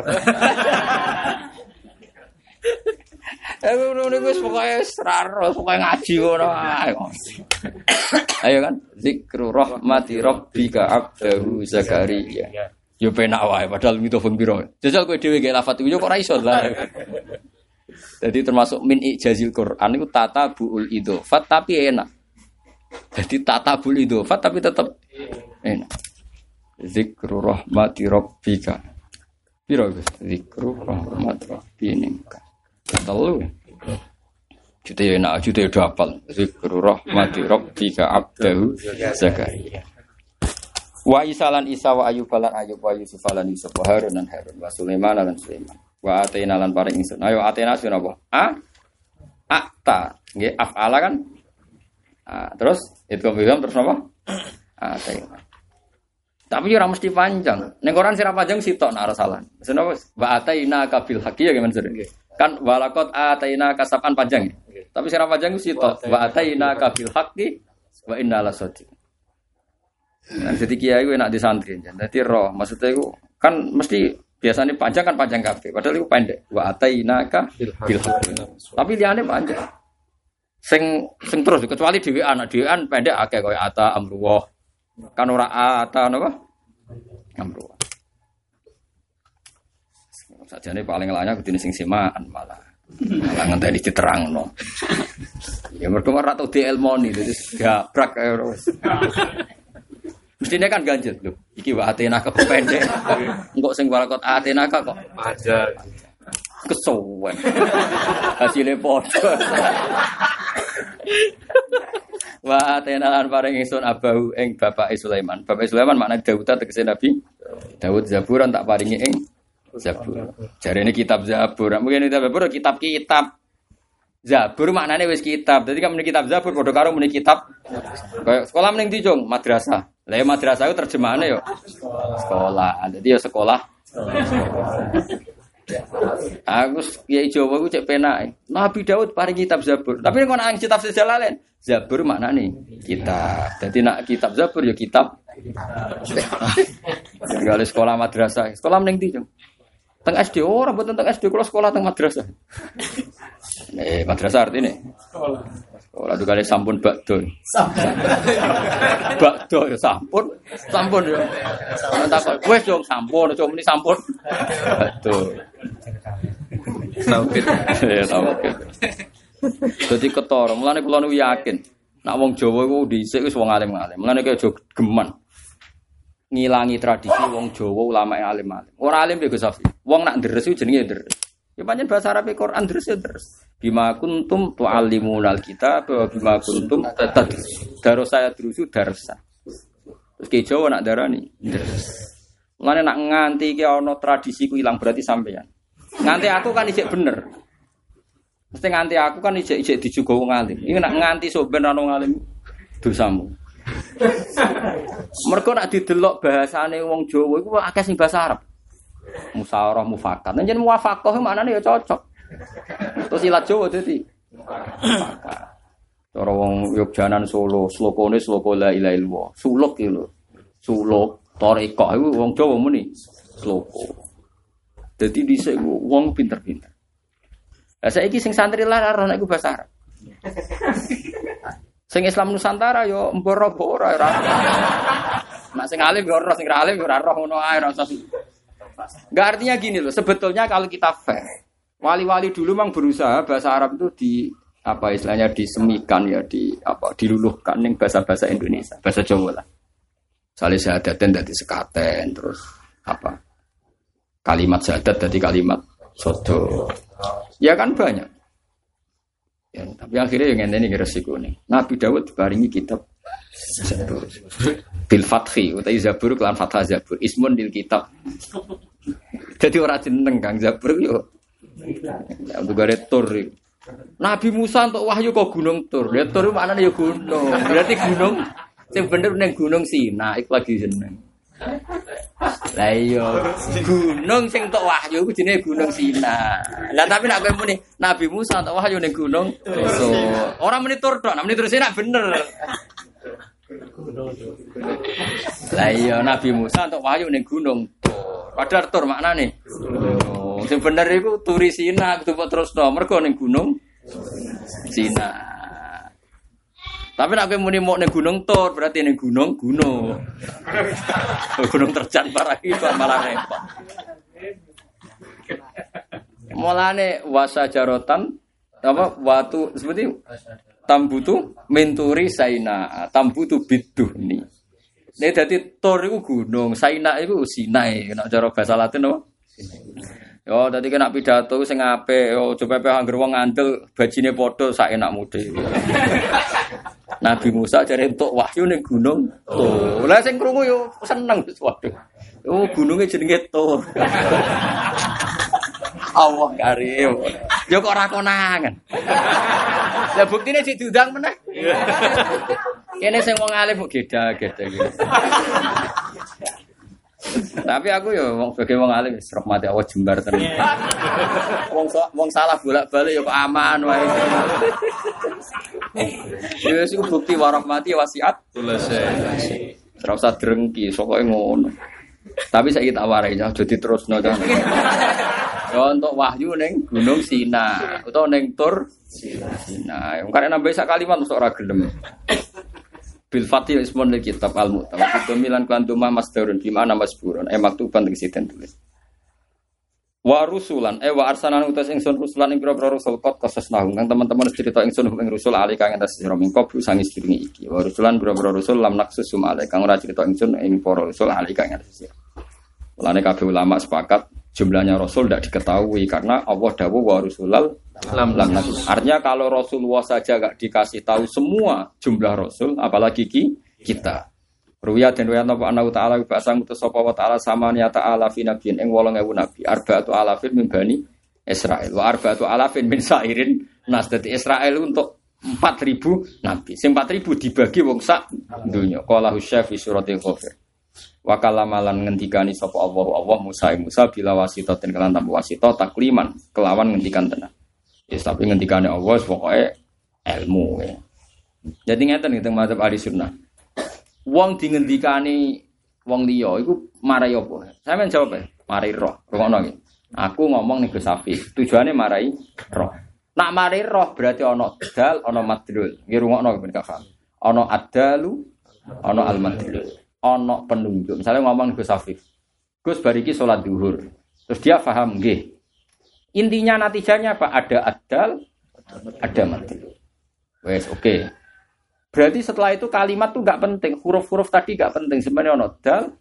Ngono wis pokoke sraro, pokoke ngaji ngono ae. Ayo kan, zikru rahmati rabbika abdahu Zakaria. Yo penak wae padahal mitofon piro. Jajal kowe dhewe gawe lafaz yo kok ora iso lah. Jadi termasuk min ijazil Quran itu tatabuul idhofat tapi enak. Jadi tatabul idhofat tapi tetap enak. Zikru rahmati rabbika. Piro Gus? Zikru rahmati rabbika. Telu. Jute enak, jute udah hafal. Zikru rahmati rabbika abdahu Zakaria. Wa isalan isa wa ayyubalan ayyub wa yusufalan yusuf wa harun dan harun wa sulaiman lan sulaiman. Wa atena lan paring ingsun. Ayo atena sira apa? Akta. Nggih afala kan? Terus itu bilang terus apa? Ataina. Tapi ora mesti panjang. Ning Quran sira panjang sitok nek ora salah. Senapa? Wa ataina ka bil haqqi ya gimana sih? Kan walaqad ataina kasapan panjang. Tapi sira panjang sitok. Wa ataina ka bil haqqi wa inna lasadiq. Nah, jadi kiai gue nak di santri, jadi roh maksudnya itu kan mesti biasanya panjang kan panjang kabeh, padahal itu pendek. Wa atainaka bil haqqi. Tapi liane panjang. Sing terus kecuali dhewean pendek akeh koyo ata amruwah. Kan ora ata napa? Amruwah. Sajane paling elaknya kudune sing semaan malah ngenteni diterangno. Ya mergo ora tau dielmoni terus gabrak kaya wis. Mestinya kan ganjil lho. Iki wa atena kok pendek. Engko sing walakot atena kok Aja. kesuwen. Hasile padha. Wa atena lan paring ingsun abahu ing bapake Sulaiman. Bapake Sulaiman maknane Daud tegese Nabi Daud Zaburan tak paringi ing Zabur. Jarene kitab Zabur. Mungkin kitab Zabur kitab-kitab. Zabur maknane wis kitab. Dadi kan muni kitab Zabur padha karo muni kitab. Kayak sekolah mending dijong madrasah. Lah ya madrasah itu terjemahane yo sekolah. Dadi ya sekolah. Aku kiai Jawa ku cek penake. Nabi Daud paring kitab Zabur. Tapi nek ana kitab Jalalain, Zabur maknane kitab. Dadi nak kitab Zabur ya kitab. Enggak sekolah madrasah. Sekolah mending dijong. Teng SD ora mboten teng SD kula sekolah teng madrasah. Madrasah artine sekolah. Sekolah itu kali sampun bakdo. Bakdo ya sampun ya. Tak wis dong sampun, aja muni sampun. Bakdo. Tauhid. Ya tauhid. Dadi ketara, mulane kula nu yakin nek wong Jawa iku dhisik wis wong alim-alim. Mulane kaya aja geman ngilangi tradisi wong Jawa ulama yang alim-alim. Ora alim Gus Safi. Wong nak ndres iku jenenge ndres. Ya pancen bahasa Arab Quran ndres ya ndres. Bima kuntum tu'allimunal kitab wa bima kuntum tatadrus. Daro saya drusu darsa. Terus ke Jawa nak darani ndres. Mulane nak nganti iki ana tradisi ku ilang berarti sampeyan. Nganti aku kan ijek bener. Mesti nganti aku kan ijek dijuga wong alim. Iki nak nganti sok ben ana wong alim dosamu. Mergo nak didelok bahasane wong Jawa iku akeh sing bahasa Arab. Musyawarah mufakat. Nek jeneng muwafaqah maknane ya cocok. Terus ilat Jawa dadi mufakat. Cara wong Yogyanan Solo, slokone sloka la ilaha illallah. Suluk iki lho. Suluk tarekah iku wong Jawa muni sloko. Dadi dhisik wong pinter-pinter. Lah saiki sing santri lara ora nek iku bahasa Arab. Sing Islam Nusantara yo mboro-mboro ora. Nek sing alim yo ora, sing ra alim yo ora roh ngono ae ora usah. Enggak artinya gini loh, sebetulnya kalau kita fair, wali-wali dulu memang berusaha bahasa Arab itu di apa istilahnya disemikan ya diluluhkan ning bahasa-bahasa Indonesia, bahasa Jawa lah. Salih syahadaten dadi sekaten terus apa? Kalimat syahadat dadi kalimat sodo. Ya kan banyak. Ya, tapi akhirnya yang ngene iki resiko nih. Nabi Daud diparingi kitab Zabur. Bil fathi utawi Zabur kelan fathah Zabur. Ismun dil kitab. Jadi ora jeneng Kang Zabur yo. Aku gare tur. Nabi Musa untuk wahyu kok gunung Tur. Ya Tur maknane ya gunung. Berarti gunung sing bener ning gunung Sinai iku lagi jeneng. Lah iya, gunung sing entuk wahyu iku jenenge Gunung Sinai. Lah tapi nek kowe muni Nabi Musa entuk wahyu ning gunung so, ora muni tur tok, nek muni terus nek bener. Lah iya Nabi Musa entuk wahyu ning gunung. Padahal tur maknane. Oh, sing bener iku turi Sinai kudu terusno mergo ning gunung Sinai. Tapi nek kowe muni mok ning gunung Tur berarti ning gunung. Gunung terjan parah iki malah repot. Mulane wasajarotan apa watu seperti tambutu menturi saina, tambutu biduhni. Nek dadi Tur iku gunung, saina iku Sinai, nek cara bahasa Latin apa? Yo dadi kena pidato sing apik, yo coba anggere wong ngandel bajine padha sak enakmu dhewe. Nabi Musa jare entuk wahyu ning gunung Tur. Lah sing krungu yo seneng waduh. Oh gununge jenenge Tur. Allah karim. Yo kok ora konangan. Lah buktine sik diundang meneh. Kene sing wong alim kok geda-geda gitu. Tapi aku ya wong sebagai wong alim wis rahmati Allah jembar tenan. Wong salah bolak-balik ya kok aman wae. Ya sing bukti warahmati wasiat selesai. Ora usah drengki, pokoke ngono. Tapi saiki tak warai aja diterusno to. Ya untuk wahyu ning Gunung Sina utawa ning Tur Sina. Wong karek nambah sak kalimat mesti ora gelem. Bil Fatih ismun lil kitab al-mu'tamad. Domilan kuantuma masdarun bimana masburun. Maktuban tegese tulis. Wa rusulan wa arsalan utas ingsun rusulan ing pira-pira rusul kot kosesnahum kang teman-teman cerita ingsun ing rusul ali kang entas sira mingko sangis diringi iki. Wa rusulan pira-pira rusul lam naksusum ali kang ora cerita ingsun ing para rusul ali kang entas sira. Mulane kabeh ulama sepakat jumlahnya rasul tidak diketahui karena Allah dawuh wa rusulal lam naksus. Artinya kalau Rasulullah saja enggak dikasih tahu semua jumlah rasul apalagi kita. Ruya dan ruya napa ana ta'ala basang utus sapa wa ta'ala samania ta'ala fi nabiyyin ing 8000 nabi arba'atu alafin min bani Israil wa arba'atu alafin min sairin nas dadi Israil untuk 4000 nabi sing 4000 dibagi wong sak donya qala husyaf fi suratil ghafir wa kalamalan ngendikani sapa Allah Musa bila wasitatin kelan tanpa wasita takliman kelawan ngendikan tenan yes tapi ngendikane Allah pokoke ilmu ya. Jadi ngeten gitu mazhab ahli sunnah. Wong dingendikani wong liya iku marai apa? Sampeyan jawab ae. Marai roh. Rungokno iki. Aku ngomong ning Gus Safi, tujuane marai roh. Nak marai roh berarti ana dal, ana madlul. Nggih rungokno ben paham. Ana adalu, ana al-madlul. Ana penunjuk. Misalnya ngomong ning Gus Safi. Gus bariki salat zuhur. Terus dia paham nggih. Intinya natijanya apa? Ada adal, ada madlul. Wes oke. Berarti setelah itu kalimat tuh enggak penting, huruf-huruf tadi enggak penting, sebenarnya ono dal.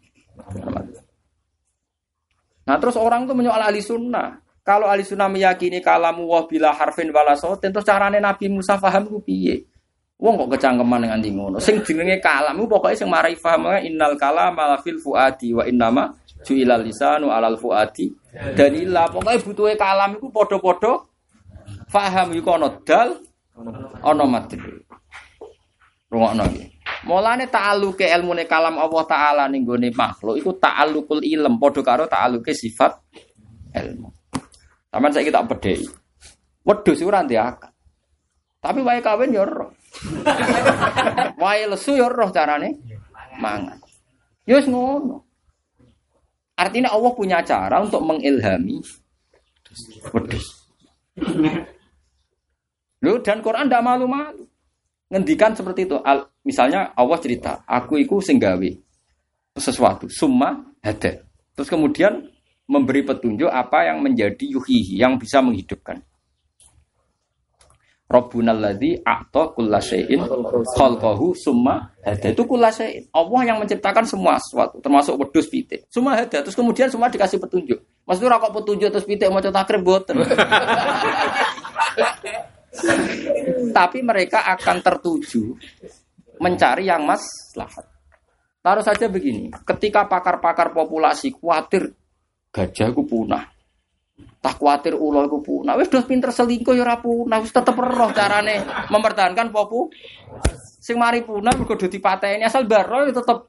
Nah, terus orang tuh menyoal ahli sunnah. Kalau ahli sunnah meyakini kalamu wa bila harfin wala sautin, terus carane Nabi Musa paham ku piye? Wong kok kecangkeman nganti ngono. Sing jenenge kalam ku pokoke sing marai paham innal kalama fil fuadi wa innama ju'ilal lisanu alal fuadi. Dalila pokoke butuhe kalam iku padha-padha paham iku ono dal, ono madhul. Rungokno iki. Mulane ta'alluke ilmune kalam Allah taala ning gone makhluk iku ta'allukul ilm padha karo ta'alluke sifat ilmu. Sampeyan saiki tak bedheki. Wedhus ora ndek akal. Tapi wae kawin ya roh. Wae lesu ya roh carane mangan. Ya wis ngono. Artinya Allah punya cara untuk mengilhami wedhus. Lho dan Quran ndak malu-malu. Ngendikan seperti itu. Misalnya Allah cerita, aku iku sing gawe sesuatu, summa hada. Terus kemudian memberi petunjuk apa yang menjadi yuhihi, yang bisa menghidupkan. Rabbunal ladzi a'ta kullasyai'in khalqahu summa hada. Itu kullasyai'in. Allah yang menciptakan semua sesuatu, termasuk wedhus pitik. Summa hada. Terus kemudian semua dikasih petunjuk. Maksudnya ora kok petunjuk terus pitik maca takrib boten. Tapi mereka akan tertuju mencari yang maslahat. Taruh saja begini, ketika pakar-pakar populasi khawatir gajah ku punah, tak khawatir ulo ku punah, wis dos pinter selingkuh ya ora punah, wis tetep roh carane mempertahankan popu. Sing mari punah mergo do dipateni asal baro ya tetep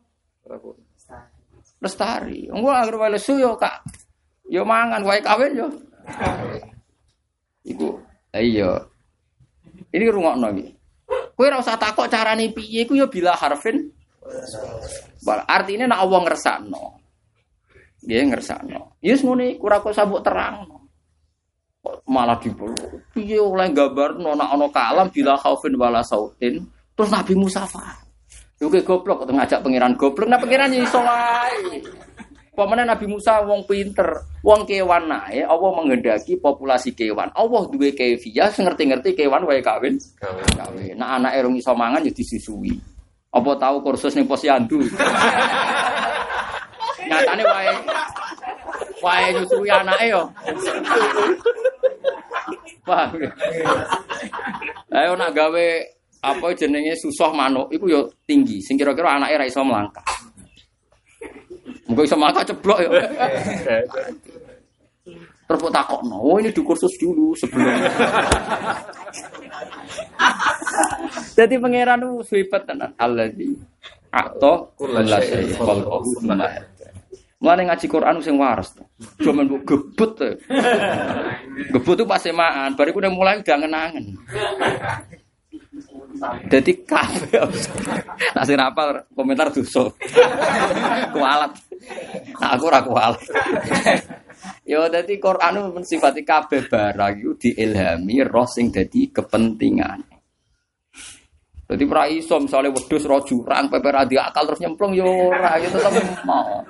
lestari. Engko anggere wae lesu yo kak yo mangan wae kawin yo. Iku iya. Ini rungokno iki. Kowe ora usah takok carane piye iku ya bila harfin. Artine nek Allah ngersakno. Nggih ngersakno. Ya wis ngene iku ora kok sabuk terangno. Malah dipeluk. Piye oleh gambarno nek ana kalam bila khaufin wala sautin terus Nabi Musa fa. Yo goblok kok ngajak pangeran goblok. Nah pangeran iso wae. Pemene Nabi Musa wong pinter, wong kewan nae, Allah menghendaki populasi kewan. Allah duwe kefiah, ngerti-ngerti kewan wae kawin. Kawin. Nah anake rung iso mangan ya disusui. Apa tahu kursus ning Posyandu. Nyatane wae nyusui anake yo. Paham. Ayo nak gawe apa jenenge susah manuk iku yo tinggi, sing kira-kira anake ra iso mlangkah. Mungkin iso mangkat ceblok ya. Terus kok takokno, oh ini di kursus dulu sebelum. Jadi pangeran itu swipat tenan. Alladzi a'ta kullasyai khalqahu tsumma hada. Mulane ngaji Quran sing waras. Cuma mbok gebut. Gebut itu pas semaan, bariku udah mulai udah ngenangen. Jadi kabeh. Nak sing rapal komentar dosa. Kualat. Aku ora kualat. Yo dadi Quran mensifati kabeh barang iku diilhami roh sing dadi kepentingan. Dadi ora iso misale wedhus ro jurang pepe ra akal terus nyemplung yo ora gitu tetep mau.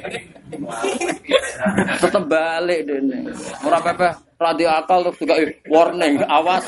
Tetep balik dene. Ora pepe ra akal terus juga warning awas.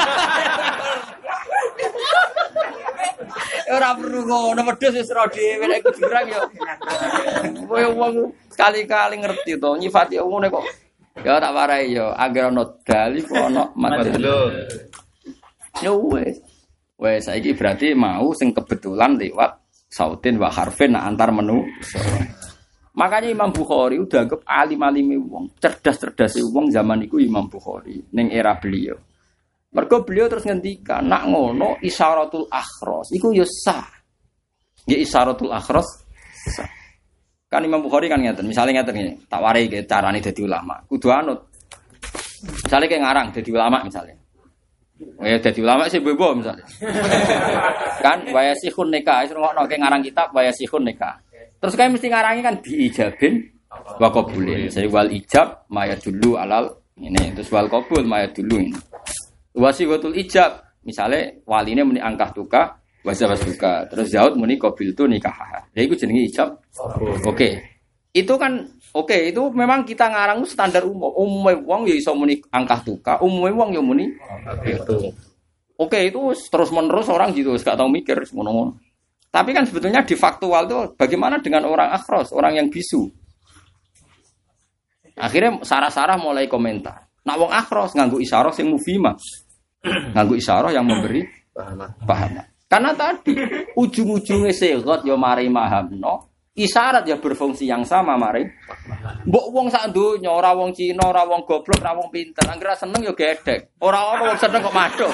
Ora perlu ngono wedhus wis ro dhewe nek jurang yo. Kowe wong sekali-kali ngerti to nyifati ngene kok. Ya tak warai yo agar ono dalil ono madlul. Yo wes saiki berarti mau sing kebetulan lewat sautin wa harfin antar menu. Makanya Imam Bukhari udah anggap alim-alime wong, cerdas-cerdase wong zaman iku Imam Bukhari ning era beliau. Mergo beliau terus ngendikan, nak ngono isyaratul akhras iku ya sah. Ya isyaratul akhras sah. Kan Imam Bukhari kan ngeten, misalnya ngeten ngene, tak warai ke carane dadi ulama. Kudu anut. Misale kayak ngarang dadi ulama misalnya. Ya dadi ulama sih bebo misalnya. Kan wayasihun nikah, iso ngono kayak ngarang kitab wayasihun nikah. Terus kayak mesti ngarangi kan diijabin wa qabulin. Jadi wal ijab maya dulu alal ini, terus wal qabul maya dulu ini. Wasiwatul ijab, misalnya waline muni angkah tuka, wasabas tuka, terus Zaud muni qabil tu nikah. Ya itu jenenge ijab. Oke. Itu kan itu memang kita ngarang standar umum. Umume wong ya iso muni angkah tuka, umume wong ya muni itu. Oke, itu terus-menerus orang gitu, gak tau mikir ngono-ngono. Tapi kan sebetulnya di faktual itu bagaimana dengan orang akhros, orang yang bisu. Akhirnya sarah-sarah mulai komentar. Nak wong akhros nganggo isyarah sing mufhimah. Nganggo isyarah yang memberi paham. Karena tadi ujung-ujungnya segot ya mari mahamno, isyarat ya berfungsi yang sama mari. Mbok wong sak donya ora wong Cina, ora wong goblok, ora wong pinter, anggere seneng ya gedek. Ora ono wong seneng kok madhok.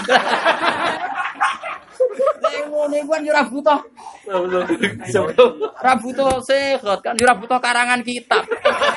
Nek ngene kuwi ora butuh. Ora butuh segot kan ora butuh karangan kitab.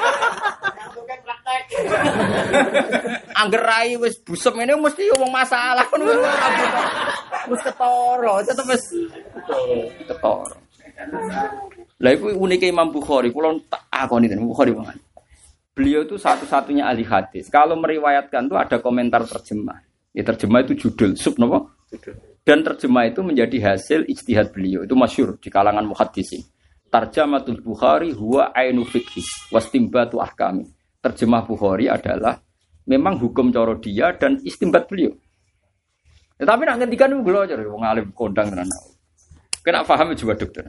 Angger rai wis busem ngene mesti wong masalah kan wis ketara, tetep wis ketara. Lah iku unike Imam Bukhari, kula tak akoni ten Bukhari banget. Beliau itu satu-satunya ahli hadis. Kalau meriwayatkan tuh ada komentar terjemah. Ya terjemah itu judul, sub napa? Dan terjemah itu menjadi hasil ijtihad beliau. Itu masyhur di kalangan muhaddisin. Tarjamatul Bukhari huwa ainu fiqhi wastimbatu ahkami. Terjemah Bukhari adalah memang hukum cara dia dan istimbat beliau. Tetapi nak ngendikan itu beliau aja wong alim kondang tenan. Kena paham juga dokter.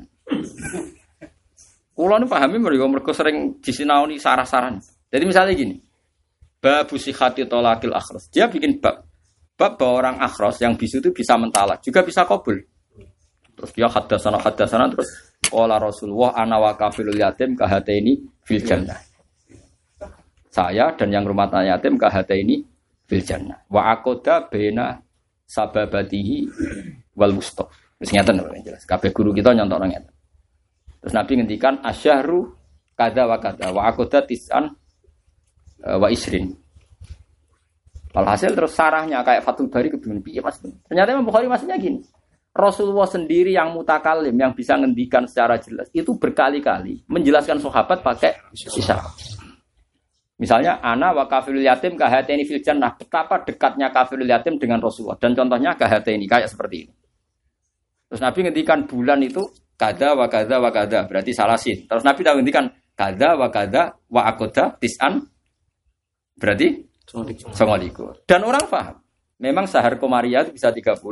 Kulo nu pahami mergo sering disinaoni sarah-saran. Jadi misalnya gini. Bab sihhati talaqil akhras. Dia bikin bab bahwa orang akhras yang bisu itu bisa mentalak, juga bisa qabul. Terus dia haddatsana terus qala Rasulullah ana wa kafilul yatim kahataini fil jannah. Saya dan yang rumah tangga yatim kahataini fil jannah. Wa aqada baina sababatihi wal mustaq. Wis ngaten jelas. Kabeh guru kita nyontokno ngeten. Terus Nabi ngendikan asyhru kadza wa kadza wa aqada tis'an wa isrin. Alhasil terus sarahnya kayak Fathul Bari kebingungan piye Mas. Ternyata Imam Bukhari maksudnya gini. Rasulullah sendiri yang mutakalim yang bisa ngendikan secara jelas itu berkali-kali menjelaskan sahabat pakai isyarat. Misalnya ana wa kafilul yatim kahataini fil jannah, betapa dekatnya kafilul yatim dengan Rasulullah dan contohnya kahataini kayak seperti ini. Terus Nabi ngendikan bulan itu kada wa kada wa kada berarti salasin. Terus Nabi tahu ngendikan kada wa kada wa aqada tis'an berarti 9. Dan orang paham. Memang sahar komariah itu bisa 30.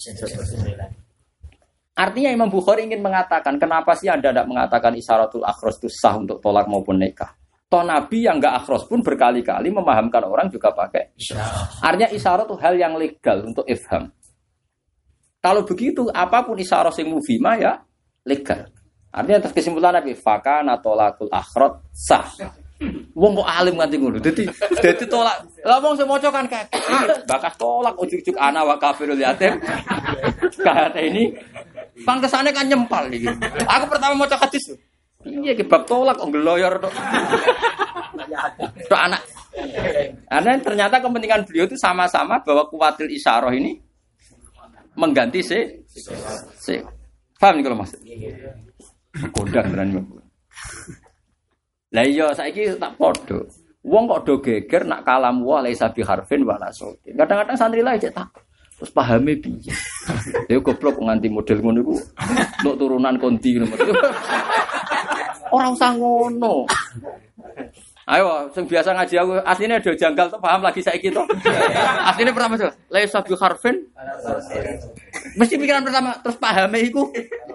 Artinya Imam Bukhari ingin mengatakan, kenapa sih Anda tidak mengatakan isyaratul akhras itu sah untuk tolak maupun nikah? Toh Nabi yang enggak akhras pun berkali-kali memahamkan orang juga pakai isyarat. Artinya isyarat itu hal yang legal untuk ifham. Kalau begitu, apapun isyarat yang mufhimah ya legal. Artinya atas kesimpulan Nabi, fakana tolakul akhras sah. Wong kok alim nganti ngono. Dadi tolak. Lah wong sing maca kan kakek. Bakas tolak ujug-ujug ana wa kafirul yatim. Kata ini pangkesane kan nyempal iki. Aku pertama maca hadis. Piye ki bab tolak kok ngloyor tok. Tok anak. Karena ternyata kepentingan beliau itu sama-sama bahwa kuwatil isyarah ini mengganti si. Paham nih kalau maksud? Kodang tenan. Lah iya saiki tak padha. Wong kok do geger nak kalam wa laisa bi harfin wala sautin. Kadang-kadang santri lah cek tak terus pahame piye. Ya goblok nganti model ngono iku untuk turunan konti ngono. Ora usah ngono. Ayo sing biasa ngaji aku asline do janggal to paham lagi saiki to. Asline pertama to laisa bi harfin. Mesti pikiran pertama terus pahame iku.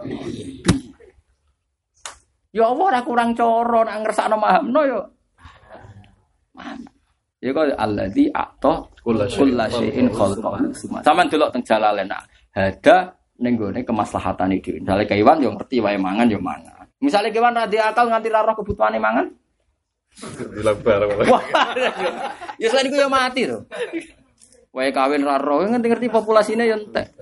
Ya Allah ora kurang cara nek ngersakno mahamno ya. Ya kok allazi a'ta kullasyai'in khalqahu. Saman delok teng Jalalain ada ning gone kemaslahatane dhewe. Misale kewan yo ngerti wae mangan yo mangan. Misale kewan ra akal nganti ra roh kebutuhane mangan. Dilabar. Wah. Ya selain iku yo mati to. Wae kawin ra roh ngerti populasine yo entek.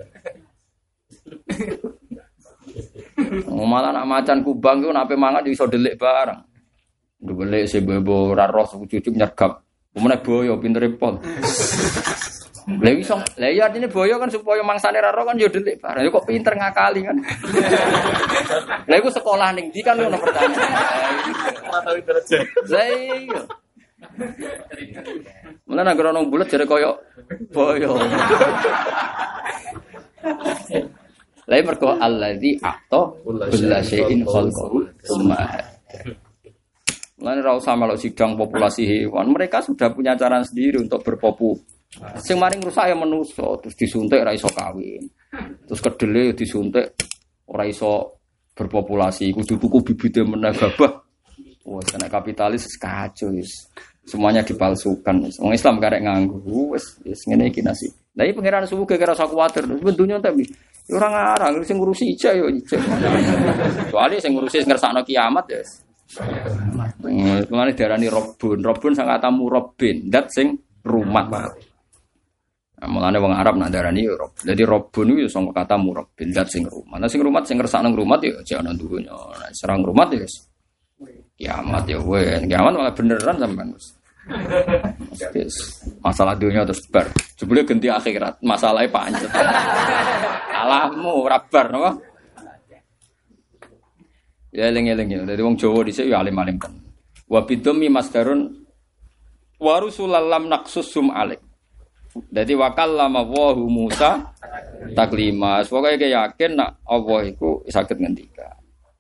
Malah nak macan kubang ku nape mangan iso delik bareng. Delik sebebo ora roh cucuk nyergap. Umune boyo pintere pol. Lha iso, lha ya artine boyo kan supaya mangsane ra roh kan yo delik bareng. Yo kok pinter ngakali kan. Lha iku sekolah ning ndi kan ngono pertanyaan. Ora tau derajat. Lah iya. Mulane nek ora ono bulet jare koyo boyo. Lai mergo allazi a'ta kullasyai'in khalqahu tsumma. Lan ra usah melok sidang populasi hewan. Mereka sudah punya cara sendiri untuk berpopulasi. Sing maring rusak ya manusa, terus disuntik ora iso kawin. Terus kedele disuntik ora iso berpopulasi. Kudu tuku bibite meneh gabah. Wes nek kapitalis kacau wis. Semuanya dipalsukan. Wong Islam karek nganggo wis ngene iki nasib. Lah iki pangeran suwu gara rasa kuwatir. Bentunya tapi ora ngarang sing ngurusi ijak yo ijak. Soale sing ngurusi ngersakno kiamat ya. Mulane diarani Rabbun. Rabbun sang kata murabbin, zat sing rumat. Nah, mulane wong Arab nak diarani Rabb. Dadi Rabbun iku sanga kata murabbin, zat sing rumat. Nah sing rumat sing ngersakno rumat ya jek ana dunya. Nah serang rumat ya kiamat ya wes. Kiamat malah beneran sampean wis. Masalah dunia terus bar. Jebule ganti akhirat, masalahnya pancet. Alahmu rabar napa? Ya eling-eling ya. Dadi wong Jawa dhisik ya alim-alim kan. Wa bidami masdarun wa rusulallam naqsusum alik. Dadi wa kallama Allahu Musa taklima. Pokoke yakin nak Allah iku saged ngendika.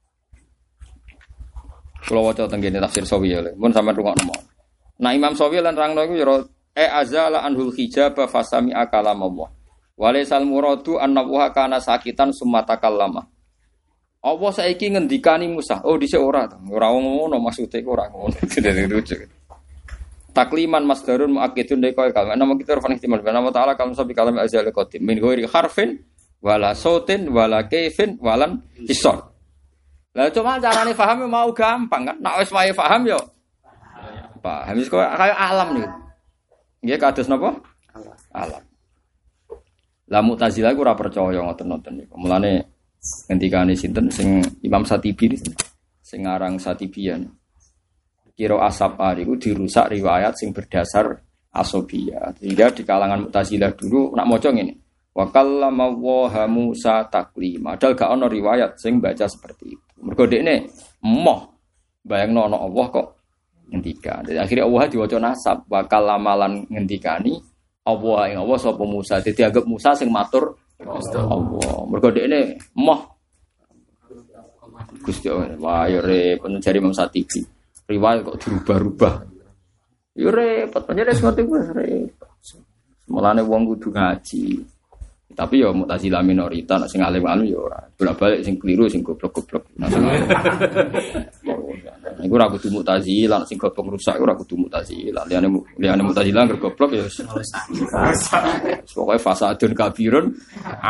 Kula waca teng kene tafsir Sawi ya. Mun sampean rungokno. Nah Imam Sawi lan rangno iku ya azala anhul hijab fasami akalam Allah. Walaisal muradu annahu kana sakitan summa takallama. Allah saiki ngendikani Musa. Oh dhisik ora to. Ora ngono maksude ora ngono. Dadi lucu. Takliman masdarun muakkidun deka kalam. Nama kita rafan ihtimal. Nama ta'ala kalam sabi kalam azal qadim. Min ghairi harfin wala sautin wala kaifin walan hisar. Lah cuma carane paham mau gampang kan. Nek wis wae paham yo paham wis kaya alam niku. Nggih kados napa? Alam. Lah Mu'tazilah ku ora percaya ngoten-ngoten niku. Mulane ngendikane sinten sing Imam Satibi sing aran Satibian. Kira Asab niku dirusak riwayat sing berdasar asobiyah. Sehingga di kalangan Mu'tazilah dulu nak maca ngene. Wa kallama wa Musa taklima. Padahal gak ana riwayat sing baca seperti itu. Mergo dekne emoh bayangno ana Allah kok ngendikan. Jadi akhirnya Allah diwaca nasab wa kallamalan ngendikani Allah ing Allah sapa Musa. Dadi anggap Musa sing matur Allah. Mergo dekne emoh Gusti Allah. Wah ya repot jare Imam Satibi. Riwayat kok dirubah-rubah. Ya repot, pancen ngerti wis repot. Mulane wong kudu ngaji. Tapi ya Mu'tazilah minoritas, sing alim-alim ya ora. Bolak-balik sing keliru, sing goblok-goblok. Iku ora kudu Mu'tazilah, sing goblok rusak ora kudu Mu'tazilah. Liyane Mu'tazilah goblok ya. Pokoke fasadun kabirun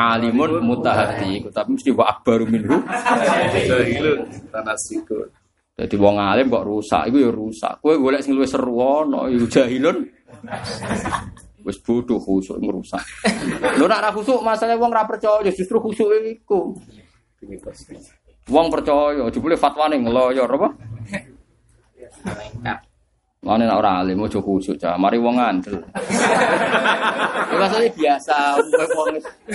alimun mutahaddi. Tapi mesti wa akbaru minhu. Itu tanasikun. Jadi wong alim kok rusak, iku ya rusak. Kowe golek sing luwih seru ana, iku jahilun. Wis bodoh khusuk ngrusak. Lho nek ora khusuk masalah wong ora percaya justru khusuk iku. Wong percaya jebule fatwane ngeloyor apa? Mane nek ora alim ojo khusuk cah, mari wong ngandel. Iki masalah biasa wong.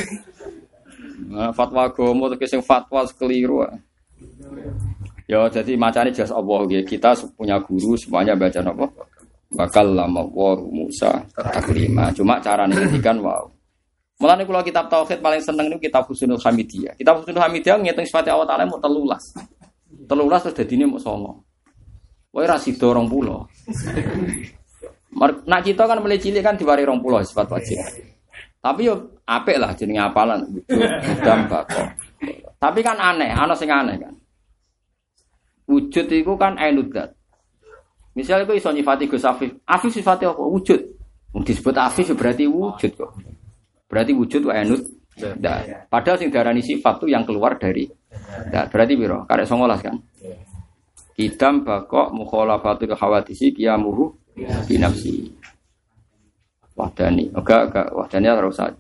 Fatwa agama terus sing fatwa keliru. Ya jadi macane jas Allah nggih. Kita punya guru semuanya baca napa? Bakal lama wa Musa taklima. Cuma cara ngendikan wow. Mulane kula kitab tauhid paling seneng niku kitab Husnul Hamidiyah. Kitab Husnul Hamidiyah ngitung sifat Allah Taala mu 13. 13 terus dadine mu 9. Wae ra sida 20. Nak kita kan mulai cilik kan diwari 20 sifat wajib. Tapi yo apik lah jenenge apalan dan bakok. Tapi kan aneh, ana sing aneh kan. Wujud itu kan ainudzat. Misalnya kok iso nyifati Gus Afif. Afif sifatnya apa? Wujud. Disebut Afif berarti wujud kok. Berarti wujud wa ainudzat. Padahal sing darani sifat itu yang keluar dari dzat. Berarti piro? Karek 19 kan. Kidam bakok mukhalafatul khawadisi qiyamuhu bi nafsi. Wahdani. Enggak wahdani harus saja.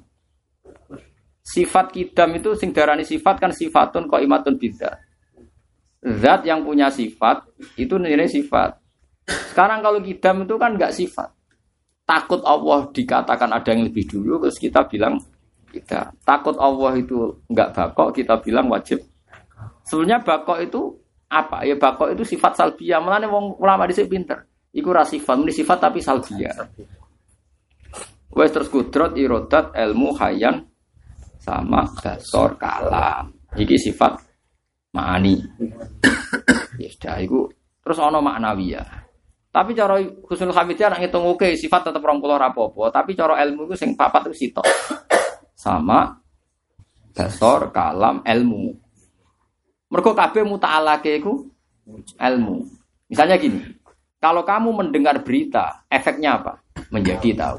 Sifat kidam itu sing darani sifat kan sifatun qaimatun bidzat. Zat yang punya sifat itu nilai sifat. Sekarang kalau kidam itu kan enggak sifat. Takut Allah dikatakan ada yang lebih dulu terus kita bilang kita. Takut Allah itu enggak bakok kita bilang wajib. Sebenarnya bakok itu apa? Ya bakok itu sifat salbiyah. Mulane wong ulama dhisik pinter. Iku ra sifat, muni sifat tapi salbiyah. Wes terus kudrat irodat ilmu hayan sama basor kalam. Iki sifat ma'ani. Ya sudah iku terus ana maknawiyah. Tapi cara Husnul Hamidiyah nek ngitung oke sifat tetep 20 ra apa-apa, tapi cara ilmu iku sing papat iku sitok. Sama basor kalam ilmu. Mergo kabeh muta'alake iku ilmu. Misalnya gini, kalau kamu mendengar berita, efeknya apa? Menjadi tahu.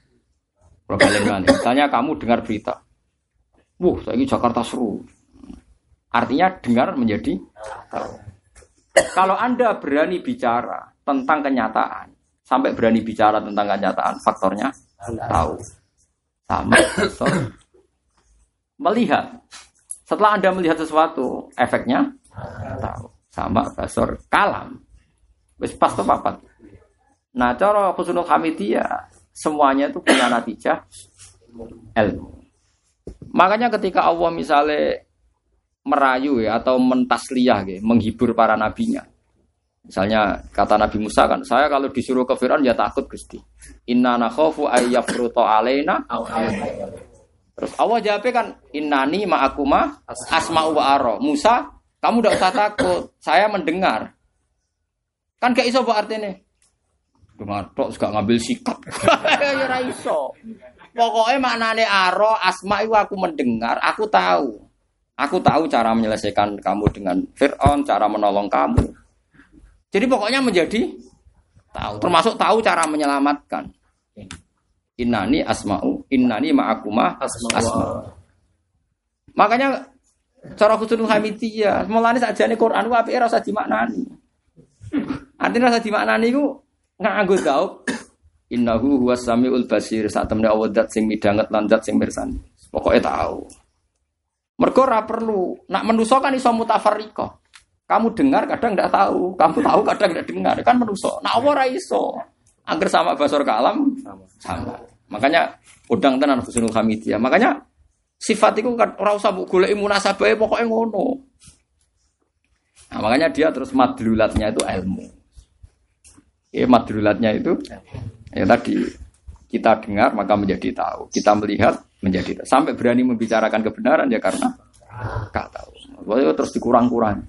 Misalnya kamu dengar berita, saiki Jakarta seru. Artinya dengar menjadi tahu. Kalau Anda berani bicara tentang kenyataan, sampai berani bicara tentang kenyataan, faktornya tahu. Sama basor melihat. Setelah Anda melihat sesuatu, efeknya tahu. Sama basor kalam. Wis pas to papat. Nah, cara Husnul Hamidiyah semuanya itu punya natijah ilmu. Makanya ketika Allah misalnya merayu ya, atau mentasliyah ya, menghibur para nabinya. Misalnya kata Nabi Musa kan, saya kalau disuruh ke Firaun ya takut Gusti. Inna nakhafu ayyafruta alaina. Terus Allah jawabnya kan, innani ma'akuma asma'u wa ara. Musa, kamu tidak usah takut, saya mendengar. Kan gak iso apa artinya? Dengar tok gak ngambil sikap. Ya ora iso. Pokoknya maknane aro asma itu aku mendengar, aku tahu. Aku tahu cara menyelesaikan kamu dengan Fir'aun, cara menolong kamu. Jadi pokoknya menjadi tahu, termasuk tahu cara menyelamatkan. Innani asma'u, innani ma'akuma asma'u. Makanya cara Husnul Hamidiyah, mulane sakjane Quran ku apike ora usah dimaknani. Artinya rasa dimaknani iku nganggo gaub innahu huwas samiul basir sak temne Allah zat sing midanget lan zat sing mirsani. Pokoke tahu. Mergo ora perlu nak manusa kan iso mutafarriqah. Kamu dengar kadang ndak tahu, kamu tahu kadang ndak dengar, kan manusa. Nak apa ora iso. Angger sama basor kalam sama. Makanya udang tenan Husnul Hamidiyah. Makanya sifat iku kan ora usah mbok goleki munasabahe pokoke ngono. Nah, makanya dia terus madlulatnya itu ilmu. Madlulatnya itu ya tadi kita dengar maka menjadi tahu, kita melihat menjadi tahu. Sampai berani membicarakan kebenaran ya karena gak tahu. Pokoknya terus dikurang-kurang.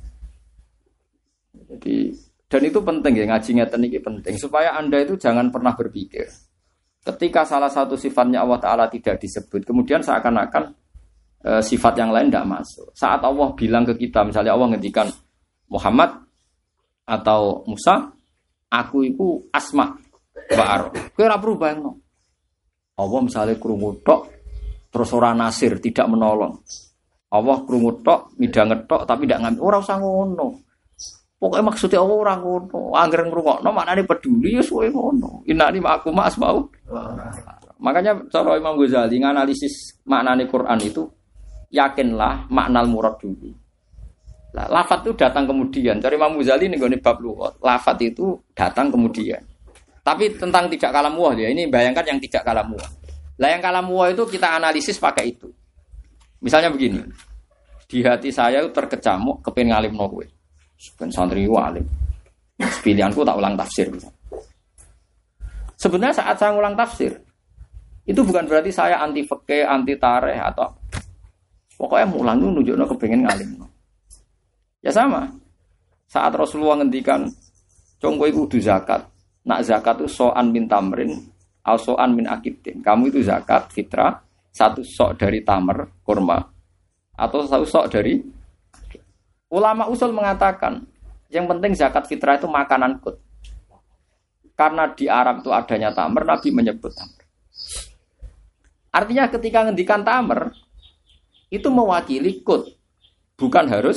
Jadi dan itu penting ya, ngaji ngeten iki penting supaya Anda itu jangan pernah berpikir ketika salah satu sifatnya Allah Taala tidak disebut, kemudian seakan-akan sifat yang lain tidak masuk. Saat Allah bilang ke kita, misalnya Allah ngendikan Muhammad atau Musa, aku itu asma ba'ar. Kowe ora perlu bayangno. Allah misalnya krungu tok terus ora nasir, tidak menolong. Allah krungu tok, midanget tok tapi tidak ngambil. Ora usah ngono. Pokoknya maksudnya Allah ora ngono. Angger ngrungokno maknane peduli ya suwe ngono. Innani ma'akum asma'u. Makanya cara Imam Ghazali nganalisis maknane Quran itu yakinlah maknal murad dulu. Lah lafaz itu datang kemudian. Cara Imam Ghazali ning gone bab lughat, lafaz itu datang kemudian. Tapi tentang tidak kalam wah ya, ini bayangkan yang tidak kalam wah. Lah yang kalam wah itu kita analisis pakai itu. Misalnya begini. Di hati saya itu terkecamuk kepengin ngalimno kowe. Ben santri alim. Pilihanku tak ulang tafsir. Sebenarnya saat saya ulang tafsir, itu bukan berarti saya anti fikih, anti tarikh atau pokoknya mulang itu nunjukno kepengin ngalimno. Ya sama. Saat Rasulullah ngendikan, "Cung kowe kudu zakat." Nak zakat itu so'an min tamrin, au so'an min akidin. Kamu itu zakat fitrah, satu sok dari tamar, kurma, atau satu sok dari. Ulama usul mengatakan, yang penting zakat fitrah itu makanan kut. Karena di Arab itu adanya tamar, Nabi menyebut tamar. Artinya ketika ngendikan tamar, itu mewakili kut. Bukan harus.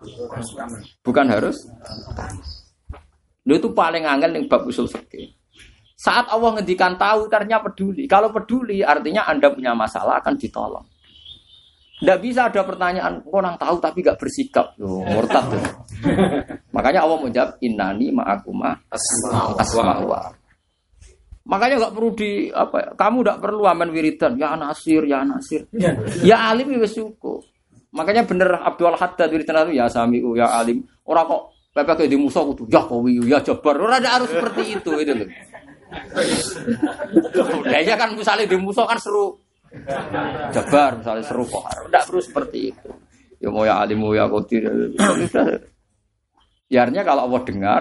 Itu paling angel yang bab usul fikih. Saat Allah ngendikan tahu, artinya peduli. Kalau peduli, artinya Anda punya masalah akan ditolong. Tidak bisa ada pertanyaan, orang tahu tapi gak bersikap. Murtad. Makanya Allah menjawab, innani ma'akuma asma'wa. Makanya gak perlu kamu gak perlu aman wiridan. Ya Nasir. Ya alim ya syukur. Makanya bener Abdul Haddad wiridan itu, ya Sami'u, ya alim. Orang kok PPK di musuh kudu, ya Qawiyu, ya Jabbar. Orang ada harus seperti itu loh. Kayaknya kan misalnya di musuh kan seru. Jabar misalnya seru kok. Tidak perlu seperti itu. Ya mau ya alimu ya qadir. Ya artinya kalau Allah dengar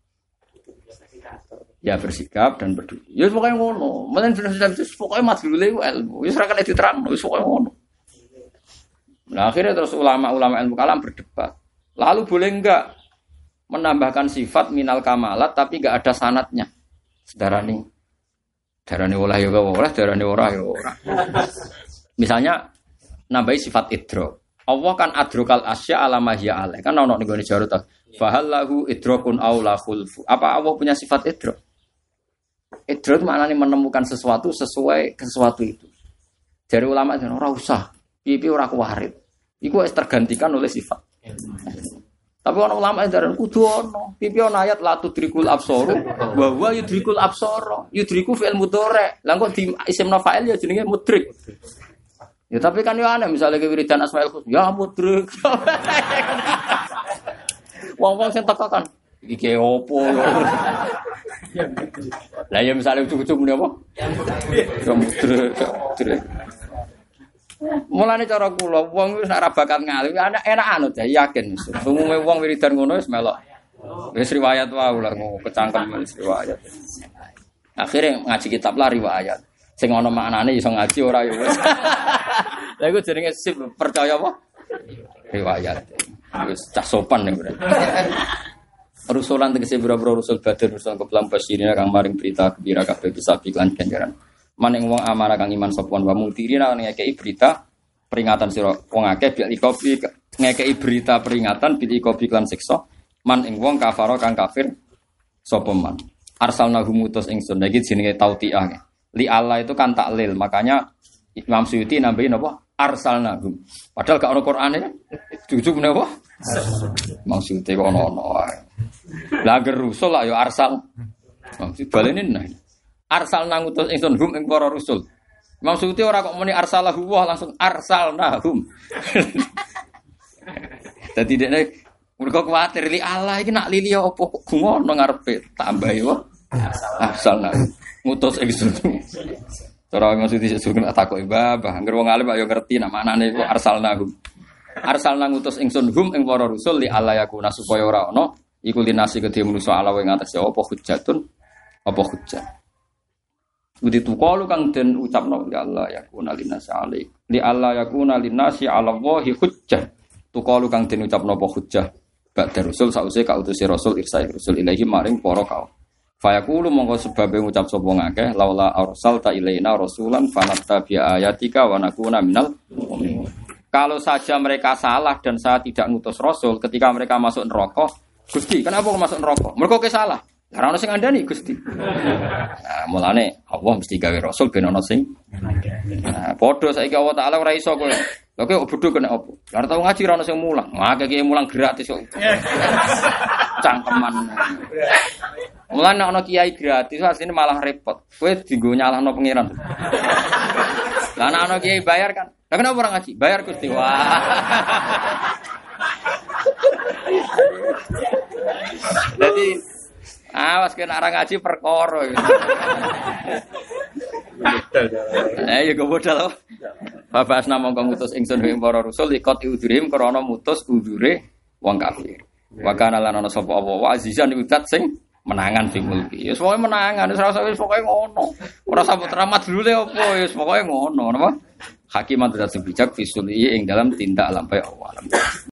ya bersikap dan peduli. Ya pokoknya ngono. Menen pokoknya madhule ilmu. Ya serahkan diterang, wis pokoknya ngono. Nah, akhirnya terus ulama-ulama ilmu kalam berdebat. Lalu boleh enggak menambahkan sifat minal kamalat tapi enggak ada sanatnya? Sedarani olah ya olah, darane ora ya ora. Misalnya nambahi sifat idrok. Allah kan adrokal asya ala mahya alaih. Kan ono ning gone jarut. Fa halahu idrokun aw la khulfu. Apa Allah punya sifat idrok? Idrok maknanya menemukan sesuatu sesuai sesuatu itu. Dari ulama itu ora usah. Pipi ora kuwarit. Iku wis tergantikan oleh sifat. Tapi orang ulama itu kudu ono. Pipi ono ayat la tudrikul absor wa huwa yudrikul absor. Yudriku fi'il mudhari'. Lah kok di isim fa'il ya jenenge mudrik. Ya tapi kan yo aneh misalnya wiridan Asmaul Husna ya mudrik. Wong-wong sing teko kan iki opo. Lah ya misalnya ujug-ujug muni apa? Ya mudrik. Mulane cara kula wong wis nek ra bakat ngalim enak anut ya yakin. Umume wong wiridan ngono wis melok. Wis riwayat wae lho kecangkem wis riwayat. Akhire ngaji kitab lah riwayat. Sing ana maknane iso ngaji ora ya wis. Lah iku jenenge sip percaya apa? Riwayat. Wis cah sopan nek berarti. Rusulan tegese boro-boro rusul badar rusul keplam basirina kang maring berita gembira kabeh bisa iklan ganjaran. Maning wong amanah kang iman sopon wa mutirina ngekeki berita peringatan sira wong akeh bil ikobi ngekeki berita peringatan bil ikobi lan siksa man ing wong kafara kang kafir sapa man arsalna humutus ingsun iki jenenge tautiah li Allah itu kan taklil makanya Imam Suyuti nambahin apa arsalna hum padahal gak ono Qur'ane jujug menapa Imam Suyuti kok ono wae la gerusul lah ya arsal maksud balene nah arsal nangutus ingsun hum ing para rusul. Maksudnya ora kok muni arsalahu wa langsung arsalnahum. Dadi dekne mergo kuwatir li Allah iki nak lili apa kok ngono ngarepe tambahi wa arsalna ngutus ingsun. Cara maksudnya sugen takoki babah anggere wong alim ayo ngerti nak maknane iku arsalnahum. Arsalna ngutus ingsun hum ing para rusul li Allah yakuna supaya ora ono iku linasi kedhe manusa ala ing atas apa hujjatun apa hujjah. Budi tuqalu kang den ucapno ya Allah yakuna linnasi alaik. Li Allah yakuna linnasi ala wahi hujjah. Tuqalu kang den ucapno apa hujjah. Ba'da rasul sause kautusi rasul irsa rasul ilahi maring para kaum. Fayaqulu mongko sebabe ngucap sapa ngakeh laula arsalta ilaina rasulan fanattabi ayatika wa nakuna minal mu'minin. Kalau saja mereka salah dan saya tidak ngutus rasul ketika mereka masuk neraka, Gusti, kenapa kok masuk neraka? Mergo ke salah. Lah ora ono sing ngandani Gusti. Nah, mulane Allah mesti gawe rasul ben ono sing ngandani. Nah, padha saiki Allah Taala ora iso kowe. Lha kowe bodho kena opo? Lah tau ngaji ora ono sing mulang. Ngake iki mulang gratis kok. Cangkeman. Mulane ono kiai gratis asline malah repot. Kowe dienggo nyalahno pangeran. Lah ana ono kiai bayar kan. Lah kenapa ora ngaji? Bayar Gusti. Wah. Jadi awas kena orang ngaji perkara gitu. Ya kok bodal. Bapak asna mongko mutus ingsun ing para rasul ikut udurim krana mutus udure wong kafir. Wa kana lan ana sapa apa wa azizan widat sing menangan fi mulki. Ya pokoke menangan wis rasa wis pokoke ngono. Ora sampe teramat dulu le apa wis pokoke ngono napa. Hakiman tidak bijak fisuli ing dalam tindak lampahe Allah.